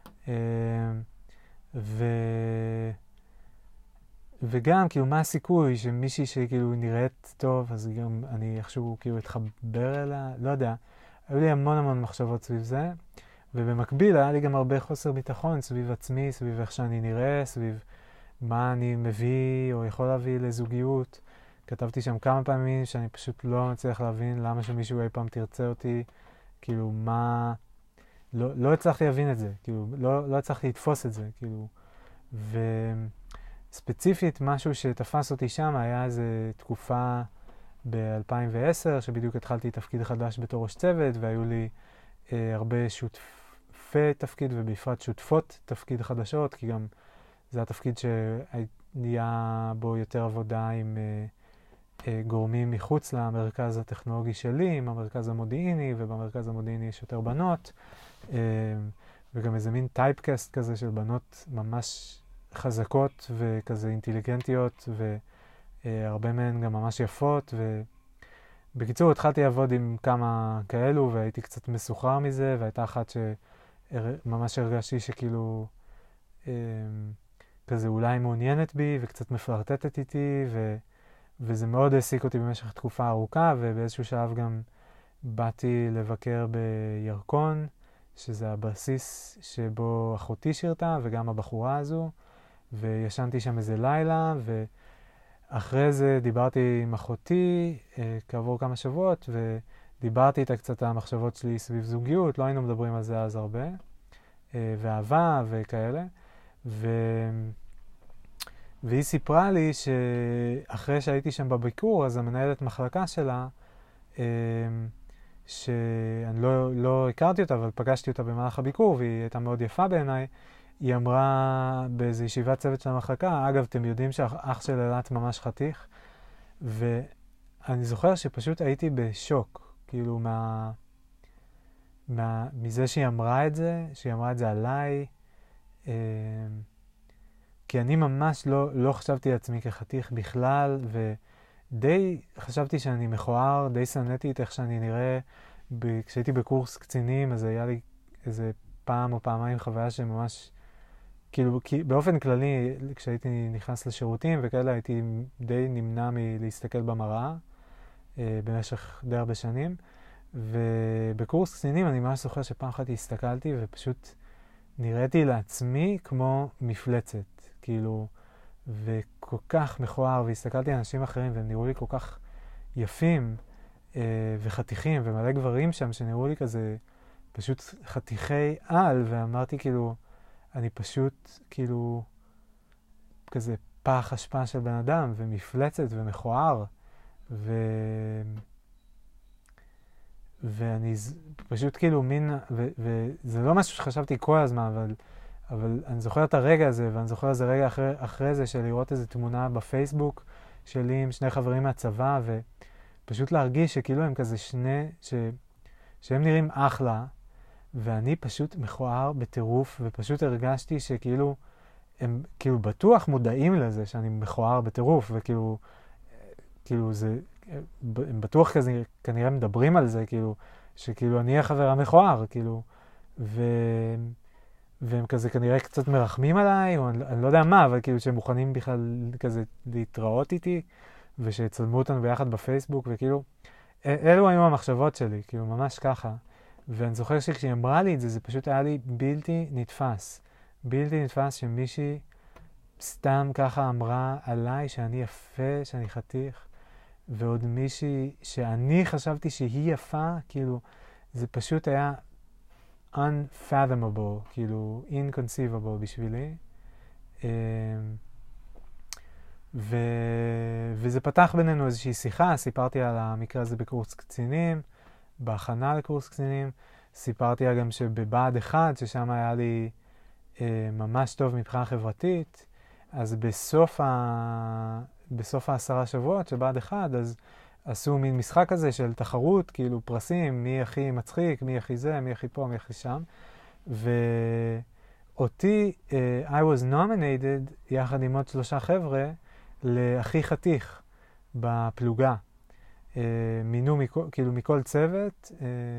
וגם, כאילו, מה הסיכוי שמישהי שכאילו נראית טוב, אז גם אני איכשהו כאילו אתחבר אליה, לא יודע. היו לי המון מחשבות סביב זה, ובמקביל היה לי גם הרבה חוסר ביטחון סביב עצמי, סביב איך שאני נראה, סביב מה אני מביא או יכול להביא לזוגיות. כתבתי שם כמה פעמים שאני פשוט לא מצליח להבין למה שמישהו אי פעם תרצה אותי, כאילו מה... לא הצלחתי להבין את זה, כאילו, לא הצלחתי לתפוס את זה, כאילו. וספציפית, משהו שתפס אותי שם היה איזו תקופה ב-2010, שבדיוק התחלתי תפקיד חדש בתור ראש צוות, והיו לי הרבה שותפי תפקיד, ובפרט שותפות תפקיד חדשות, כי גם זה התפקיד שהיה בו יותר עבודה עם גורמים מחוץ למרכז הטכנולוגי שלי, עם המרכז המודיעיני, ובמרכז המודיעיני יש יותר בנות, וגם איזה מין טייפקאסט כזה של בנות ממש חזקות וכזה אינטליגנטיות, והרבה מהן גם ממש יפות, ובקיצור התחלתי לעבוד עם כמה כאלו, והייתי קצת מסוחרר מזה, והייתה אחת שממש הרגשתי שכאילו כזה אולי מעוניינת בי, וקצת מפלרטטת איתי, וזה מאוד העסיק אותי במשך תקופה ארוכה, ובאיזשהו שלב גם באתי לבקר בירקון, שזה הבסיס שבו אחותי שירתה, וגם הבחורה הזו, וישנתי שם איזה לילה, ואחרי זה דיברתי עם אחותי כעבור כמה שבועות, ודיברתי איתה קצת על המחשבות שלי סביב זוגיות, לא היינו מדברים על זה אז הרבה, ואהבה וכאלה, והיא סיפרה לי שאחרי שהייתי שם בביקור, אז המנהלת מחלקה שלה, שאני לא הכרתי אותה, אבל פגשתי אותה במהלך הביקור, והיא הייתה מאוד יפה בעיניי, היא אמרה באיזו ישיבת צוות של המחלקה, אגב, אתם יודעים שהאח של אלת ממש חתיך, ואני זוכר שפשוט הייתי בשוק, כאילו מזה שהיא אמרה את זה עליי, כי אני ממש לא חשבתי לעצמי כחתיך בכלל, ודי חשבתי שאני מכוער, די שנאתי את איך שאני נראה. כשהייתי בקורס קצינים, אז היה לי איזה פעם או פעמיים חוויה שממש, כאילו, באופן כללי, כשהייתי נכנס לשירותים וכאלה, הייתי די נמנע מלהסתכל במראה במשך די הרבה שנים. ובקורס קצינים אני ממש זוכר שפעם אחת הסתכלתי ופשוט נראיתי לעצמי כמו מפלצת, כאילו, וכל כך מכוער, והסתכלתי על אנשים אחרים והם נראו לי כל כך יפים וחתיכים, ומלא גברים שם שנראו לי כזה פשוט חתיכי על, ואמרתי כאילו, אני פשוט כאילו כזה פח אשפה של בן אדם, ומפלצת ומכוער, ואני פשוט כאילו מין, וזה לא משהו שחשבתי כל הזמן, אבל אני זוכר את הרגע הזה, ואני זוכר איזה רגע אחרי זה של לראות איזו תמונה בפייסבוק שלי עם שני חברים מהצבא, ופשוט להרגיש שכאילו הם כזה שהם נראים אחלה, ואני פשוט מכוער בטירוף, ופשוט הרגשתי שכאילו, הם כאילו בטוח מודעים לזה שאני מכוער בטירוף, וכאילו, זה, הם בטוח כזה, כנראה מדברים על זה, כאילו, שכאילו אני החבר המכוער, כאילו, והם כזה כנראה קצת מרחמים עליי, או אני לא יודע מה, אבל כאילו שהם מוכנים בכלל כזה להתראות איתי, ושצלמו אותנו ביחד בפייסבוק, וכאילו, אלו היו המחשבות שלי, כאילו ממש ככה. ואני זוכר שכשהיא אמרה לי את זה, זה פשוט היה לי בלתי נתפס. בלתי נתפס שמישהי סתם ככה אמרה עליי שאני יפה, שאני חתיך, ועוד מישהי שאני חשבתי שהיא יפה, כאילו, זה פשוט היה unfathomable, כאילו, inconceivable בשבילי. וזה פתח בינינו איזושהי שיחה, סיפרתי על המקרה הזה בקורס קצינים, בהכנה לקורס קצינים, סיפרתי לה גם שבבה"ד 1, ששם היה לי ממש טוב מבחינה חברתית, אז בסוף 10 שבועות שבה"ד 1, אז עשו מין משחק כזה של תחרות, כאילו פרסים, מי הכי מצחיק, מי הכי זה, מי הכי פה, מי הכי שם. ואותי, I was nominated, יחד עם עוד 3 חבר'ה, להכי חתיך בפלוגה. מינו כאילו מכל צוות,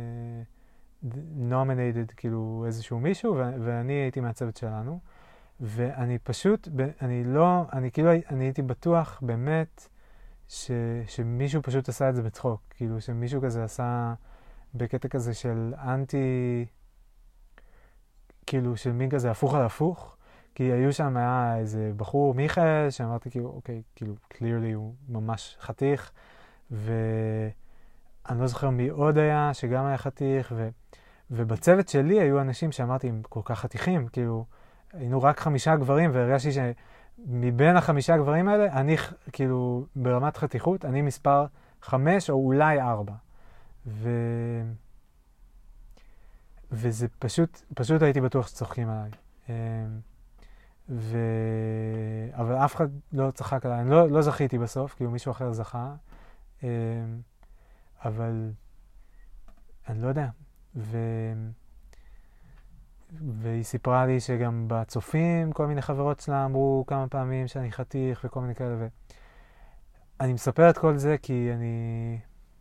nominated כאילו איזשהו מישהו, ואני הייתי מהצוות שלנו. ואני פשוט, אני הייתי בטוח באמת שמישהו פשוט עשה את זה בצחוק. כאילו שמישהו כזה עשה בקטע כזה של אנטי, כאילו של מין כזה הפוך על הפוך. כי היו שם, היה איזה בחור, מיכאל, שאמרתי כאילו, אוקיי, כאילו, clearly הוא ממש חתיך. ואני לא זוכר מי עוד היה, שגם היה חתיך. ובצוות שלי היו אנשים שאמרתי, הם כל כך חתיכים, כאילו, היינו רק 5 גברים, והרגשתי שמבין 5 גברים האלה, אני כאילו ברמת חתיכות, אני מספר 5 או אולי 4. וזה פשוט הייתי בטוח שצוחקים עליי. אבל אף אחד לא צחק עליי, אני לא זכיתי בסוף, כאילו מישהו אחר זכה. אבל אני לא יודע. והיא סיפרה לי שגם בצופים כל מיני חברות שלה אמרו כמה פעמים שאני חתיך וכל מיני כאלה. אני מספר את כל זה כי אני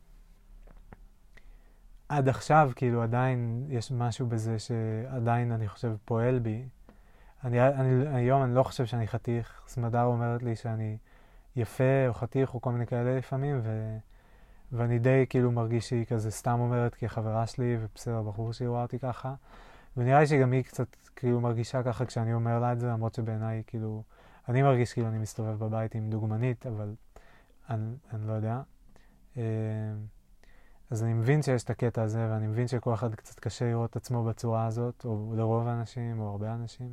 עד עכשיו כאילו עדיין יש משהו בזה שעדיין אני חושב פועל בי. היום אני לא חושב שאני חתיך. סמדר אומרת לי שאני יפה או חתיך או כל מיני כאלה לפעמים, ואני די כאילו מרגיש שהיא כזה סתם אומרת כחברה שלי, ובסדר, בחור שהיא רואה אותי ככה. ונראה לי שגם היא קצת כאילו מרגישה ככה כשאני אומר לה את זה, למרות שבעיניי כאילו, אני מרגיש כאילו אני מסתובב בבית עם דוגמנית, אבל אני לא יודע. אז אני מבין שיש את הקטע הזה, ואני מבין שכל אחד קצת קשה לראות את עצמו בצורה הזאת, או לרוב האנשים, או הרבה אנשים.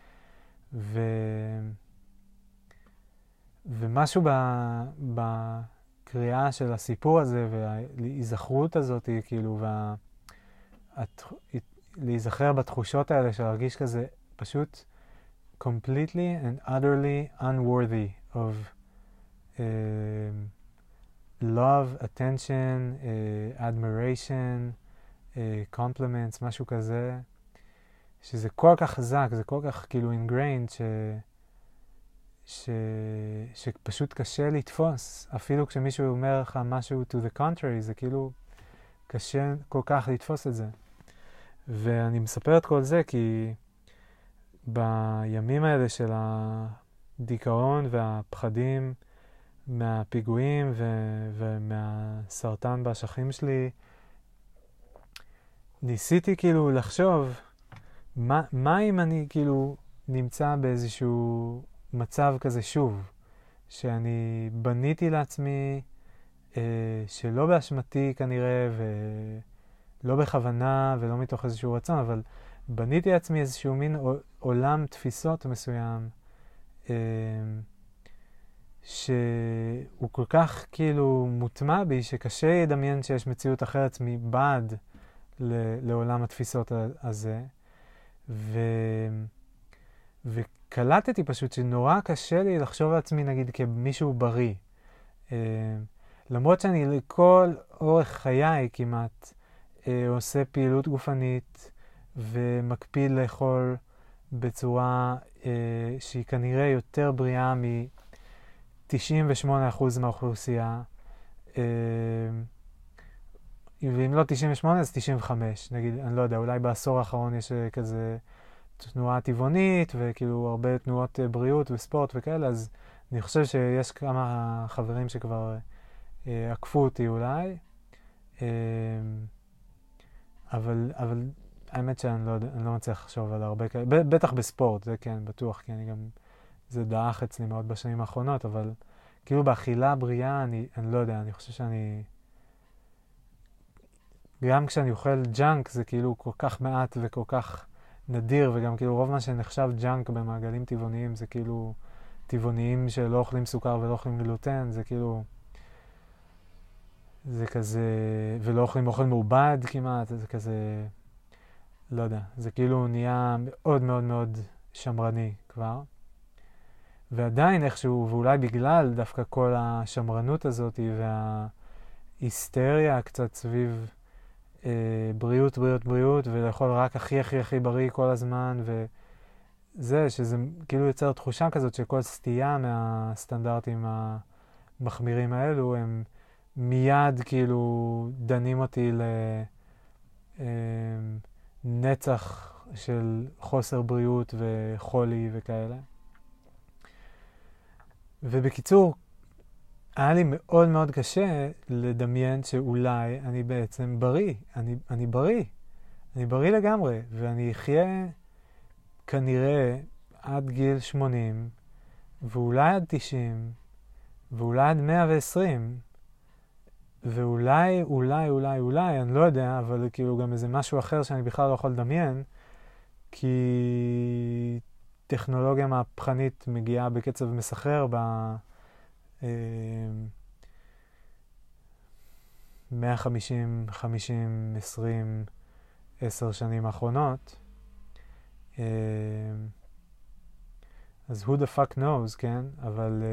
ומשהו בקריאה של הסיפור הזה, וההיזכרות הזאת, כאילו, להיזכר בתחושות האלה של להרגיש כזה פשוט completely and utterly unworthy of love, attention, admiration, compliments, משהו כזה, שזה כל כך חזק, זה כל כך כאילו ingrained, שפשוט קשה לתפוס. אפילו כשמישהו אומר לך משהו to the contrary, זה כאילו קשה כל כך לתפוס את זה. ואני מספר את כל זה כי בימים האלה של הדיכאון והפחדים מהפיגועים ומהסרטן באשכים שלי, ניסיתי כאילו לחשוב מה אם אני כאילו נמצא באיזשהו מצב כזה שוב, שאני בניתי לעצמי, שלא באשמתי כנראה, ולא בכוונה ולא מתוך איזשהו רצון, אבל בניתי לעצמי איזשהו מין עולם תפיסות מסוים, שהוא כל כך כאילו מוטמע בי, שקשה לדמיין שיש מציאות אחרת מבעד לעולם התפיסות הזה. וקלטתי פשוט שנורא קשה לי לחשוב על עצמי נגיד כמישהו בריא. למרות שאני לכל אורך חיי כמעט עושה פעילות גופנית ומקפיד לאכול בצורה שהיא כנראה יותר בריאה מ-98% מהאוכלוסייה. ואם לא 98 אז 95, נגיד, אני לא יודע, אולי בעשור האחרון יש כזה תנועה טבעונית וכאילו הרבה תנועות בריאות וספורט וכאלה, אז אני חושב שיש כמה חברים שכבר עקפו אותי אולי, אבל האמת שאני לא מצליח לחשוב על הרבה כאלה, בטח בספורט, זה כן, בטוח, כי אני גם, זה דאח אצלי מאוד בשנים האחרונות, אבל כאילו באכילה בריאה, אני לא יודע, אני חושב שאני, גם כשאני אוכל ג'אנק זה כאילו כל כך מעט וכל כך נדיר, וגם כאילו רוב מה שנחשב ג'אנק במעגלים טבעוניים זה כאילו טבעוניים שלא אוכלים סוכר ולא אוכלים גלוטן, זה כאילו, זה כזה, ולא אוכלים אוכל מעובד כמעט, זה כזה, לא יודע, זה כאילו נהיה מאוד מאוד מאוד שמרני כבר. ועדיין איכשהו, ואולי בגלל דווקא כל השמרנות הזאת וההיסטריה קצת סביב בריאות, בריאות, בריאות, ולאכול רק הכי הכי הכי בריא כל הזמן, וזה, שזה כאילו יוצר תחושה כזאת שכל סטייה מהסטנדרטים המחמירים האלו, הם מיד כאילו דנים אותי לנצח של חוסר בריאות וחולי וכאלה. ובקיצור, היה לי מאוד מאוד קשה לדמיין שאולי אני בעצם בריא. אני בריא. אני בריא לגמרי, ואני אחיה כנראה עד גיל 80, ואולי עד 90, ואולי עד 120, ואולי, אני לא יודע, אבל כאילו גם איזה משהו אחר שאני בכלל לא יכול לדמיין, כי טכנולוגיה מהפכנית מגיעה בקצב מסחרר 150, 50, 20, 10 שנים האחרונות. אז who the fuck knows, כן? אבל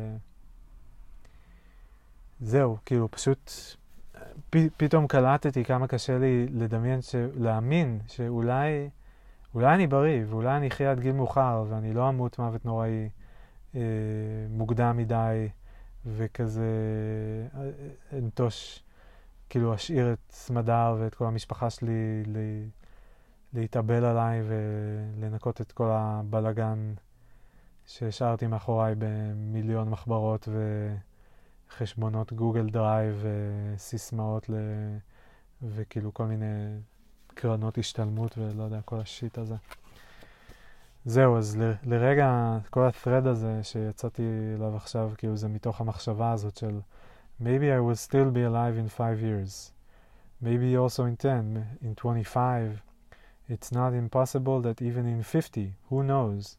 זהו, כאילו פשוט פתאום קלטתי כמה קשה לי לדמיין, להאמין שאולי אני בריא, ואולי אני אחיה עד גיל מאוחר, ואני לא אמות מוות נוראי מוקדם מדי, וכזה אנטוש, כאילו אשאיר את סמדר ואת כל המשפחה שלי להתאבל עליי ולנקות את כל הבלגן שהשארתי מאחוריי במיליון מחברות וחשבונות גוגל דרייב וסיסמאות וכאילו כל מיני קרנות השתלמות ולא יודע, כל השיט הזה. זהו, אז לרגע כל ה-thread הזה שיצאתי אליו עכשיו, כאילו זה מתוך המחשבה הזאת של maybe I will still be alive in 5 years. Maybe also in 10, in 25. It's not impossible that even in 50, who knows?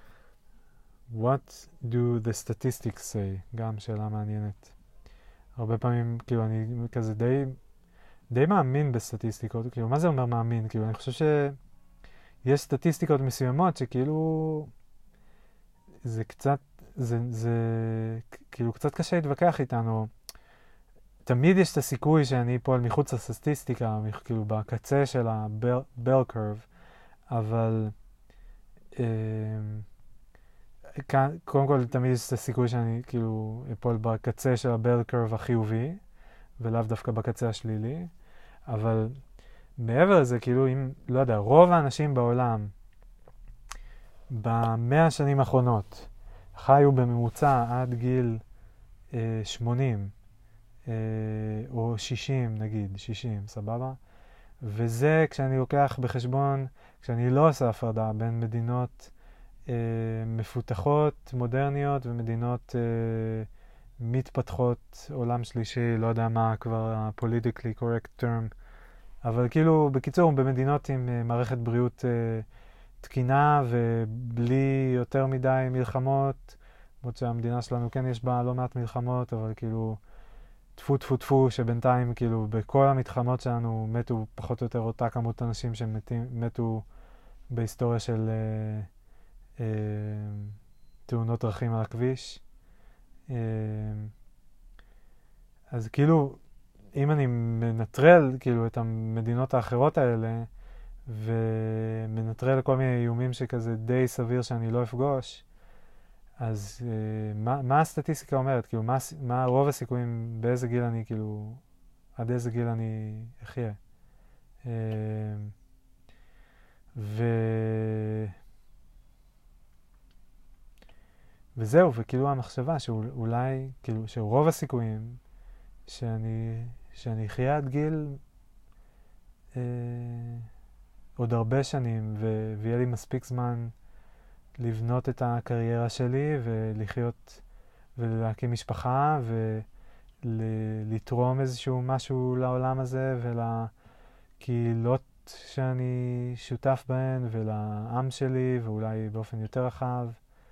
What do the statistics say? גם שאלה מעניינת. הרבה פעמים, כאילו אני כזה די מאמין בסטטיסטיקות, כאילו מה זה אומר מאמין? כאילו אני חושב שיש סטטיסטיקות מסוימות שכאילו זה קצת, זה כאילו קצת קשה להתווכח איתנו. תמיד יש את הסיכוי שאני פועל מחוץ לסטטיסטיקה, כאילו בקצה של ה-bell curve, אבל קודם כל תמיד יש את הסיכוי שאני כאילו אפול בקצה של ה-bell curve החיובי, ולאו דווקא בקצה השלילי, אבל מעבר לזה, כאילו, אם, לא יודע, רוב האנשים בעולם, ב100 השנים האחרונות, חיו בממוצע עד גיל 80, או 60, נגיד, 60, סבבה? וזה כשאני לוקח בחשבון, כשאני לא עושה הפרדה בין מדינות מפותחות, מודרניות, ומדינות מתפתחות, עולם שלישי, לא יודע מה כבר ה-politically correct term, אבל כאילו, בקיצור, במדינות עם מערכת בריאות תקינה ובלי יותר מדי מלחמות, למרות שהמדינה שלנו כן יש בה לא מעט מלחמות, אבל כאילו, טפו טפו טפו, שבינתיים כאילו בכל המתחמות שלנו מתו פחות או יותר אותה כמות אנשים שמתו בהיסטוריה של תאונות דרכים על הכביש. אז כאילו, אם אני מנטרל כאילו את המדינות האחרות האלה, ומנטרל כל מיני איומים שכזה די סביר שאני לא אפגוש, אז מה הסטטיסטיקה אומרת? כאילו, מה רוב הסיכויים, באיזה גיל אני, כאילו, עד איזה גיל אני אחיה? וזהו, וכאילו המחשבה שאולי, כאילו, שרוב הסיכויים שאני אחיה עד גיל עוד הרבה שנים, ויהיה לי מספיק זמן לבנות את הקריירה שלי ולחיות ולהקים משפחה ולתרום איזשהו משהו לעולם הזה ולקהילות שאני שותף בהן ולעם שלי ואולי באופן יותר רחב.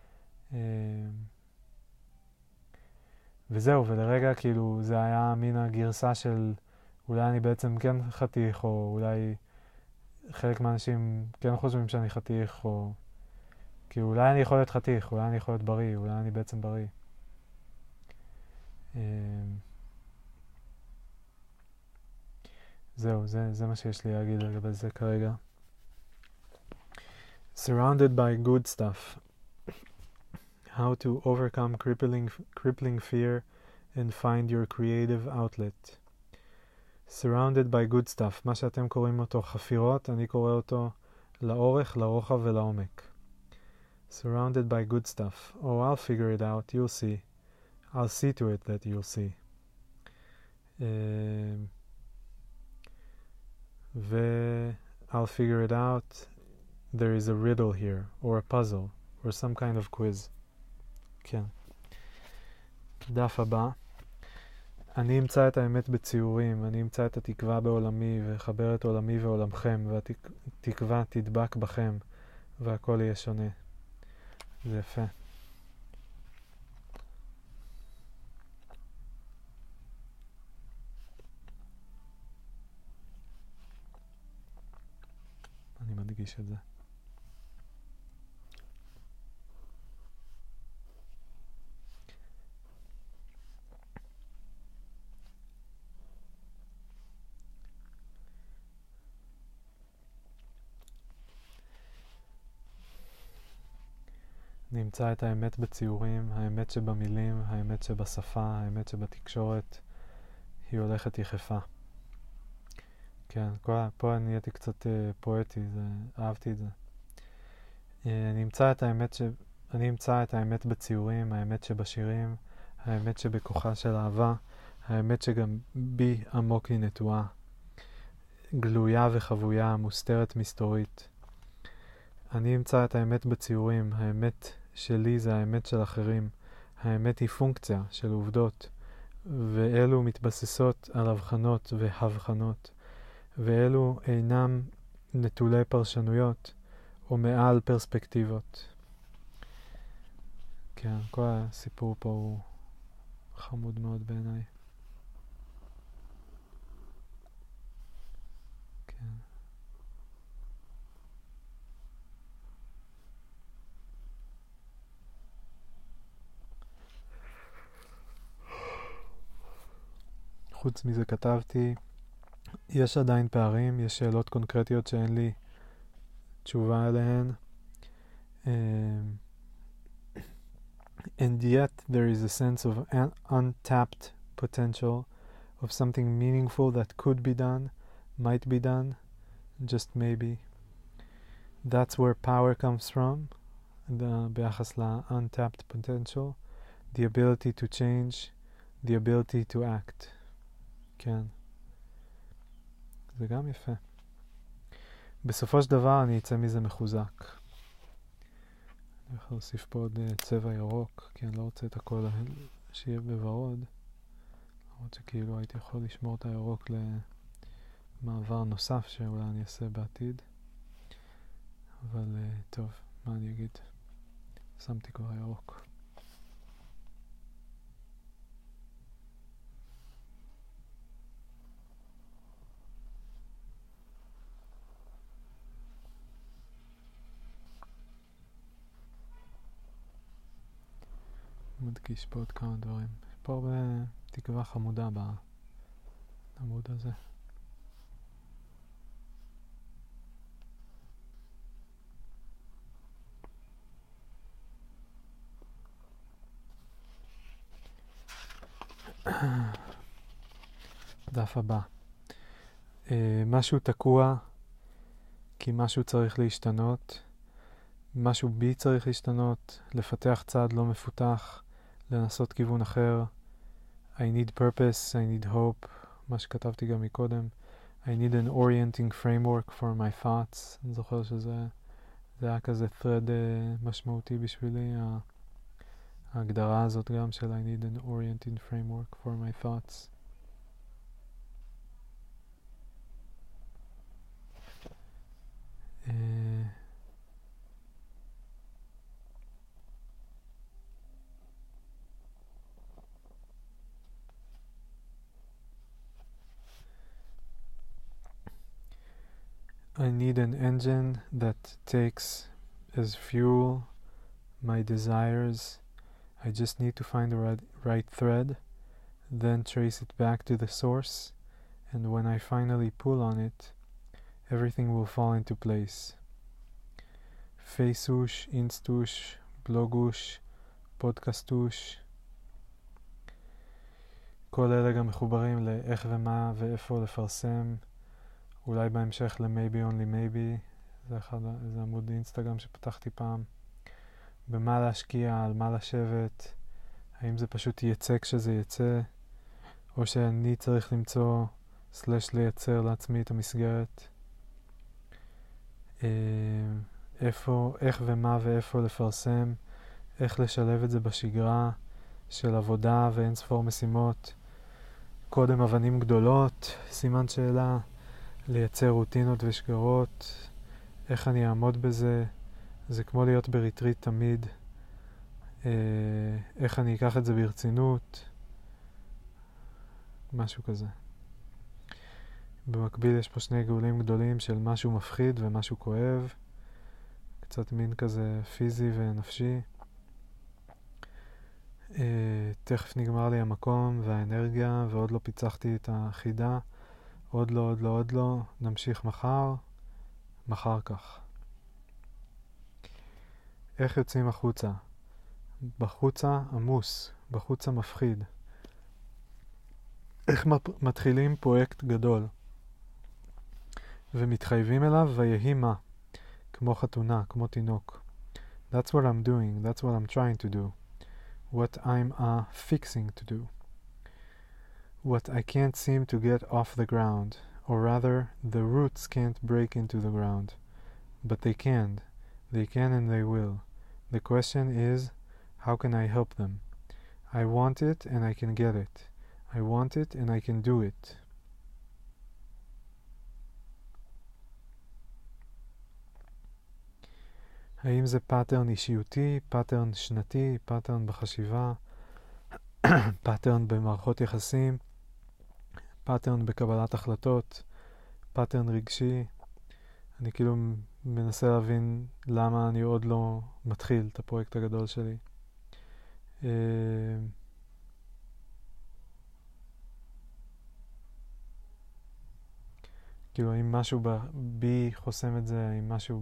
וזהו, ולרגע כאילו זה היה מין הגרסה של אולי אני בעצם כן חתיך, או אולי חלק מהאנשים כן חושבים שאני חתיך, או כי אולי אני יכול להיות חתיך, אולי אני יכול להיות בריא, אולי אני בעצם בריא. זהו, זה מה שיש לי להגיד לגבי זה כרגע. Surrounded by good stuff. How to overcome crippling fear and find your creative outlet. Surrounded by good stuff. מה שאתם קוראים אותו חפירות, אני קורא אותו לאורך, לרוחב ולעומק. Surrounded by good stuff. Oh, I'll figure it out. You'll see. I'll see to it that you'll see. I'll figure it out. There is a riddle here, or a puzzle, or some kind of quiz. כן. דף הבא. אני אמצא את האמת בציורים, אני אמצא את התקווה בעולמי, וחבר את עולמי ועולמכם, והתקווה תדבק בכם, והכל יהיה שונה. זה יפה. אני מדגיש את זה. נמצא את האמת בציורים, האמת שבמילים, האמת שבשפה, האמת שבתקשורת, היא הולכת יחפה. כן, פה נהייתי קצת פואטי, אהבתי את זה. אני אמצא את האמת בציורים, האמת שבשירים, האמת שבכוחה של אהבה, האמת שגם בי עמוק היא נטועה, גלויה וחבויה, מוסתרת מסתורית. אני אמצא את האמת בציורים, האמת שלי זה האמת של אחרים. האמת היא פונקציה של עובדות, ואלו מתבססות על הבחנות והבחנות, ואלו אינם נטולי פרשנויות או מעל פרספקטיבות. כן, כל הסיפור פה הוא חמוד מאוד בעיניי. כן. חוץ מזה כתבתי, יש עדיין פערים, יש שאלות קונקרטיות שאין לי תשובה עליהן. And yet there is a sense of untapped potential, of something meaningful that could be done, might be done, just maybe. That's where power comes from, ביחס ל-untapped potential, the ability to change, the ability to act. כן. זה גם יפה. בסופו של דבר אני אצא מזה מחוזק. אני יכול להוסיף פה עוד צבע ירוק, כי אני לא רוצה את הכל שיהיה בוורוד. למרות שכאילו הייתי יכול לשמור את הירוק למעבר נוסף שאולי אני אעשה בעתיד. אבל טוב, מה אני אגיד? שמתי כבר ירוק. מדגיש פה עוד כמה דברים. יש פה הרבה תקווה חמודה בעמוד הזה. דף הבא. משהו תקוע כי משהו צריך להשתנות. משהו בי צריך להשתנות, לפתח צעד לא מפותח, לנסות כיוון אחר. I need purpose, I need hope, מה שכתבתי גם מקודם. I need an orienting framework for my thoughts. אני זוכר שזה היה כזה thread משמעותי בשבילי, ההגדרה הזאת גם של I need an orienting framework for my thoughts. I need an engine that takes as fuel my desires. I just need to find the right thread, then trace it back to the source, and when I finally pull on it, everything will fall into place. Facetush, Instush, Blogush, Podcastush. כל אלה גם מחוברים לאיך ומה ואיפה לפרסם. אולי בהמשך ל-Maybe Only Maybe, זה עמוד אינסטגרם שפתחתי פעם. במה להשקיע, על מה לשבת, האם זה פשוט יצא כשזה יצא, או שאני צריך למצוא / לייצר לעצמי את המסגרת. איך ומה ואיפה לפרסם, איך לשלב את זה בשגרה של עבודה ואין ספור משימות. קודם אבנים גדולות, סימן שאלה. לייצר רוטינות ושגרות, איך אני אעמוד בזה, זה כמו להיות בריטריט תמיד, איך אני אקח את זה ברצינות, משהו כזה. במקביל יש פה שני גאולים גדולים של משהו מפחיד ומשהו כואב, קצת מין כזה פיזי ונפשי. תכף נגמר לי המקום והאנרגיה ועוד לא פיצחתי את החידה. עוד לא, נמשיך מחר כך. איך יוצאים החוצה? בחוצה עמוס, בחוצה מפחיד. איך מתחילים פרויקט גדול ומתחייבים אליו ויהי מה, כמו חתונה, כמו תינוק. That's what I'm doing, that's what I'm trying to do, what I'm fixing to do. What I can't seem to get off the ground, or rather, the roots can't break into the ground. But they can and they will. The question is, how can I help them? I want it and I can get it. I want it and I can do it. האם זה פאטרן אישיותי, פאטרן שנתי, פאטרן בחשיבה, פאטרן במערכות יחסים, פאטרן בקבלת החלטות, פאטרן רגשי. אני כאילו מנסה להבין למה אני עוד לא מתחיל את הפרויקט הגדול שלי. כאילו אם משהו בי חוסם את זה, אם משהו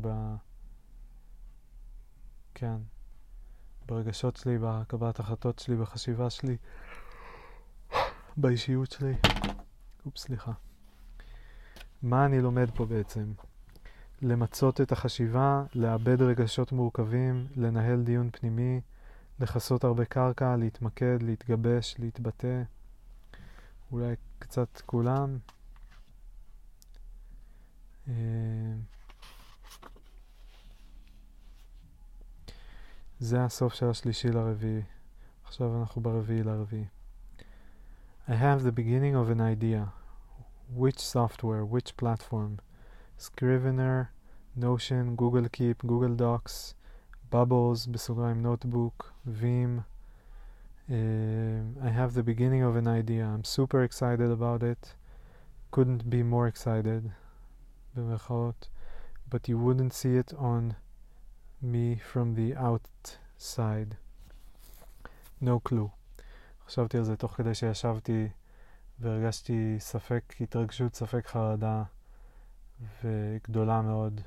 כן, ברגשות שלי, בקבלת החלטות שלי, בחשיבה שלי, באישיות שלי. סליחה. מה אני לומד פה בעצם? למצות את החשיבה, לאבד רגשות מורכבים, לנהל דיון פנימי, לחסות הרבה קרקע, להתמקד, להתגבש, להתבטא. אולי קצת כולם. זה הסוף של השלישי לרביעי. עכשיו אנחנו ברביעי לרביעי. I have the beginning of an idea. Which software, which platform? Scrivener, Notion, Google Keep, Google Docs, Bubbles, בסוגריים notebook, Veeam. I have the beginning of an idea. I'm super excited about it. Couldn't be more excited. במרכאות. But you wouldn't see it on me from the outside. No clue. חשבתי על זה תוך כדי שישבתי והרגשתי ספק התרגשות, ספק חרדה וגדולה מאוד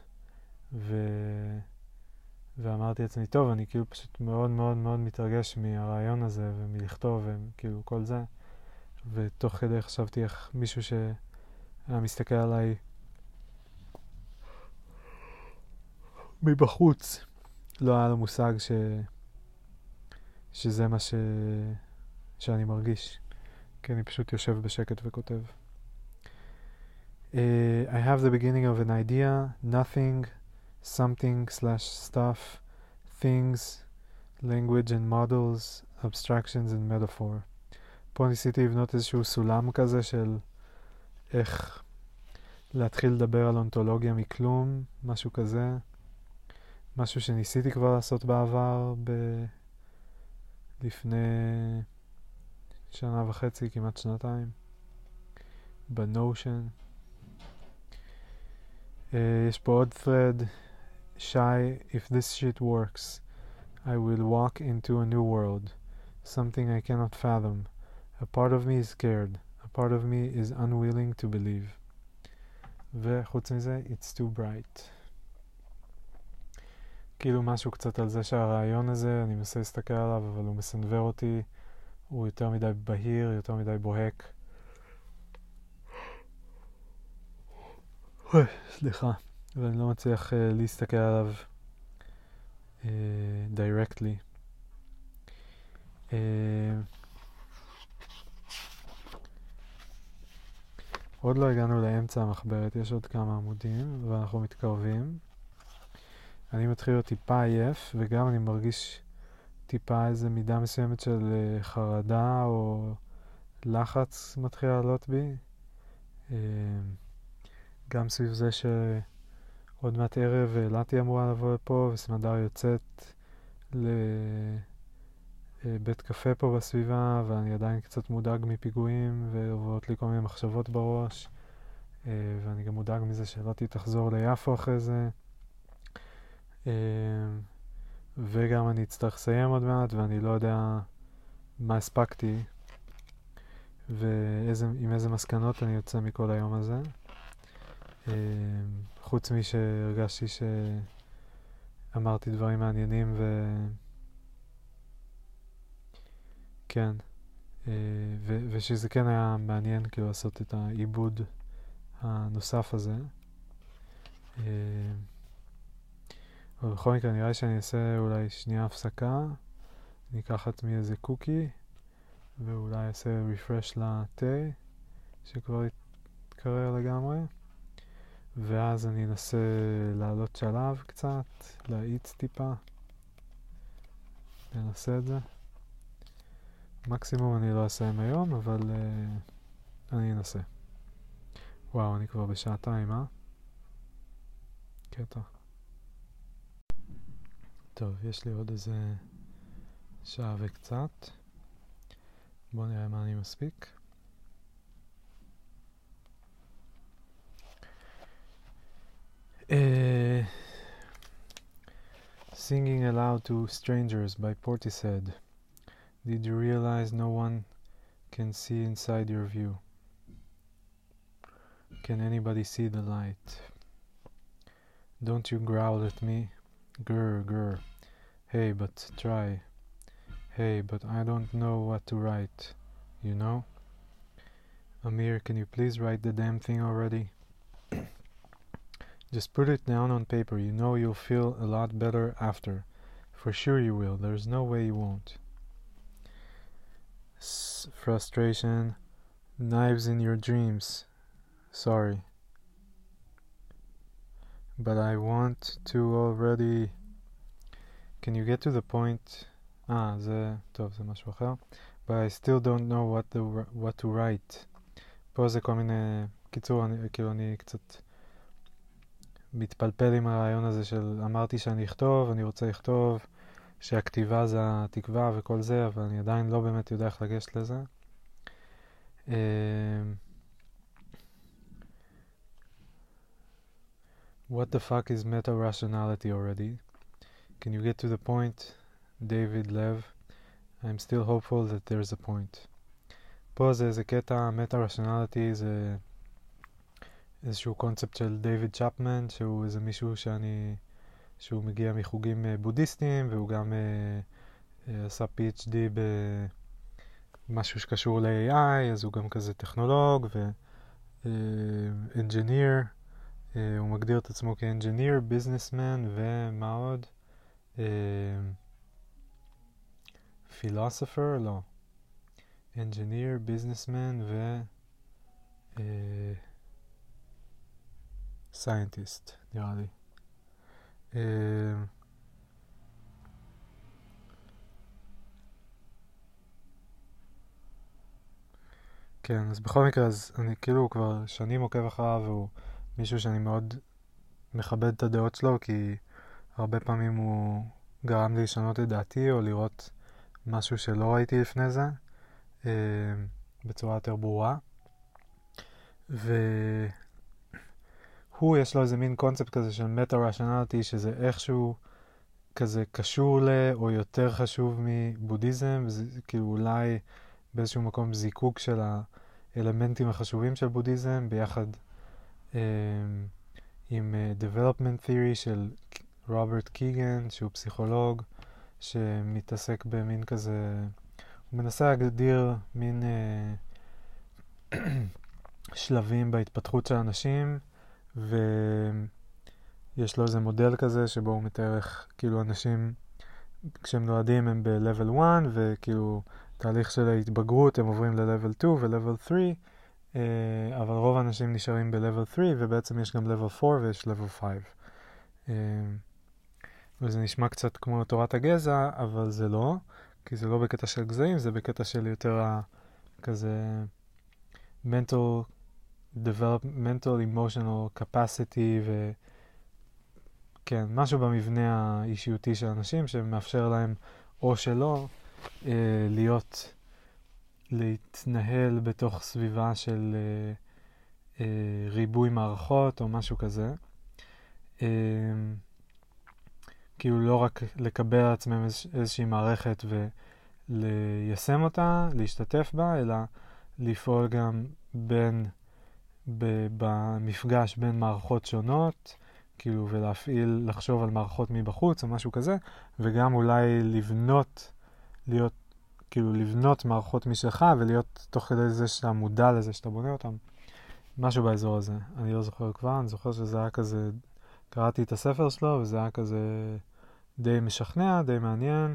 ואמרתי לעצמי, טוב, אני כאילו פשוט מאוד מאוד מאוד מתרגש מהרעיון הזה ומלכתוב וכאילו כל זה, ותוך כדי חשבתי איך מישהו שהיה מסתכל עליי מבחוץ לא היה לו מושג שזה מה שאני מרגיש, כי אני פשוט יושב בשקט וכותב. I have the beginning of an idea, nothing, something / stuff, things, language and models, abstractions and metaphor. פה ניסיתי לבנות איזשהו סולם כזה של איך להתחיל לדבר על אונתולוגיה מכלום, משהו כזה, משהו שניסיתי כבר לעשות בעבר לפני שנה וחצי, כמעט שנתיים, בנושן. יש פה עוד thread. Shy, if this shit works, I will walk into a new world, something I cannot fathom. A part of me is scared. A part of me is unwilling to believe. וחוץ מזה, it's too bright. כאילו משהו קצת על זה שהרעיון הזה, אני מנסה להסתכל עליו, אבל הוא מסנבר אותי, הוא יותר מדי בהיר, יותר מדי בוהק. סליחה. ואני לא מצליח להסתכל עליו directly. עוד לא הגענו לאמצע המחברת, יש עוד כמה עמודים ואנחנו מתקרבים. אני מתחיל להיות טיפה עייף, וגם אני מרגיש טיפה איזה מידה מסוימת של חרדה או לחץ מתחיל לעלות בי. גם סביב זה שעוד מעט ערב אלתי אמורה לבוא לפה, וסמדר יוצאת לבית קפה פה בסביבה, ואני עדיין קצת מודאג מפיגועים, ועוברות לי כל מיני מחשבות בראש, ואני גם מודאג מזה שאלתי תחזור ליפו אחרי זה. וגם אני אצטרך לסיים עוד מעט, ואני לא יודע מה הספקתי ועם איזה מסקנות אני יוצא מכל היום הזה, חוץ משהרגשתי שאמרתי דברים מעניינים כן, ושזה כן היה מעניין כאילו לעשות את העיבוד הנוסף הזה. אבל בכל מקרה נראה לי שאני אעשה אולי שנייה הפסקה, אני אקח עצמי איזה קוקי, ואולי אעשה refresh לתה, שכבר יתקרר לגמרי, ואז אני אנסה לעלות שלב קצת, להאיץ טיפה, ננסה את זה. מקסימום אני לא אסיים היום, אבל אני אנסה. וואו, אני כבר בשעתיים, קטע. טוב, יש לי עוד איזה שעה וקצת. בואו נראה מה אני מספיק. Singing Aloud to Strangers by Portishead. Did you realize no one can see inside your view? Can anybody see the light? Don't you growl at me? Grr, grr. Hey, but try. Hey, but I don't know what to write. You know? Amir, can you please write the damn thing already? Just put it down on paper. You know you'll feel a lot better after. For sure you will. There's no way you won't. Frustration. Knives in your dreams. Sorry. But I want to already. Can you get to the point... זה... טוב, זה משהו אחר. But I still don't know what to write. פה זה כל מיני... קיצור, אני קצת מתפלפל עם הרעיון הזה של אמרתי שאני אכתוב, אני רוצה לכתוב, שהכתיבה זה התקווה וכל זה, אבל אני עדיין לא באמת יודע איך לגשת לזה. What the fuck is meta-rationality already? Can you get to the point, David Lev? I'm still hopeful that there's a point. פה זה איזה קטע, meta-rationality זה איזשהו קונספט של דיוויד צ'פמן, שהוא איזה מישהו שהוא מגיע מחוגים בודהיסטיים, והוא גם עשה PhD במשהו שקשור ל-AI, אז הוא גם כזה טכנולוג ו-engineer. הוא מגדיר את עצמו כ-engineer, businessman ומה עוד? philosopher? לא. engineer, businessman ו... scientist, נראה לי. כן, אז בכל מקרה, אז אני כאילו כבר שנים עוקב אחריו, והוא מישהו שאני מאוד מכבד את הדעות שלו, כי הרבה פעמים הוא גרם לי לשנות את דעתי, או לראות משהו שלא ראיתי לפני זה, בצורה יותר ברורה. יש לו איזה מין קונספט כזה של מטה-רשנליטי, שזה איכשהו כזה קשור או יותר חשוב מבודהיזם, וזה כאילו אולי באיזשהו מקום זיקוק של האלמנטים החשובים של בודהיזם, ביחד עם development theory של רוברט קיגן, שהוא פסיכולוג, שמתעסק במין כזה, הוא מנסה להגדיר מין שלבים בהתפתחות של אנשים, ויש לו איזה מודל כזה שבו הוא מתאר איך כאילו אנשים כשהם נולדים הם ב-level 1, וכאילו תהליך של ההתבגרות הם עוברים ל-level 2 ו-level 3, אבל רוב האנשים נשארים ב-level 3, ובעצם יש גם level 4 ויש level 5. וזה נשמע קצת כמו תורת הגזע, אבל זה לא, כי זה לא בקטע של גזעים, זה בקטע של יותר כזה mental emotional capacity, וכן, משהו במבנה האישיותי של אנשים שמאפשר להם או שלא להתנהל בתוך סביבה של ריבוי מערכות או משהו כזה. כאילו לא רק לקבל על עצמם איזושהי מערכת וליישם אותה, להשתתף בה, אלא לפעול גם במפגש בין מערכות שונות, כאילו ולהפעיל, לחשוב על מערכות מבחוץ או משהו כזה, וגם אולי לבנות מערכות משלך, ולהיות תוך כדי זה שאתה מודע לזה שאתה בונה אותם. משהו באזור הזה. אני לא זוכר כבר, אני זוכר שזה היה כזה, קראתי את הספר שלו, וזה היה כזה די משכנע, די מעניין,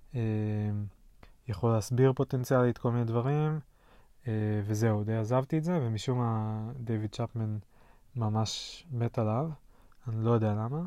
יכול להסביר פוטנציאלית כל מיני דברים, וזהו, די עזבתי את זה, ומשום מה דיוויד צ'פמן ממש מת עליו, אני לא יודע למה.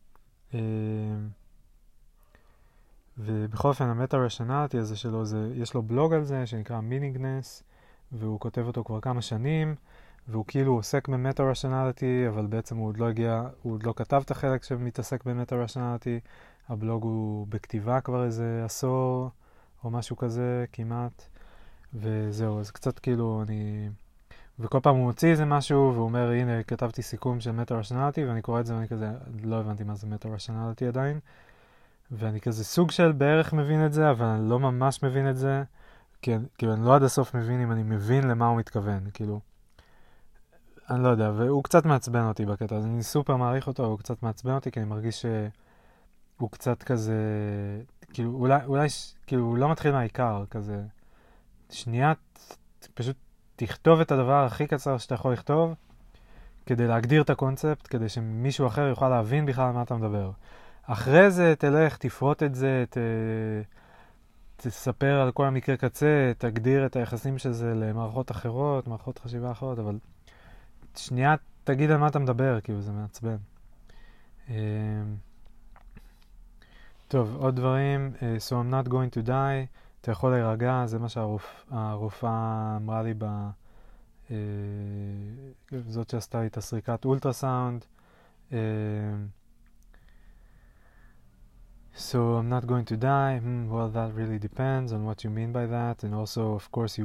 ובכל אופן, המטה-רשנליטי הזה שלו, יש לו בלוג על זה שנקרא מיניגנס, והוא כותב אותו כבר כמה שנים, והוא כאילו עוסק במטה-רשנליטי, אבל בעצם הוא עוד לא כתב את החלק שמתעסק במטה-רשנליטי. הבלוג הוא בכתיבה כבר איזה עשור, או משהו כזה כמעט. וזהו, אז קצת כאילו וכל פעם הוא מוציא איזה משהו, והוא אומר, הנה, כתבתי סיכום של מטה-רשנליטי, ואני קורא את זה, ואני כזה, לא הבנתי מה זה מטה-רשנליטי עדיין. ואני כזה סוג של בערך מבין את זה, אבל אני לא ממש מבין את זה, כאילו אני לא עד הסוף מבין אם אני מבין למה הוא מתכוון, כאילו. אני לא יודע, והוא קצת מעצבן אותי בקטע, אז אני סופר מעריך אותו, הוא קצת מעצבן אותי, כי אני מרגיש שהוא קצת כזה, כאילו, אולי כאילו, הוא לא מתחיל מהעיקר, כזה, שנייה, פשוט תכתוב את הדבר הכי קצר שאתה יכול לכתוב, כדי להגדיר את הקונספט, כדי שמישהו אחר יוכל להבין בכלל על מה אתה מדבר. אחרי זה תלך, תפרוט את זה, תספר על כל המקרה קצה, תגדיר את היחסים של זה למערכות אחרות, מערכות חשיבה אחרות, אבל שנייה תגיד על מה אתה מדבר, כאילו זה מעצבן. טוב, עוד דברים. So I'm not going to die. אתה יכול להירגע, זה מה שהרופאה אמרה לי זאת שעשתה לי את הסריקת אולטרסאונד. So I'm not going to die. Well, that really depends on what you mean by that, and also, of course,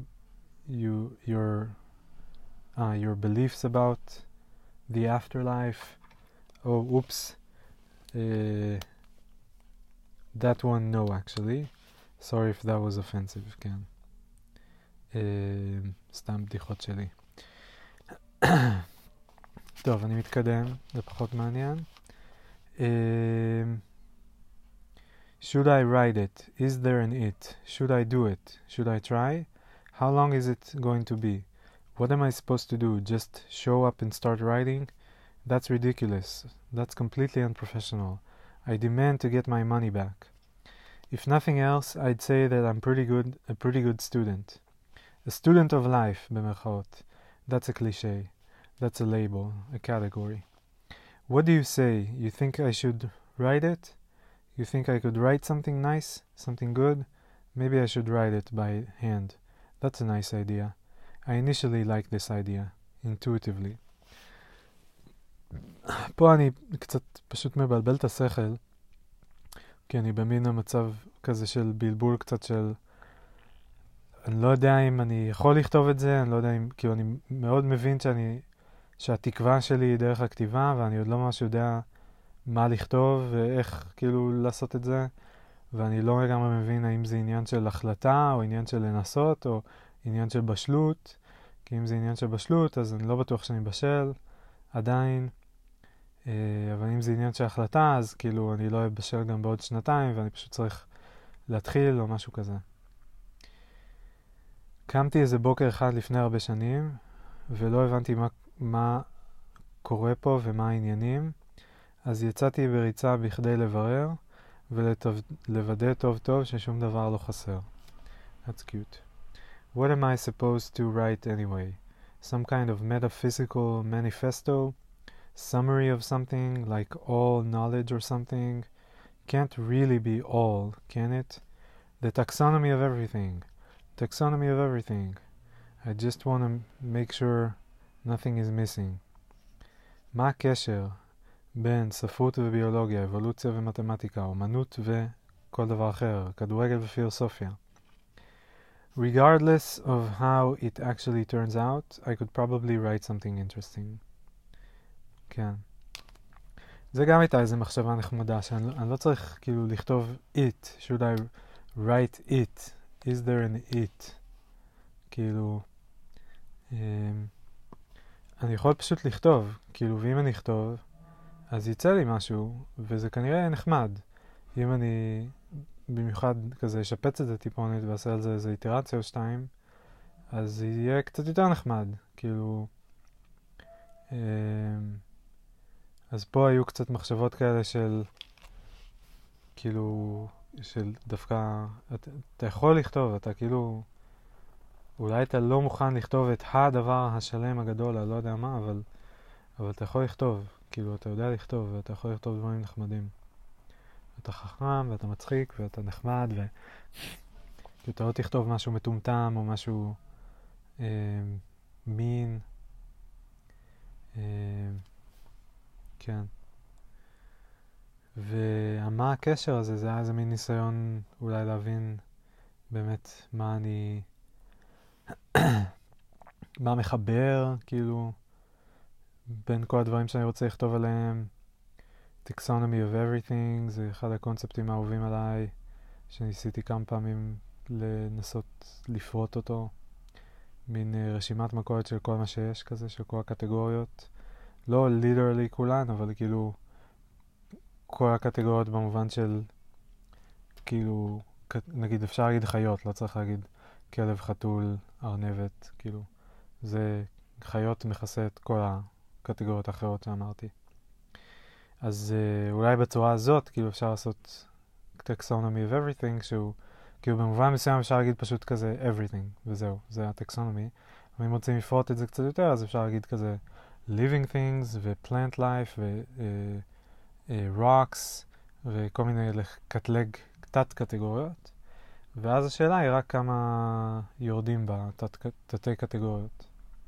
your beliefs about the afterlife. Oh, oops. That one, no, actually. Sorry if that was offensive, כן. סתם בדיחות שלי. טוב, אני מתקדם, זה פחות מעניין. Should I write it? Is there an it? Should I do it? Should I try? How long is it going to be? What am I supposed to do? Just show up and start writing? That's ridiculous. That's completely unprofessional. I demand to get my money back. If nothing else, I'd say that I'm a pretty good student. A student of life, במרכאות. That's a cliché. That's a label, a category. What do you say? You think I should write it? You think I could write something nice? Something good? Maybe I should write it by hand. That's a nice idea. I initially liked this idea, intuitively. פה אני קצת פשוט מבלבל את השכל, כי אני במין המצב כזה של בלבול קצת של... אני לא יודע אם אני יכול לכתוב את זה, אני לא יודע אם... כאילו אני מאוד מבין שהתקווה שלי היא דרך הכתיבה, ואני עוד לא ממש יודע מה לכתוב ואיך כאילו לעשות את זה, ואני לא לגמרי מבין האם זה עניין של החלטה, או עניין של לנסות, או עניין של בשלות, כי אם זה עניין של בשלות, אז אני לא בטוח שאני בשל, עדיין, אבל אם זה עניין של החלטה, אז כאילו אני לא אבשל גם בעוד שנתיים, ואני פשוט צריך להתחיל או משהו כזה. קמתי איזה בוקר אחד לפני הרבה שנים, ולא הבנתי מה קורה פה ומה העניינים, אז יצאתי בריצה בכדי לברר, ולוודא טוב טוב ששום דבר לא חסר. That's cute. What am I supposed to write anyway? Some kind of metaphysical manifesto? Summary of something, like all knowledge or something? Can't really be all, can it? The taxonomy of everything. Taxonomy of everything. I just want to make sure nothing is missing. מה הקשר בין ספרות וביולוגיה, אבולוציה ומתמטיקה, אומנות וכל דבר אחר, כדורגל ופילוסופיה? Regardless of how it actually turns out, I could probably write something interesting. כן. זה גם הייתה איזו מחשבה נחמדה, שאני לא צריך כאילו לכתוב it. Should I write it? Is there an it? כאילו, אני יכול פשוט לכתוב, כאילו, ואם אני אכתוב, אז יצא לי משהו, וזה כנראה נחמד. אם אני במיוחד כזה אשפץ את זה טיפונת ועשה על זה איזו איטרציה או שתיים, אז זה יהיה קצת יותר נחמד, כאילו. אז פה היו קצת מחשבות כאלה של, כאילו, של דווקא, אתה יכול לכתוב, אתה כאילו, אולי אתה לא מוכן לכתוב את הדבר השלם הגדול, אני לא יודע מה, אבל אתה יכול לכתוב, כאילו, אתה יודע לכתוב, ואתה יכול לכתוב דברים נחמדים. אתה חכם, ואתה מצחיק, ואתה נחמד, ואתה לא תכתוב משהו מטומטם, או משהו מין. כן. ומה הקשר הזה? זה היה איזה מין ניסיון אולי להבין באמת מה אני... מה מחבר, כאילו, בין כל הדברים שאני רוצה לכתוב עליהם. Taxonomy of everything, זה אחד הקונספטים האהובים עליי, שניסיתי כמה פעמים לנסות לפרוט אותו. מין רשימת מכולת של כל מה שיש כזה, של כל הקטגוריות. לא literally כולן, אבל כאילו כל הקטגוריות במובן של, כאילו, נגיד אפשר להגיד חיות, לא צריך להגיד כלב, חתול, ארנבת, כאילו. זה חיות מכסה את כל הקטגוריות האחרות שאמרתי. אז אולי בצורה הזאת, כאילו אפשר לעשות taxonomy of everything, שהוא, כאילו במובן מסוים אפשר להגיד פשוט כזה everything, וזהו, זה הטקסונומי. אבל אם רוצים לפרוט את זה קצת יותר, אז אפשר להגיד כזה living things, ו-plant life, ו-rocks, וכל מיני לקטלג תת קטגוריות, ואז השאלה היא רק כמה יורדים בתתי קטגוריות.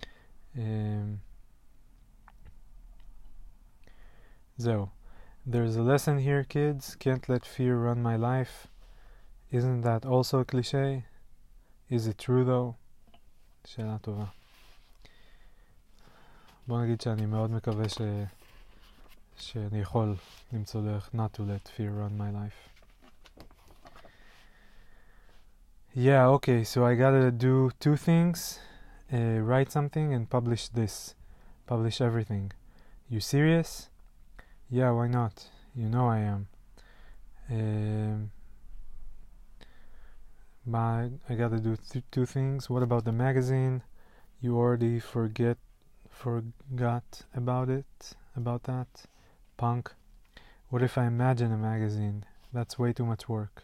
זהו. There's a lesson here, kids. Can't let fear run my life. Isn't that also a cliché? Is it true though? שאלה טובה. בוא נגיד שאני מאוד מקווה שאני יכול למצוא דרך not to let fear run my life. Yeah, okay, so I gotta do two things. Write something and publish this. Publish everything. You serious? Yeah, why not? You know I am. But I gotta do two things. What about the magazine? You already forgot about that? Punk. What if I imagine a magazine? That's way too much work.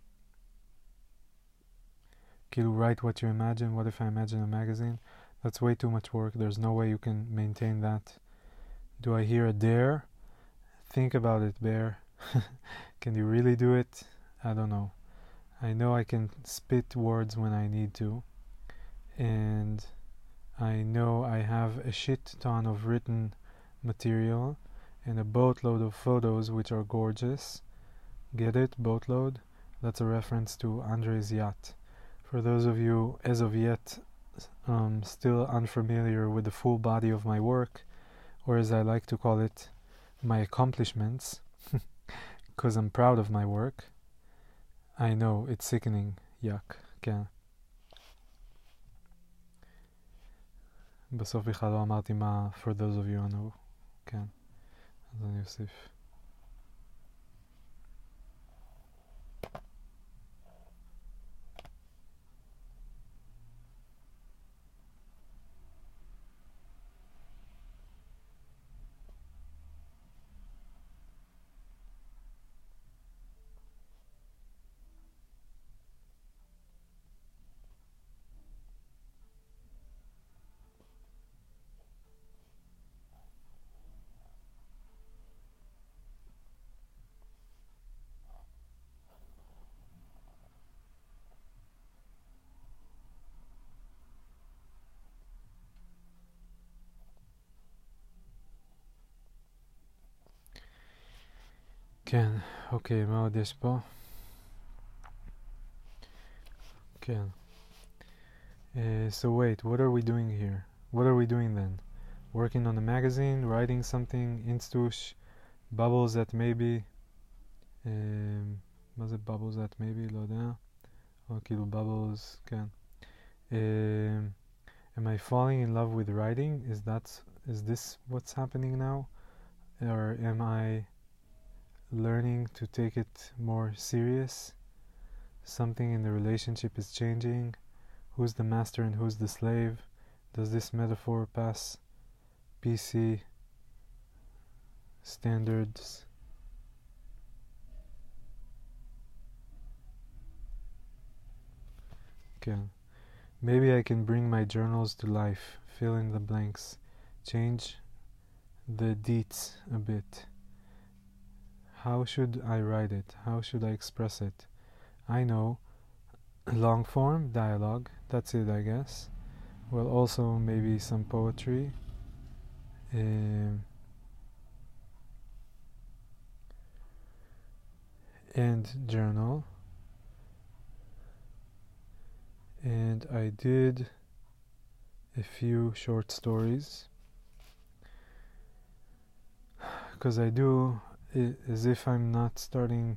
כאילו, write what you imagine. What if I imagine a magazine? That's way too much work. There's no way you can maintain that. Do I hear a dare? Think about it, Bear. Can you really do it? I don't know. I know I can spit words when I need to. And I know I have a shit ton of written material and a boatload of photos which are gorgeous. Get it? Boatload? That's a reference to Andre's yacht. For those of you, as of yet, still unfamiliar with the full body of my work, or as I like to call it, my accomplishments, because I'm proud of my work. I know, it's sickening. Yuck. כן. בסוף בכלל לא אמרתי מה for those of you who know. כן. אז אני אוסיף. כן, אוקיי, מה עוד יש פה? כן. So wait, what are we doing here? What are we doing then? Working on a magazine, writing something, instush, bubbles that maybe... מה זה bubbles that maybe? לא יודע. או כאילו bubbles, כן. Am I falling in love with writing? Is this what's happening now? Or am I learning to take it more serious? Something in the relationship is changing. Who's the master and who's the slave? Does this metaphor pass PC standards? Okay. Maybe I can bring my journals to life, fill in the blanks, change the deets a bit. How should I write it? How should I express it? I know, long form, dialogue, that's it I guess. Well, also maybe some poetry. And journal. And I did a few short stories. Because I do as if I'm not starting...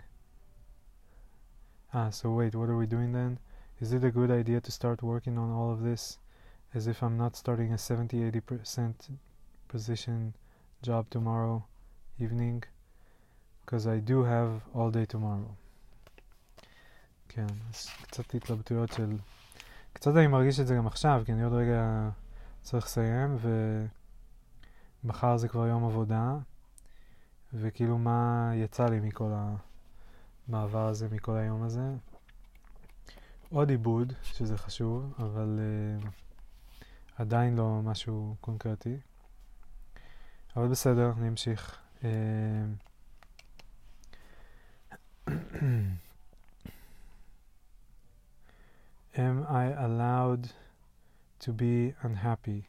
so wait, what are we doing then? Is it a good idea to start working on all of this as if I'm not starting a 70-80% position job tomorrow evening? Because I do have all day tomorrow. כן, אז קצת התלבטויות של... קצת אני מרגיש את זה גם עכשיו, כי אני עוד רגע צריך לסיים, ומחר זה כבר יום עבודה, וכאילו מה יצא לי מכל המעבר הזה, מכל היום הזה. עוד עיבוד, שזה חשוב, אבל עדיין לא משהו קונקרטי. אבל בסדר, אני אמשיך. Am I allowed to be unhappy?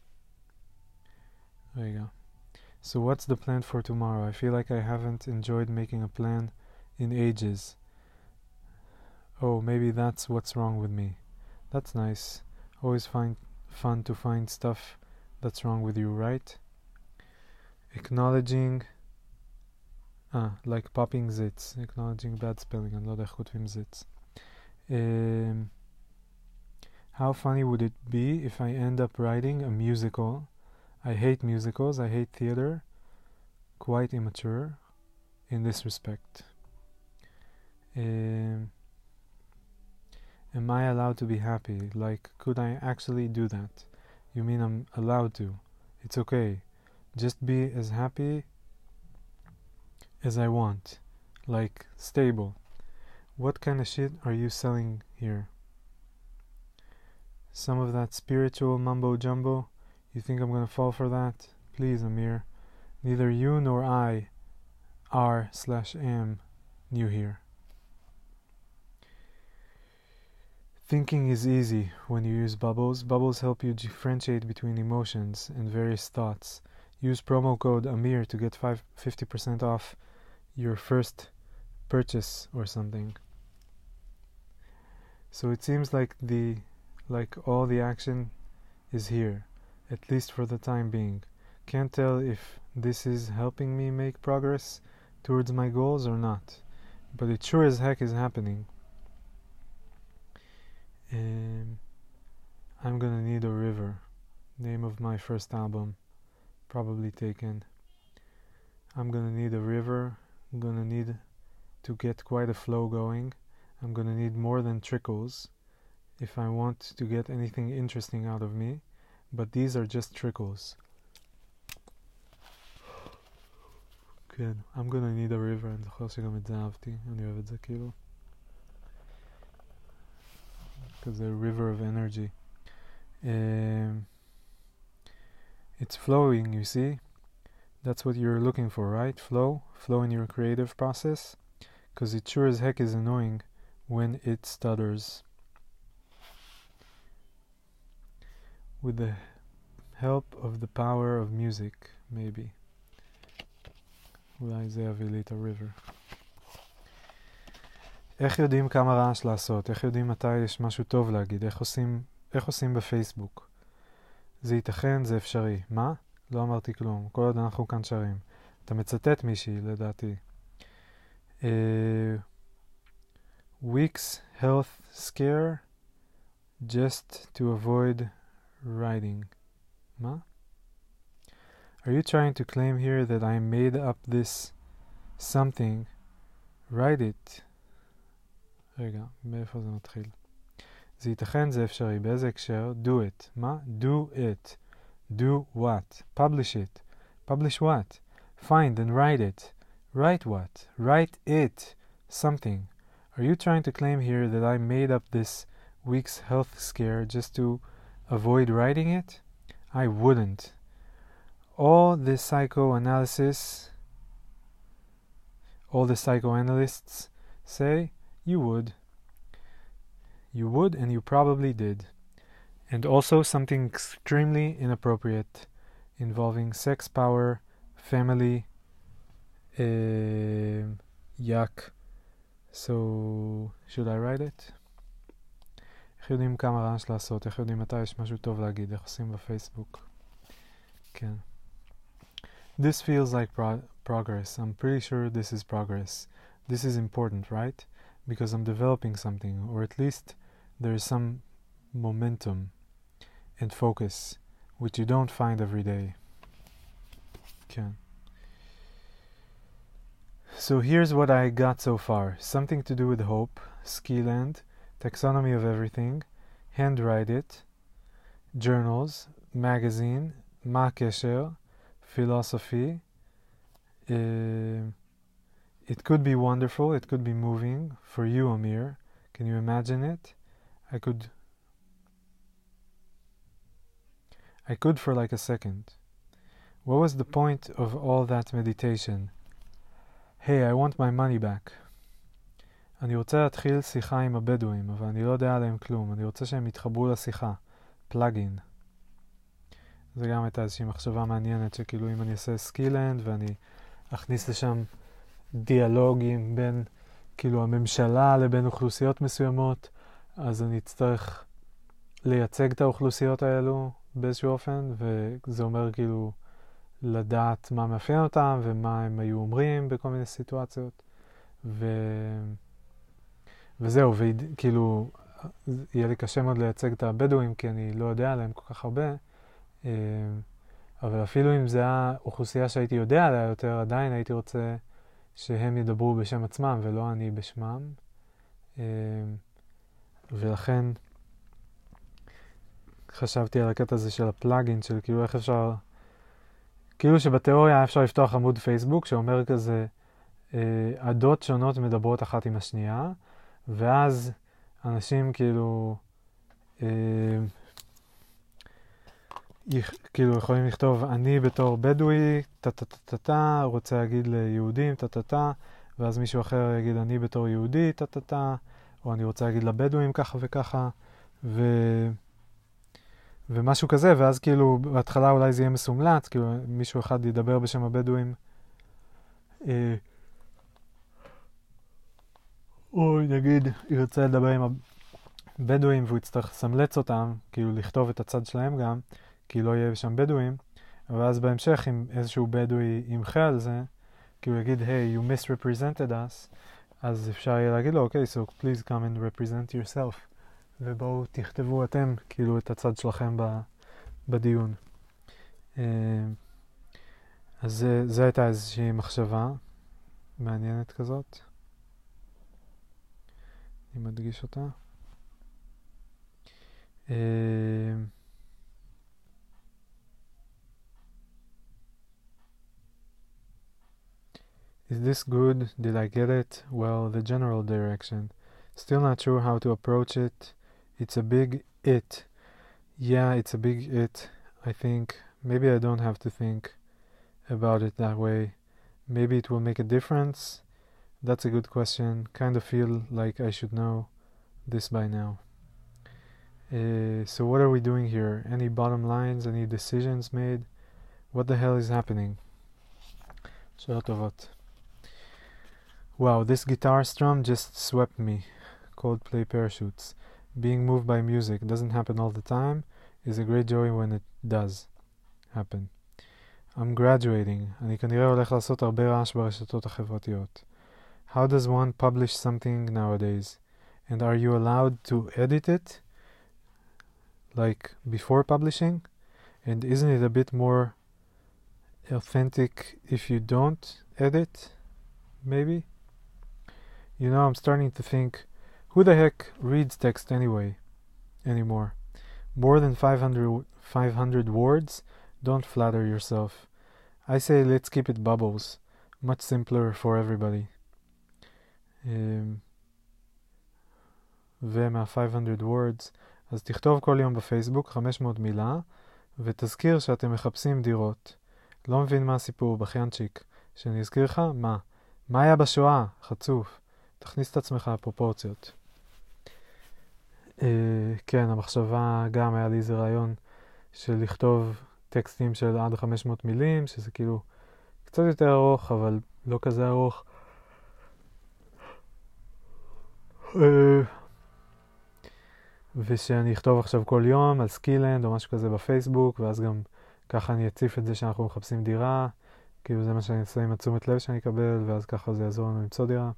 There you go. So what's the plan for tomorrow? I feel like I haven't enjoyed making a plan in ages. Oh, maybe that's what's wrong with me. That's nice. Always fun to find stuff that's wrong with you, right? Acknowledging like popping zits. Acknowledging bad spelling. אני לא יודע איך כותבים zits. How funny would it be if I end up writing a musical? I hate musicals, I hate theater. Quite immature in this respect. Am I allowed to be happy? Like, could I actually do that? You mean I'm allowed to? It's okay. Just be as happy as I want. Like, stable. What kind of shit are you selling here? Some of that spiritual mumbo jumbo? You think I'm gonna fall for that? Please, Amir. Neither you nor I are/am new here. Thinking is easy when you use bubbles. Bubbles help you differentiate between emotions and various thoughts. Use promo code Amir to get 50% off your first purchase or something. So it seems like all the action is here, at least for the time being. Can't tell if this is helping me make progress towards my goals or not, but it sure as heck is happening. I'm gonna need a river. Name of my first album, probably taken. I'm gonna need a river. I'm gonna need to get quite a flow going. I'm gonna need more than trickles if I want to get anything interesting out of me, but these are just trickles. כן, I'm gonna need a river. אני זוכר שגם את זה אהבתי, אני אוהב את זה כאילו. כזה river of energy. It's flowing, you see? That's what you're looking for, right? Flow in your creative process, because it sure as heck is annoying when it stutters. With the help of the power of music, maybe. אולי זה יביא לי את ה-river. איך יודעים כמה רעש לעשות? איך יודעים מתי יש משהו טוב להגיד? איך עושים בפייסבוק? זה ייתכן, זה אפשרי. מה? לא אמרתי כלום. כל עוד אנחנו כאן שרים. אתה מצטט מישהי, לדעתי. Week's health scare just to avoid writing. מה? Are you trying to claim here that I made up this something? Write it. רגע, מאיפה זה מתחיל? זה ייתכן, זה אפשרי. באיזה הקשר? Do it. מה? Do it. Do what? Publish it. Publish what? Find and write it. Write what? Write it. Something. Are you trying to claim here that I made up this week's health scare just to avoid writing it? I wouldn't. All the psychoanalysts say you would. You would, and you probably did. And also something extremely inappropriate involving sex, power, family, yuck. So, should I write it? איך יודעים כמה רעש לעשות? איך יודעים מתי יש משהו טוב להגיד? איך עושים בפייסבוק? כן. This feels like progress. I'm pretty sure this is progress. This is important, right? Because I'm developing something, or at least there is some momentum and focus, which you don't find every day. Okay. So here's what I got so far. Something to do with hope, Skiland, taxonomy of everything, handwrite it, journals, magazine, מה הקשר, philosophy. It could be wonderful, it could be moving for you, Amir. Can you imagine it? I could for like a second. What was the point of all that meditation? Hey, I want my money back. אני רוצה להתחיל שיחה עם הבדואים, אבל אני לא יודע עליהם כלום. אני רוצה שהם יתחברו לשיחה. פלאגין. זה גם הייתה איזושהי מחשבה מעניינת, שכאילו אם אני אעשה סקילנד ואני אכניס לשם דיאלוגים בין כאילו הממשלה לבין אוכלוסיות מסוימות, אז אני אצטרך לייצג את האוכלוסיות האלו באיזשהו אופן, וזה אומר כאילו לדעת מה מאפיין אותם ומה הם היו אומרים בכל מיני סיטואציות. וזהו, וכאילו יהיה לי קשה מאוד לייצג את הבדואים, כי אני לא יודע עליהם כל כך הרבה, אבל אפילו אם זה היה אוכלוסייה שהייתי יודע עליה יותר, עדיין הייתי רוצה שהם ידברו בשם עצמם ולא אני בשמם. ולכן חשבתי על הקטע הזה של הפלאגין, של כאילו איך אפשר, כאילו שבתיאוריה אפשר לפתוח עמוד פייסבוק שאומר כזה, עדות שונות מדברות אחת עם השנייה, ואז אנשים כאילו כאילו יכולים לכתוב אני בתור בדואי טה רוצה להגיד ליהודים טה ואז מישהו אחר יגיד אני בתור יהודי טה או אני רוצה להגיד לבדואים ככה וככה ומשהו כזה, ואז כאילו בהתחלה אולי זה יהיה מסומלץ, כאילו מישהו אחד ידבר בשם הבדואים או נגיד ירצה לדבר עם הבדואים והוא יצטרך לסמלץ אותם, כאילו לכתוב את הצד שלהם גם, כי לא יהיה שם בדואים, ואז בהמשך אם איזשהו בדואי ימחה על זה, כאילו יגיד, hey, you misrepresented us, אז אפשר יהיה להגיד לו, okay, so please come and represent yourself, ובואו תכתבו אתם כאילו את הצד שלכם בדיון. אז זה הייתה איזושהי מחשבה מעניינת כזאת. אני מדגיש אותה. Is this good? Did I get it? Well, the general direction. Still not sure how to approach it. It's a big it. Yeah, it's a big it. I think maybe I don't have to think about it that way. Maybe it will make a difference. That's a good question. Kind of feel like I should know this by now. So what are we doing here? Any bottom lines? Any decisions made? What the hell is happening? שאלות טובות. Wow, this guitar strum just swept me. Coldplay Parachutes. Being moved by music doesn't happen all the time. Is a great joy when it does happen. I'm graduating. אני כנראה הולך לעשות הרבה רעש ברשתות החברתיות. How does one publish something nowadays? And are you allowed to edit it? Like before publishing? And isn't it a bit more authentic if you don't edit? Maybe? You know, I'm starting to think, who the heck reads text anymore? More than 500 words? Don't flatter yourself. I say let's keep it bubbles. Much simpler for everybody. ומה 500 words, אז תכתוב כל יום בפייסבוק 500 מילה, ותזכיר שאתם מחפשים דירות. לא מבין מה הסיפור, בחיינצ'יק. שאני אזכיר לך? מה? מה היה בשואה? חצוף. תכניס את עצמך לפרופורציות. כן, המחשבה גם היה לי איזה רעיון של לכתוב טקסטים של עד 500 מילים, שזה כאילו קצת יותר ארוך, אבל לא כזה ארוך. ושאני אכתוב עכשיו כל יום על סקילנד או משהו כזה בפייסבוק, ואז גם ככה אני אציף את זה שאנחנו מחפשים דירה, כאילו זה מה שאני אעשה עם התשומת לב שאני אקבל, ואז ככה זה יעזור לנו למצוא דירה.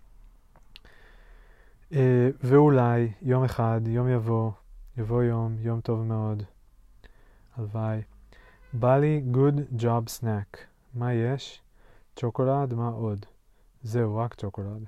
ואולי יום אחד, יום יבוא יום טוב מאוד, הלוואי. בא לי good job snack. מה יש? צ'וקולד, מה עוד? זהו, רק צ'וקולד.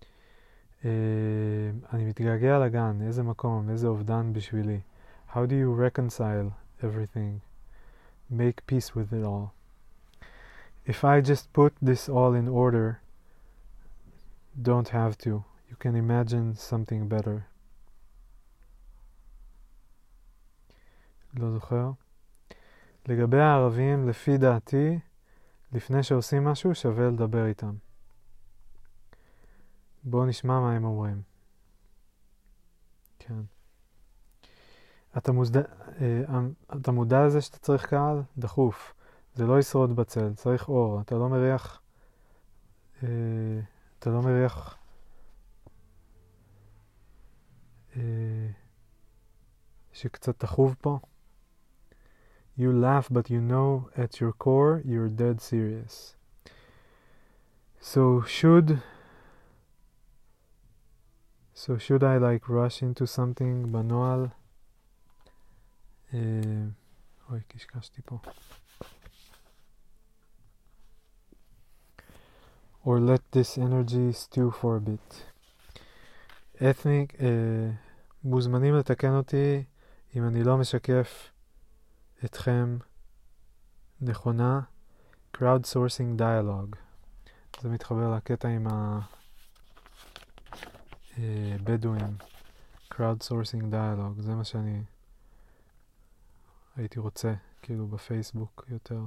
אני מתגעגע לגן, איזה מקום, איזה אובדן בשבילי. How do you reconcile everything? Make peace with it all. If I just put this all in order, don't have to. You can imagine something better. לא זוכר. לגבי הערבים, לפי דעתי, לפני שעושים משהו, שווה לדבר איתם. בואו נשמע מה הם אומרים. כן. אתה מודע לזה שאתה צריך קהל? דחוף. זה לא ישרוד בצל, צריך אור. אתה לא מריח... אתה לא מריח... שקצת תחוב פה? You laugh, but you know at your core you're dead serious. So should I like rush into something בנועל? אוי, קשקשתי פה. Or let this energy stew for a bit. Ethnic, מוזמנים לתקן אותי אם אני לא משקף אתכם נכונה. Crowdsourcing dialogue. זה מתחבר לקטע עם הבדואים. Crowdsourcing dialogue. זה מה שאני הייתי רוצה, כאילו בפייסבוק יותר.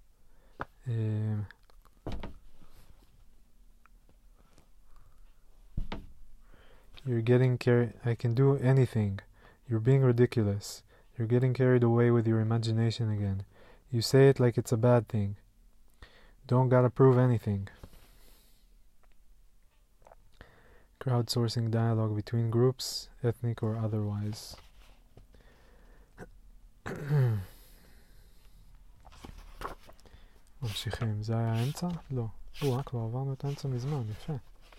You're getting carried... I can do anything. You're being ridiculous. You're getting carried away with your imagination again. You say it like it's a bad thing. Don't gotta prove anything. Crowdsourcing dialogue between groups, ethnic or otherwise. ממשיכים. זה היה האמצע? לא. כבר עברנו את האמצע מזמן. יפה.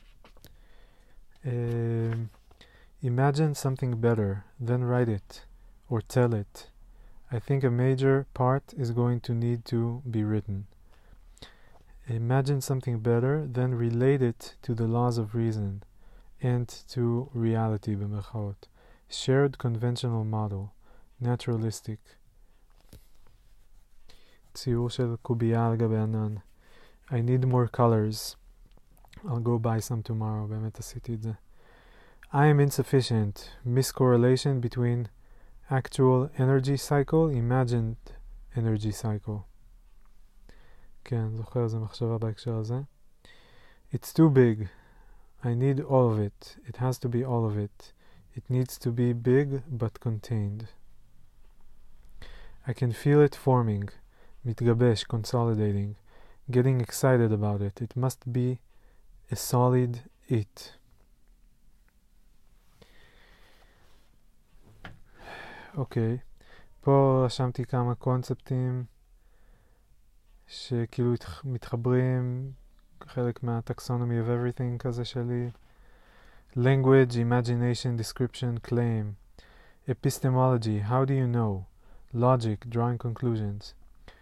Imagine something better, then write it, or tell it. I think a major part is going to need to be written. Imagine something better, then relate it to the laws of reason and to reality במרכאות. Shared conventional model, naturalistic. ציור של קובייה על גבי ענן. I need more colors. I'll go buy some tomorrow. באמת עשיתי את זה. I am insufficient. Miscorrelation between actual energy cycle, imagined energy cycle. כן, זוכר, זה מחשבה בהקשר הזה. It's too big. I need all of it. It has to be all of it. It needs to be big but contained. I can feel it forming. מתגבש, consolidating. Getting excited about it. It must be a solid it. אוקיי. פה רשמתי כמה קונספטים שכאילו מתחברים, חלק מהטקסונומי of everything כזה שלי. Language, imagination, description, claim. Epistemology, how do you know? Logic, drawing conclusions.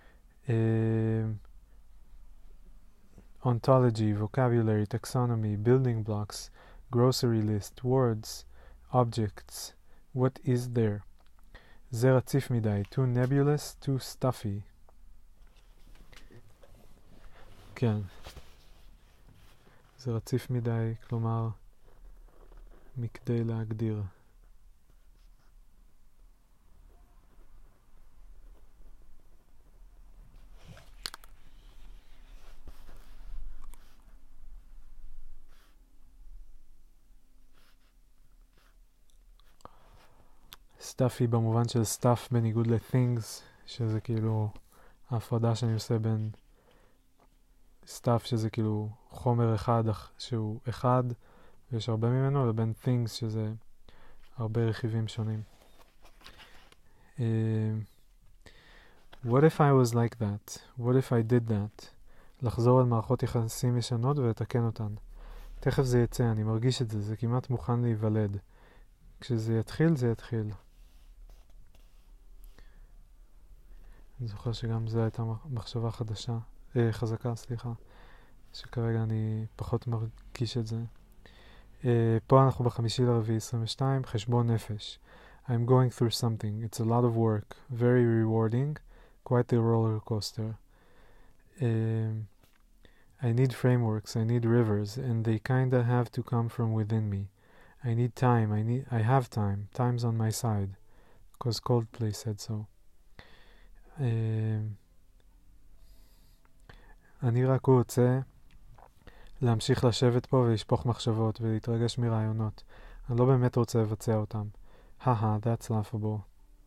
Ontology, vocabulary, taxonomy, building blocks, grocery list, words, objects. What is there? זה רציף מדי. Too nebulous, too stuffy. כן. זה רציף מדי, כלומר, מכדי להגדיר. stuffy במובן של stuff בניגוד ל-things, שזה כאילו ההפרדה שאני עושה בין stuff שזה כאילו חומר אחד שהוא אחד ויש הרבה ממנו, לבין things שזה הרבה רכיבים שונים. What if I was like that? What if I did that? לחזור על מערכות יחסים ישנות ולתקן אותן. תכף זה יצא, אני מרגיש את זה, זה כמעט מוכן להיוולד. כשזה יתחיל, זה יתחיל. אני זוכר שגם זו הייתה מחשבה חזקה, שכרגע אני פחות מרגיש את זה. פה אנחנו ב5/4/22, חשבון נפש. I'm going through something. It's a lot of work. Very rewarding. Quite a roller coaster. I need frameworks. I need rivers. And they kinda have to come from within me. I need time. I have time. Time's on my side. Because Coldplay said so. אני רק רוצה להמשיך לשבת פה ולשפוך מחשבות ולהתרגש מרעיונות. אני לא באמת רוצה לבצע אותם. that's laughable.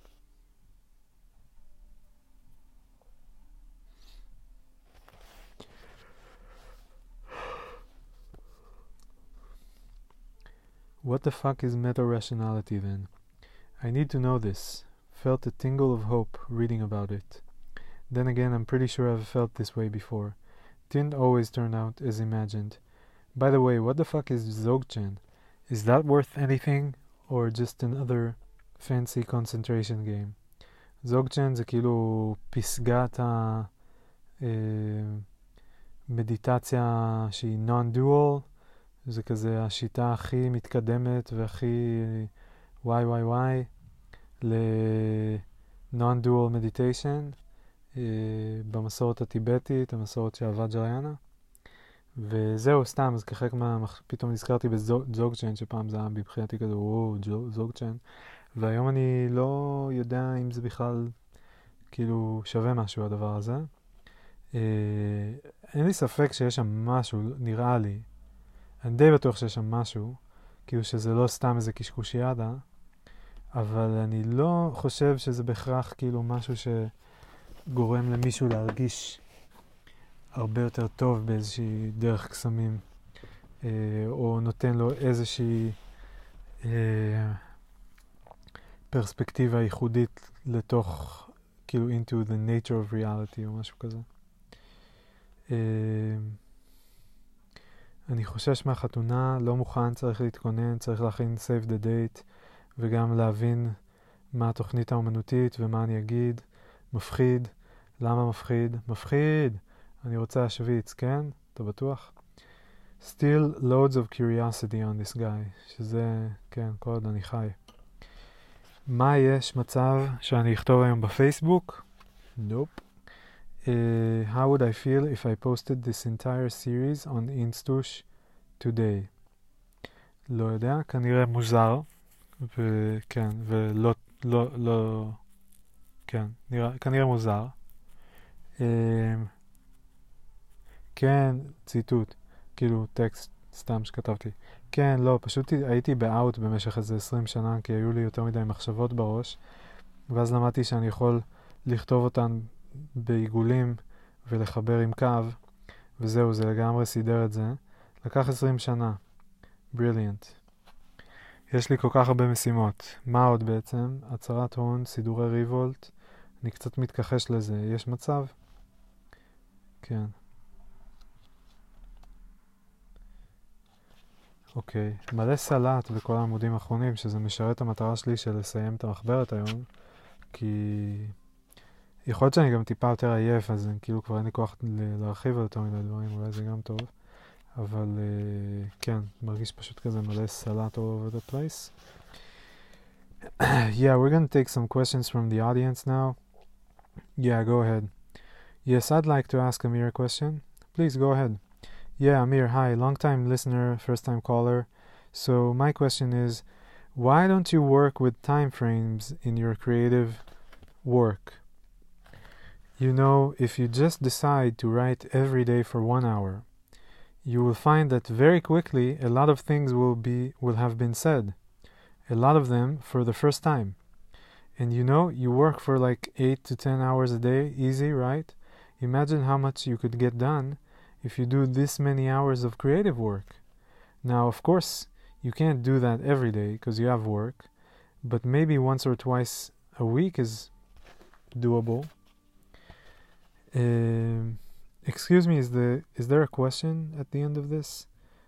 What the fuck is meta-rationality then? I need to know this. Felt a tingle of hope reading about it. Then again, I'm pretty sure I've felt this way before. Didn't always turn out as imagined. By the way, what the fuck is Dzogchen? Is that worth anything? Or just another fancy concentration game? Dzogchen זה כאילו פסגת המדיטציה שהיא non-dual. זה כזה השיטה הכי מתקדמת והכי וואי ל-non-dual meditation במסורת הטיבטית, המסורת של הוואג'ריאנה. וזהו, סתם, אז כחלק פתאום נזכרתי בזוגצ'ן, שפעם זה היה בבחינתי כזה, זוגצ'ן. והיום אני לא יודע אם זה בכלל כאילו שווה משהו הדבר הזה. אין לי ספק שיש שם משהו, נראה לי. אני די בטוח שיש שם משהו, כאילו שזה לא סתם איזה קשקושיאדה, אבל אני לא חושב שזה בהכרח כאילו משהו שגורם למישהו להרגיש הרבה יותר טוב באיזושהי דרך קסמים, או נותן לו איזושהי פרספקטיבה ייחודית לתוך, כאילו into the nature of reality או משהו כזה. אני חושש מהחתונה, לא מוכן, צריך להתכונן, צריך להכין save the date, וגם להבין מה התוכנית האומנותית ומה אני אגיד. מפחיד. למה מפחיד? מפחיד! אני רוצה להשוויץ, כן? אתה בטוח? Still loads of curiosity on this guy, שזה, כן, כל עוד אני חי. מה יש מצב שאני אכתוב היום בפייסבוק? Nope. How would I feel if I posted this entire series on Instush today? לא יודע, כנראה מוזר, וכן, ולא, כן, כנראה מוזר. כן, ציטוט, כאילו טקסט סתם שכתבתי. כן, לא, פשוט הייתי באוט במשך איזה 20 שנה, כי היו לי יותר מדי מחשבות בראש, ואז למדתי שאני יכול לכתוב אותן בעיגולים ולחבר עם קו, וזהו, זה לגמרי סידר את זה. לקח 20 שנה. בריליאנט. יש לי כל כך הרבה משימות. מה עוד בעצם? הצהרת הון, סידורי ריבולט. אני קצת מתכחש לזה. יש מצב? כן. אוקיי. מלא סלט בכל העמודים האחרונים, שזה משרת המטרה שלי של לסיים את המחברת היום, כי יכול להיות שאני גם טיפה יותר עייף, אז כאילו כבר אין לי כוח להרחיב על יותר מדי דברים, אולי זה גם טוב. אבל כן, מרגיש פשוט כזה מלא סלט all over the place. Yeah, we're going to take some questions from the audience now. Yeah, go ahead. Yes, I'd like to ask Amir a question. Please go ahead. Yeah, Amir, hi, long-time listener, first-time caller. So my question is, why don't you work with time frames in your creative work? You know, if you just decide to write every day for 1 hour, you will find that very quickly a lot of things will have been said. A lot of them for the first time. And you know, you work for like 8 to 10 hours a day, easy, right? Imagine how much you could get done if you do this many hours of creative work. Now, of course, you can't do that every day because you have work, but maybe once or twice a week is doable. Excuse me, is there a question at the end of this?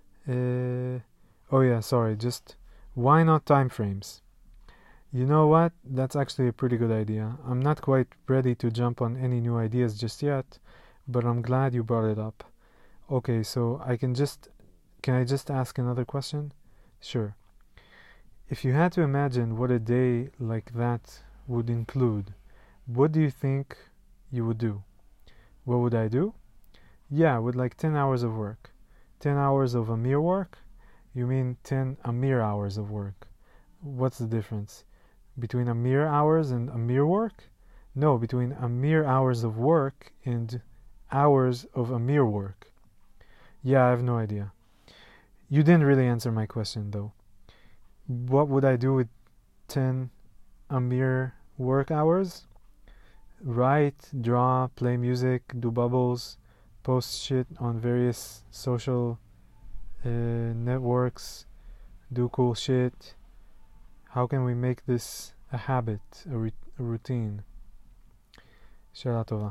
Oh yeah, sorry, just why not time frames? You know what? That's actually a pretty good idea. I'm not quite ready to jump on any new ideas just yet, but I'm glad you brought it up. Okay, so can I just ask another question? Sure. If you had to imagine what a day like that would include, what do you think you would do? What would I do? Yeah, with like 10 hours of work. 10 hours of Amir work? You mean 10 Amir hours of work. What's the difference? Between Amir hours and Amir work? No, between Amir hours of work and hours of Amir work. Yeah, I have no idea. You didn't really answer my question though. What would I do with 10 Amir work hours? Write, draw, play music, do bubbles, post shit on various social networks, do cool shit. How can we make this a habit, a routine? שאלה טובה.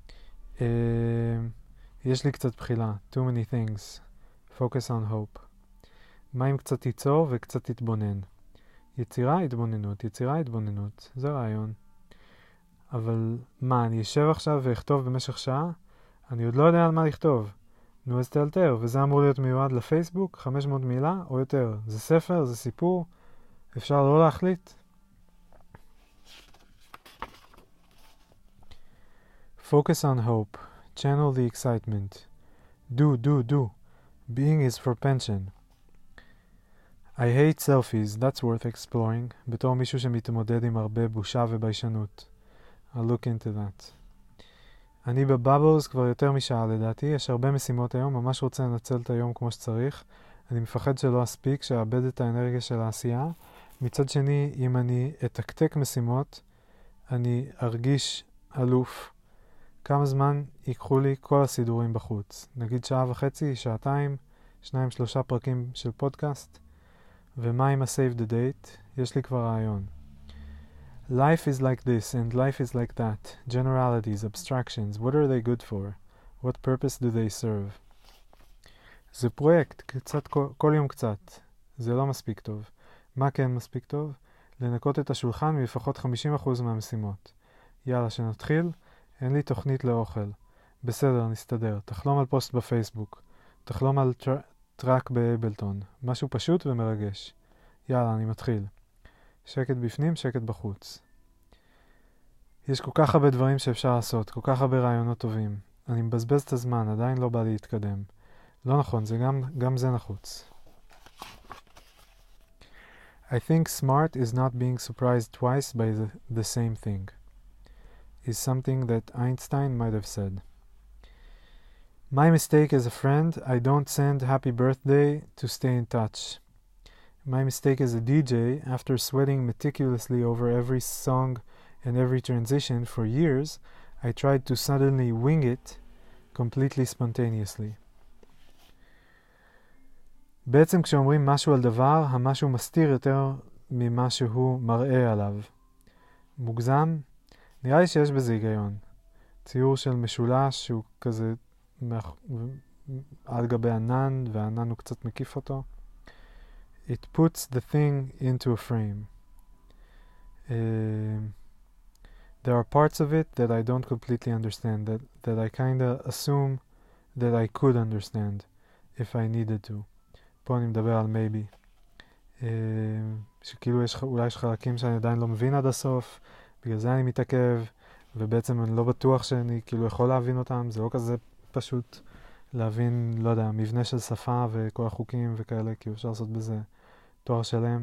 יש לי קצת בחילה. Too many things. Focus on hope. מה אם קצת תיצור וקצת תתבונן? יצירה, התבוננות. יצירה, התבוננות. זה רעיון. אבל מה, אני אשב עכשיו ואכתוב במשך שעה? אני עוד לא יודע על מה לכתוב. נו, אז תאלתר. וזה אמור להיות מיועד לפייסבוק? 500 מילה או יותר? זה ספר? זה סיפור? אפשר לא להחליט? Focus on hope. Channel the excitement. Do. Being is for pension. I hate selfies. That's worth exploring. בתור מישהו שמתמודד עם הרבה בושה וביישנות. I'll look into that. אני בבאבלס כבר יותר משעה לדעתי. יש הרבה משימות היום. ממש רוצה לנצל את היום כמו שצריך. אני מפחד שלא אספיק, שאאבד את האנרגיה של העשייה. מצד שני, אם אני אתקתק משימות, אני ארגיש אלוף. כמה זמן ייקחו לי כל הסידורים בחוץ? נגיד שעה וחצי, שעתיים, 2-3 פרקים של פודקאסט. ומה עם ה-save the date? יש לי כבר רעיון. Life is like this and life is like that. Generalities, abstractions, what are they good for? What purpose do they serve? זה פרויקט, קצת, כל יום קצת. זה לא מספיק טוב. מה כן מספיק טוב? לנקות את השולחן מלפחות 50% מהמשימות. יאללה, שנתחיל. אין לי תוכנית לאוכל. בסדר, נסתדר. תחלום על פוסט בפייסבוק. תחלום על טראק באבלטון. משהו פשוט ומרגש. יאללה, אני מתחיל. שקט בפנים, שקט בחוץ. יש כל כך הרבה דברים שאפשר לעשות, כל כך הרבה רעיונות טובים. אני מבזבז את הזמן, עדיין לא בא להתקדם. לא נכון, זה גם זה נחוץ. I think smart is not being surprised twice by the same thing. Is something that Einstein might have said. My mistake as a friend, I don't send happy birthday to stay in touch. My mistake as a DJ, after sweating meticulously over every song and every transition for years, I tried to suddenly wing it completely spontaneously. בעצם כשאומרים משהו על דבר, המשהו מסתיר יותר ממה שהוא מראה עליו. מוגזם? נראה לי שיש בזה היגיון. ציור של משולש שהוא כזה על גבי ענן, והענן הוא קצת מקיף אותו. It puts the thing into a frame. There are parts of it that I don't completely understand, that I kind of assume that I could understand if I needed to. פה אני מדבר על maybe. שכאילו אולי יש חלקים שאני עדיין לא מבין עד הסוף, בגלל זה אני מתעכב, ובעצם אני לא בטוח שאני כאילו יכול להבין אותם, זה לא כזה פשוט להבין, לא יודע, מבנה של שפה וכל החוקים וכאלה, כי אפשר לעשות בזה תואר שלם.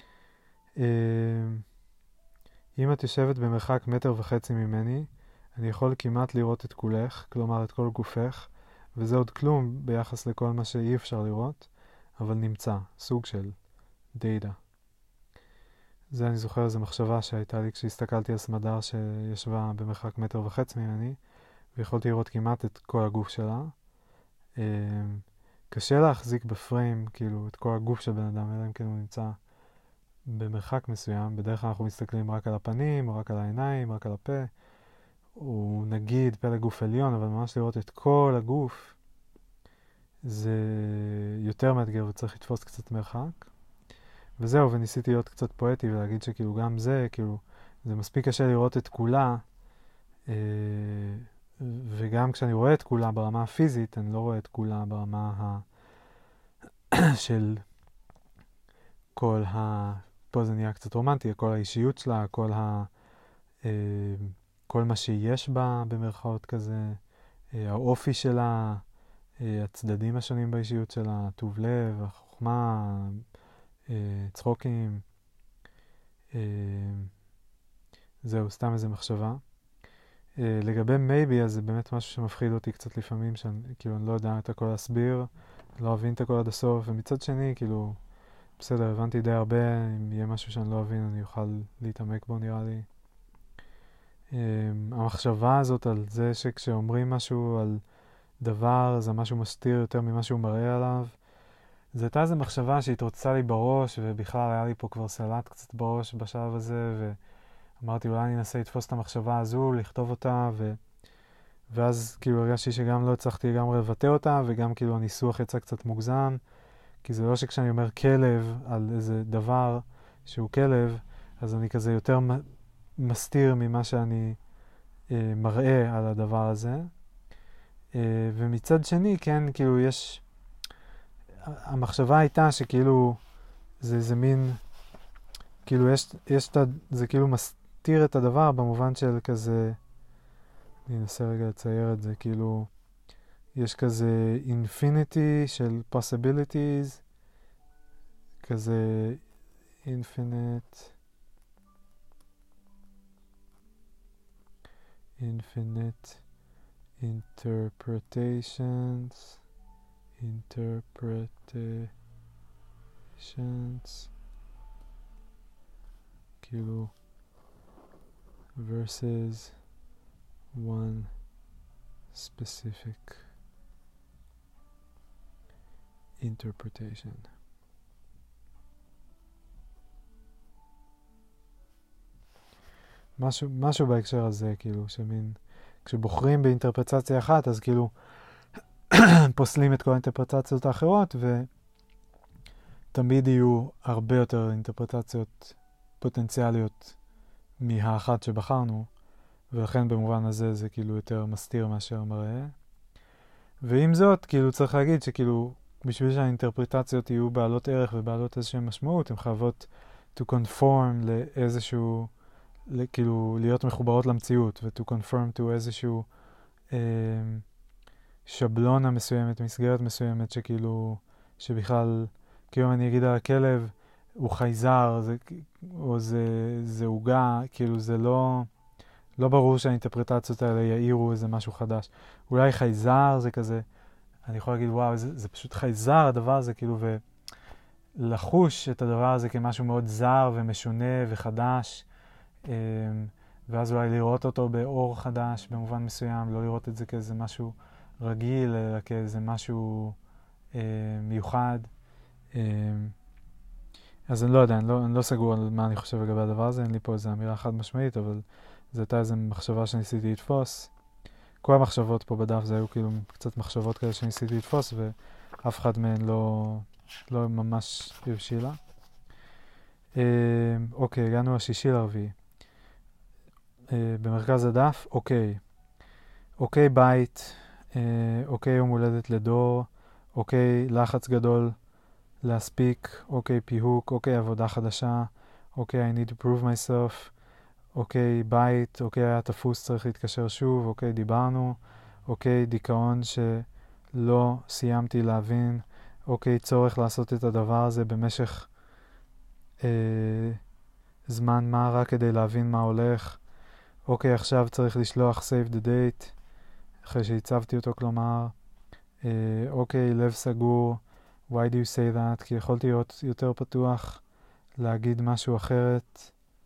אם את יושבת במרחק 1.5 מטר ממני, אני יכול כמעט לראות את כולך, כלומר את כל גופך, וזה עוד כלום ביחס לכל מה שאי אפשר לראות, אבל נמצא, סוג של דאטה. זה אני זוכר איזו מחשבה שהייתה לי כשהסתכלתי על סמדר שישבה במרחק 1.5 מטר ממני, ויכולתי לראות כמעט את כל הגוף שלה. קשה להחזיק בפריים, כאילו, את כל הגוף של בן אדם, אלא אם כן הוא נמצא במרחק מסוים. בדרך כלל אנחנו מסתכלים רק על הפנים, או רק על העיניים, רק על הפה, או נגיד פלג גוף עליון, אבל ממש לראות את כל הגוף, זה יותר מאתגר וצריך לתפוס קצת מרחק. וזהו, וניסיתי להיות קצת פואטי ולהגיד שכאילו גם זה, כאילו, זה מספיק קשה לראות את כולה, וגם כשאני רואה את כולה ברמה הפיזית, אני לא רואה את כולה ברמה של כל פה זה נהיה קצת רומנטי, כל האישיות שלה, כל מה שיש בה במרכאות כזה, האופי שלה, הצדדים השונים באישיות שלה, טוב לב, החוכמה, צחוקים. זהו, סתם איזה מחשבה. לגבי maybe, אז זה באמת משהו שמפחיד אותי קצת לפעמים, שאני כאילו אני לא יודע את הכל להסביר, לא אבין את הכל עד הסוף, ומצד שני, כאילו, בסדר, הבנתי די הרבה, אם יהיה משהו שאני לא אבין, אני אוכל להתעמק בו נראה לי. המחשבה הזאת על זה שכשאומרים משהו על דבר, זה משהו מסתיר יותר ממה שהוא מראה עליו, זו הייתה איזו מחשבה שהתרוצצה לי בראש, ובכלל היה לי פה כבר סלט קצת בראש בשלב הזה, ואמרתי אולי אני אנסה לתפוס את המחשבה הזו, לכתוב אותה, ואז כאילו הרגשתי שגם לא הצלחתי לגמרי לבטא אותה, וגם כאילו הניסוח יצא קצת מוגזם, כי זה לא שכשאני אומר כלב על איזה דבר שהוא כלב, אז אני כזה יותר מסתיר ממה שאני מראה על הדבר הזה. ומצד שני, כן, כאילו יש... המחשבה הייתה שכאילו זה איזה מין... כאילו זה כאילו מסתיר את הדבר במובן של כזה... אני אנסה רגע לצייר את זה, כאילו... יש כזה infinity של possibilities, כזה infinite interpretations כאילו versus one specific interpretation. משהו בהקשר הזה, כאילו, שמין, כשבוחרים באינטרפרטציה אחת, אז כאילו פוסלים את כל האינטרפרטציות האחרות, ותמיד יהיו הרבה יותר אינטרפרטציות פוטנציאליות מהאחת שבחרנו, ולכן במובן הזה זה כאילו יותר מסתיר מאשר מראה. ועם זאת, כאילו צריך להגיד שכאילו, בשביל שהאינטרפרטציות יהיו בעלות ערך ובעלות איזושהי משמעות, הן חייבות to conform לאיזשהו, כאילו להיות מחוברות למציאות, ו-to conform to איזשהו שבלונה מסוימת, מסגרת מסוימת, שכאילו, שבכלל, כאילו אני אגיד על הכלב, הוא חייזר, או זה עוגה, כאילו זה לא ברור שהאינטרפרטציות האלה יאירו איזה משהו חדש. אולי חייזר זה כזה, אני יכול להגיד, וואו, זה פשוט חייזר הדבר הזה, כאילו, ולחוש את הדבר הזה כמשהו מאוד זר ומשונה וחדש, ואז אולי לראות אותו באור חדש במובן מסוים, לא לראות את זה כאיזה משהו רגיל, אלא כאיזה משהו מיוחד. אז אני לא יודע, אני לא סגור על מה אני חושב לגבי הדבר הזה, אין לי פה איזו אמירה חד משמעית, אבל זו הייתה איזו מחשבה שניסיתי לתפוס. כל המחשבות פה בדף זה היו כאילו קצת מחשבות כאלה שניסיתי לתפוס, ואף אחד מהן לא ממש הבשילה. אוקיי, הגענו השישי לרביעי. במרכז הדף, אוקיי. אוקיי בית, אוקיי יום הולדת לדור, אוקיי לחץ גדול להספיק, אוקיי פיהוק, אוקיי עבודה חדשה, אוקיי I need to prove myself, אוקיי בית, אוקיי היה תפוס צריך להתקשר שוב, אוקיי דיברנו, אוקיי דיכאון שלא סיימתי להבין, אוקיי צורך לעשות את הדבר הזה במשך זמן מה רק כדי להבין מה הולך, אוקיי עכשיו צריך לשלוח save the date אחרי שהצבתי אותו, כלומר אוקיי לב סגור, why do you say that, כי יכולתי להיות יותר פתוח להגיד משהו אחרת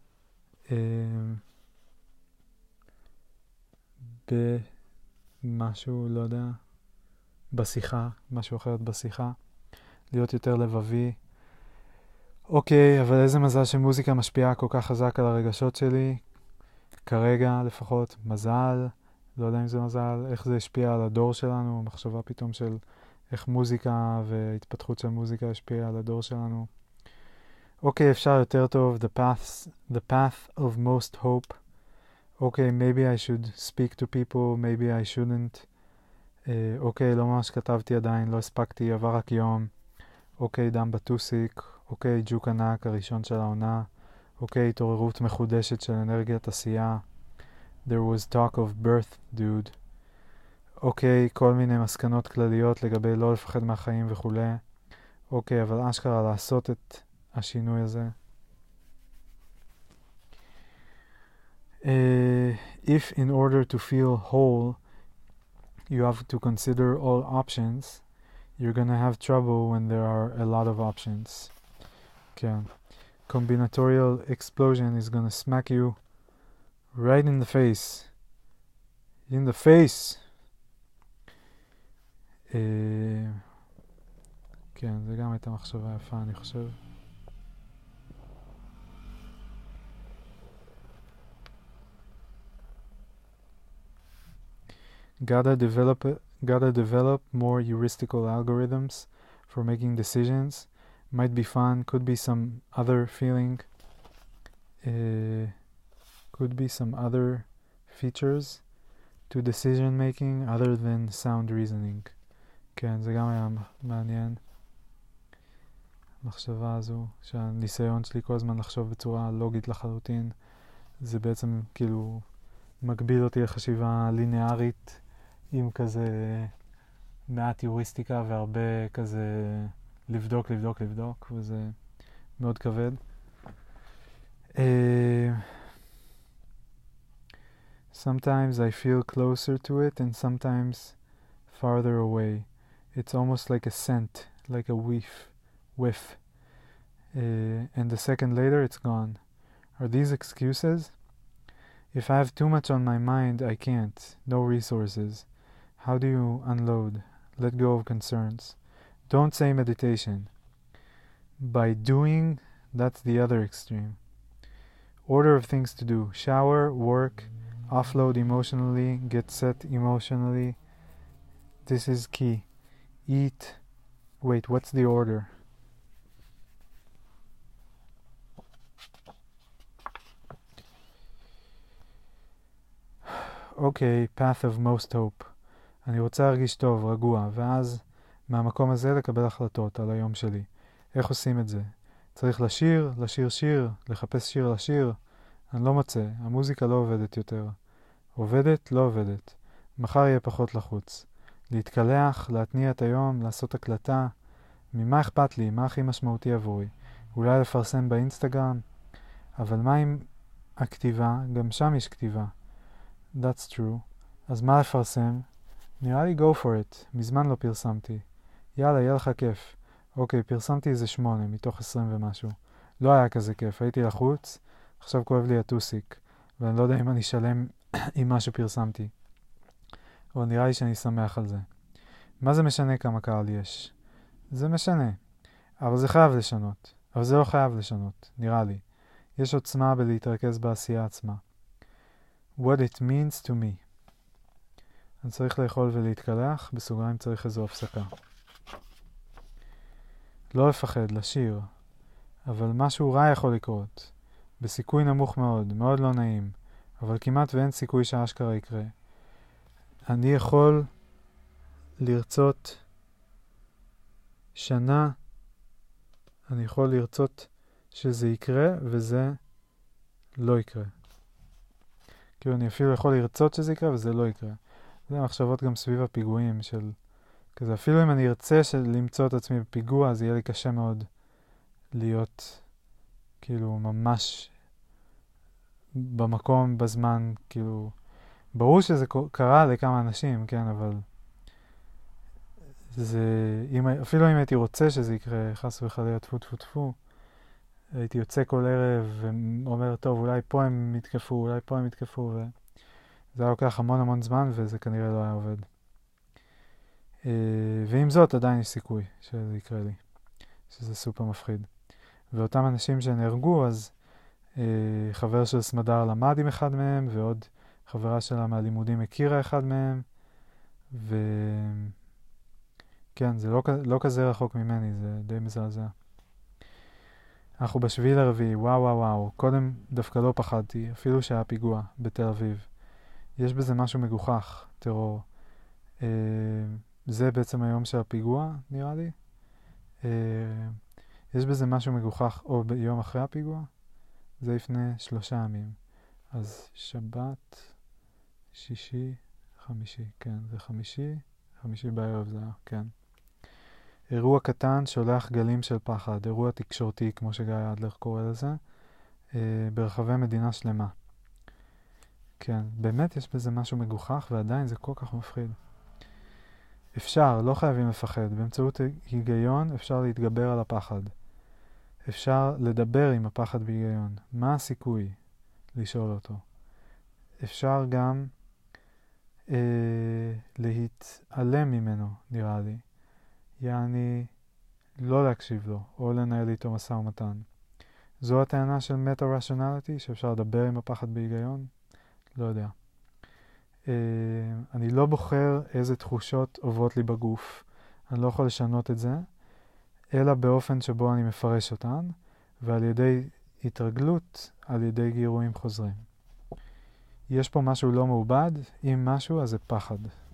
במשהו, לא יודע, בשיחה, משהו אחרת בשיחה, להיות יותר לבבי. אוקיי, אבל איזה מזל שמוזיקה משפיעה כל כך חזק על הרגשות שלי, כרגע לפחות, מזל, לא יודע אם זה מזל, איך זה השפיע על הדור שלנו, מחשבה פתאום של איך מוזיקה והתפתחות של מוזיקה השפיעה על הדור שלנו. אוקיי, אפשר יותר טוב, the path of most hope. אוקיי, maybe I should speak to people, maybe I shouldn't. אוקיי, לא ממש כתבתי עדיין, לא הספקתי, עבר רק יום. אוקיי, דם בטוסיק. אוקיי, ג'וק ענק, הראשון של העונה. אוקיי, התעוררות מחודשת של אנרגיית עשייה. There was talk of birth, dude. אוקיי, כל מיני מסקנות כלליות לגבי לא לפחד מהחיים וכו'. אוקיי, אבל אשכרה לעשות את השינוי הזה. if in order to feel whole you have to consider all options, you're gonna have trouble when there are a lot of options. Okay. Combinatorial explosion is gonna smack you right in the face. In the face! כן, זה גם הייתה מחשבה יפה, אני חושב. Gotta develop more heuristical algorithms for making decisions. Might be fun, could be some other feeling, could be some other features to decision making other than sound reasoning. כן, זה גם היה מעניין. המחשבה הזו, שהניסיון שלי כל הזמן לחשוב בצורה לוגית לחלוטין, זה בעצם כאילו מגביל אותי לחשיבה ליניארית עם כזה מעט יוריסטיקה והרבה כזה לבדוק, וזה מאוד כבד. Sometimes I feel closer to it and sometimes farther away. It's almost like a scent, like a whiff. And a second later it's gone. Are these excuses? If I have too much on my mind, I can't. No resources. How do you unload? Let go of concerns. Don't say meditation. By doing, that's the other extreme. Order of things to do. Shower, work, offload emotionally, get set emotionally. This is key. Eat. Wait, what's the order? Okay, path of most hope. אני רוצה להרגיש טוב, רגוע, ואז מהמקום הזה לקבל החלטות על היום שלי. איך עושים את זה? צריך לשיר שיר, לחפש שיר לשיר. אני לא מוצא, המוזיקה לא עובדת יותר. עובדת, לא עובדת. מחר יהיה פחות לחוץ. להתקלח, להתניע את היום, לעשות הקלטה. ממה אכפת לי? מה הכי משמעותי עבורי? אולי לפרסם באינסטגרם? אבל מה עם הכתיבה? גם שם יש כתיבה. That's true. אז מה לפרסם? נראה לי go for it. מזמן לא פרסמתי. יאללה, יהיה לך כיף. אוקיי, פרסמתי איזה 8 מתוך 20 ומשהו. לא היה כזה כיף. הייתי לחוץ, עכשיו כואב לי הטוסיק. ואני לא יודע אם אני שלם עם מה שפרסמתי. אבל נראה לי שאני שמח על זה. מה זה משנה כמה קהל יש? זה משנה. אבל זה חייב לשנות. אבל זה לא חייב לשנות, נראה לי. יש עוצמה בלהתרכז בעשייה עצמה. What it means to me. אני צריך לאכול ולהתקלח, בסוגריים צריך איזו הפסקה. לא לפחד, לשיר. אבל משהו רע יכול לקרות. בסיכוי נמוך מאוד, מאוד לא נעים. אבל כמעט ואין סיכוי שהאשכרה יקרה. אני יכול לרצות שנה, אני יכול לרצות שזה יקרה וזה לא יקרה. כאילו אני אפילו יכול לרצות שזה יקרה וזה לא יקרה. זה מחשבות גם סביב הפיגועים של כזה. אפילו אם אני ארצה למצוא את עצמי בפיגוע, אז יהיה לי קשה מאוד להיות כאילו ממש במקום, בזמן, כאילו ברור שזה קרה לכמה אנשים, כן, אבל זה, אפילו אם הייתי רוצה שזה יקרה, חס וחלילה, טפו, הייתי יוצא כל ערב ואומר, טוב, אולי פה הם יתקפו, וזה היה לוקח המון זמן, וזה כנראה לא היה עובד. ועם זאת, עדיין יש סיכוי שזה יקרה לי, שזה סופר מפחיד. ואותם אנשים שנהרגו, אז חבר של סמדר למד עם אחד מהם, ועוד חברה שלה מהלימודים הכירה אחד מהם, כן, זה לא כזה רחוק ממני, זה די מזעזע. אנחנו בשביעי לרביעי, וואו, קודם דווקא לא פחדתי, אפילו שהיה פיגוע בתל אביב. יש בזה משהו מגוחך, טרור. זה בעצם היום של הפיגוע, נראה לי. יש בזה משהו מגוחך, או ביום אחרי הפיגוע, זה לפני 3 ימים. אז שבת, שישי, חמישי, כן, זה חמישי בערב זה היה, כן. אירוע קטן שולח גלים של פחד, אירוע תקשורתי, כמו שגיא אדלר קורא לזה, ברחבי מדינה שלמה. כן, באמת יש בזה משהו מגוחך ועדיין זה כל כך מפחיד. אפשר, לא חייבים לפחד. באמצעות היגיון אפשר להתגבר על הפחד. אפשר לדבר עם הפחד בהיגיון. מה הסיכוי? לשאול אותו. אפשר גם להתעלם ממנו, נראה לי. יעני, לא להקשיב לו, או לנהל איתו משא ומתן. זו הטענה של מטה-רציונליטי, שאפשר לדבר עם הפחד בהיגיון? לא יודע. אני לא בוחר איזה תחושות עוברות לי בגוף. אני לא יכול לשנות את זה, אלא באופן שבו אני מפרש אותן, ועל ידי התרגלות, על ידי גירויים חוזרים. יש פה משהו לא מעובד, אם משהו, אז זה פחד.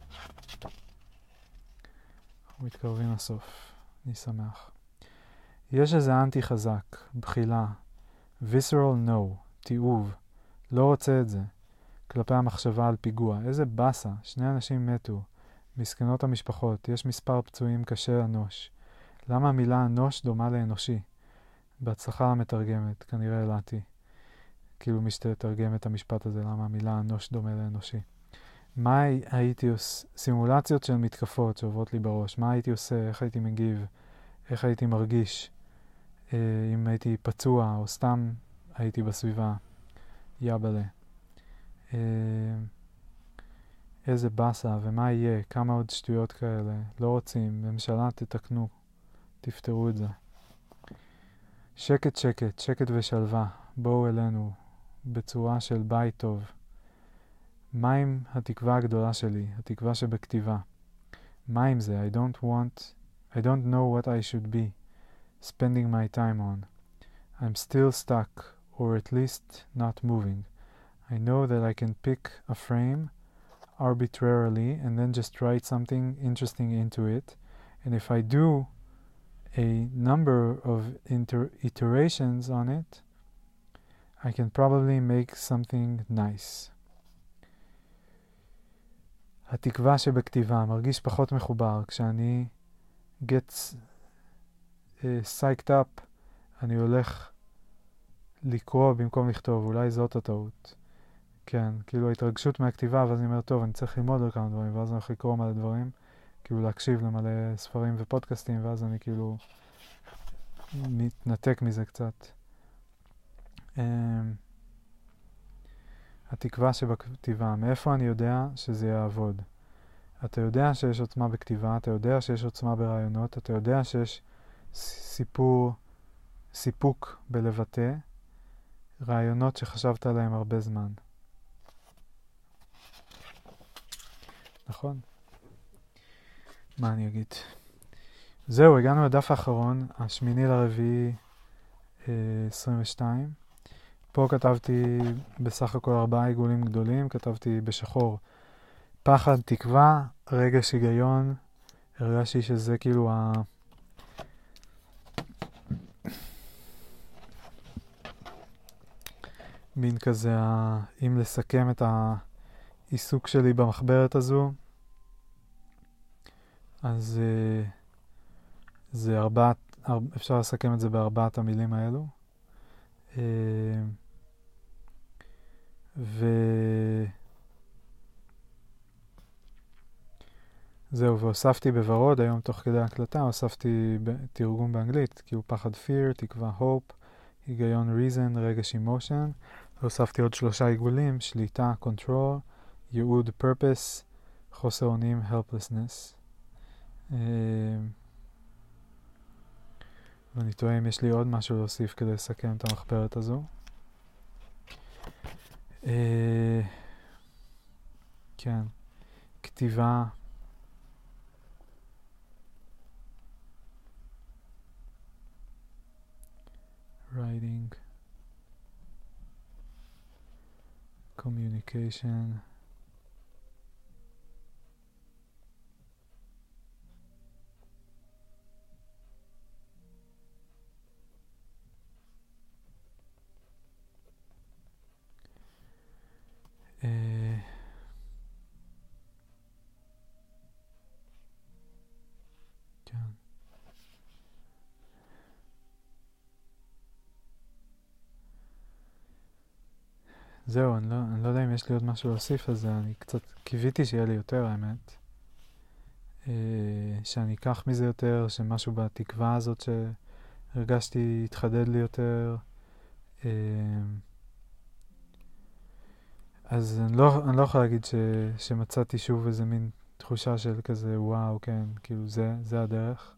אנחנו מתקרבים לסוף, אני שמח. יש איזה אנטי חזק, בחילה, visceral no, תיעוב, לא רוצה את זה, כלפי המחשבה על פיגוע. איזה בסה, 2 אנשים מתו, מסכנות המשפחות, יש מספר פצועים קשה אנוש. למה המילה אנוש דומה לאנושי? בהצלחה למתרגמת, כנראה אלעתי. כאילו מי שתתרגם את המשפט הזה, למה המילה אנוש דומה לאנושי. מה הייתי עושה? סימולציות של מתקפות שעוברות לי בראש. מה הייתי עושה? איך הייתי מגיב? איך הייתי מרגיש? אם הייתי פצוע או סתם הייתי בסביבה. יבלה. איזה בסה ומה יהיה? כמה עוד שטויות כאלה? לא רוצים. ממשלה תתקנו. תפתרו את זה. שקט שקט, שקט ושלווה. בואו אלינו בצורה של בית טוב. מה עם התקווה הגדולה שלי? התקווה שבכתיבה. מה עם זה? I don't know what I should be spending my time on. I'm still stuck, or at least not moving. I know that I can pick a frame arbitrarily and then just write something interesting into it. And if I do a number of iterations on it, I can probably make something nice. התקווה שבכתיבה מרגיש פחות מחובר. כשאני get psyched up, אני הולך לקרוא במקום לכתוב. אולי זאת הטעות. כן, כאילו ההתרגשות מהכתיבה, ואז אני אומר, טוב, אני צריך ללמוד על כמה דברים, ואז אני הולך לקרוא מלא דברים, כאילו להקשיב למלא ספרים ופודקאסטים, ואז אני כאילו מתנתק מזה קצת. התקווה שבכתיבה, מאיפה אני יודע שזה יעבוד? אתה יודע שיש עוצמה בכתיבה, אתה יודע שיש עוצמה ברעיונות, אתה יודע שיש סיפוק בלבטא רעיונות שחשבת עליהם הרבה זמן. נכון? מה אני אגיד? זהו, הגענו לדף האחרון, 8/4/22. פה כתבתי בסך הכל 4 עיגולים גדולים, כתבתי בשחור פחד, תקווה, רגש, היגיון. הרגשתי שזה כאילו מין כזה, אם לסכם את העיסוק שלי במחברת הזו, אז זה אפשר לסכם את זה ב4 המילים האלו. זהו, והוספתי בוורוד, היום תוך כדי הקלטה, הוספתי תרגום באנגלית, כאילו פחד fear, תקווה hope, היגיון reason, רגש emotion, והוספתי עוד 3 עיגולים, שליטה control, ייעוד purpose, חוסר אונים helplessness. ואני תוהה אם יש לי עוד משהו להוסיף כדי לסכם את המחברת הזו. כן, כתיבה, writing, communication, כן. זהו, אני לא יודע אם יש לי עוד משהו להוסיף לזה, אני קצת קיוויתי שיהיה לי יותר, האמת. שאני אקח מזה יותר, שמשהו בתקווה הזאת שהרגשתי יתחדד לי יותר. אז אני לא יכול להגיד שמצאתי שוב איזה מין תחושה של כזה, וואו, כן, כאילו זה הדרך.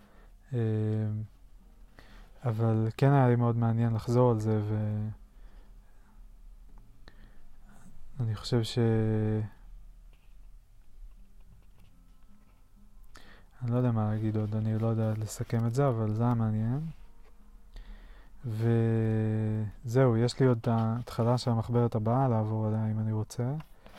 אבל כן היה לי מאוד מעניין לחזור על זה, ואני חושב אני לא יודע מה להגיד עוד, אני לא יודע לסכם את זה, אבל זה היה מעניין. וזהו, יש לי עוד את ההתחלה של המחברת הבאה לעבור עליה אם אני רוצה.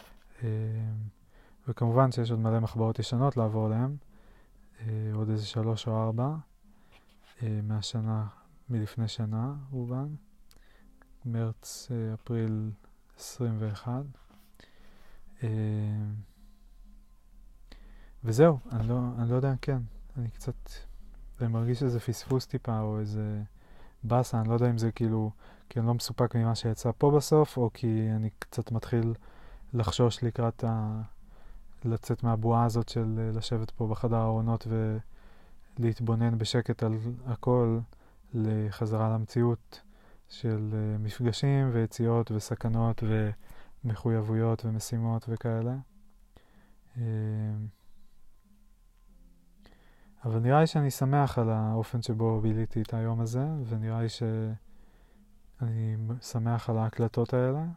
וכמובן שיש עוד מלא מחברות ישנות לעבור עליהן, עוד איזה 3 או 4 מהשנה, מלפני שנה רובן, מרץ, אפריל 21. וזהו, אני לא יודע, כן, אני קצת, אני מרגיש איזה פספוס טיפה או איזה בסה, אני לא יודע אם זה כאילו, כי אני לא מסופק ממה שיצא פה בסוף, או כי אני קצת מתחיל לחשוש לקראת לצאת מהבועה הזאת של לשבת פה בחדר הארונות ולהתבונן בשקט על הכל, לחזרה למציאות של מפגשים ויציאות וסכנות ומחויבויות ומשימות וכאלה. אבל נראה לי שאני שמח על האופן שבו ביליתי את היום הזה, ונראה לי שאני שמח על ההקלטות האלה.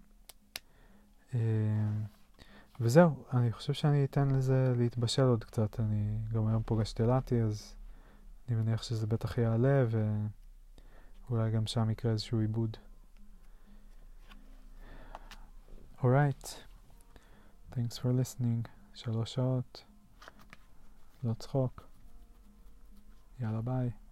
וזהו, אני חושב שאני אתן לזה להתבשל עוד קצת. אני גם היום פוגש תלעתי, אז אני מניח שזה בטח יעלה, ואולי גם שם יקרה איזשהו עיבוד. Alright, thanks for listening. 3 שעות, לא צחוק. יאללה ביי.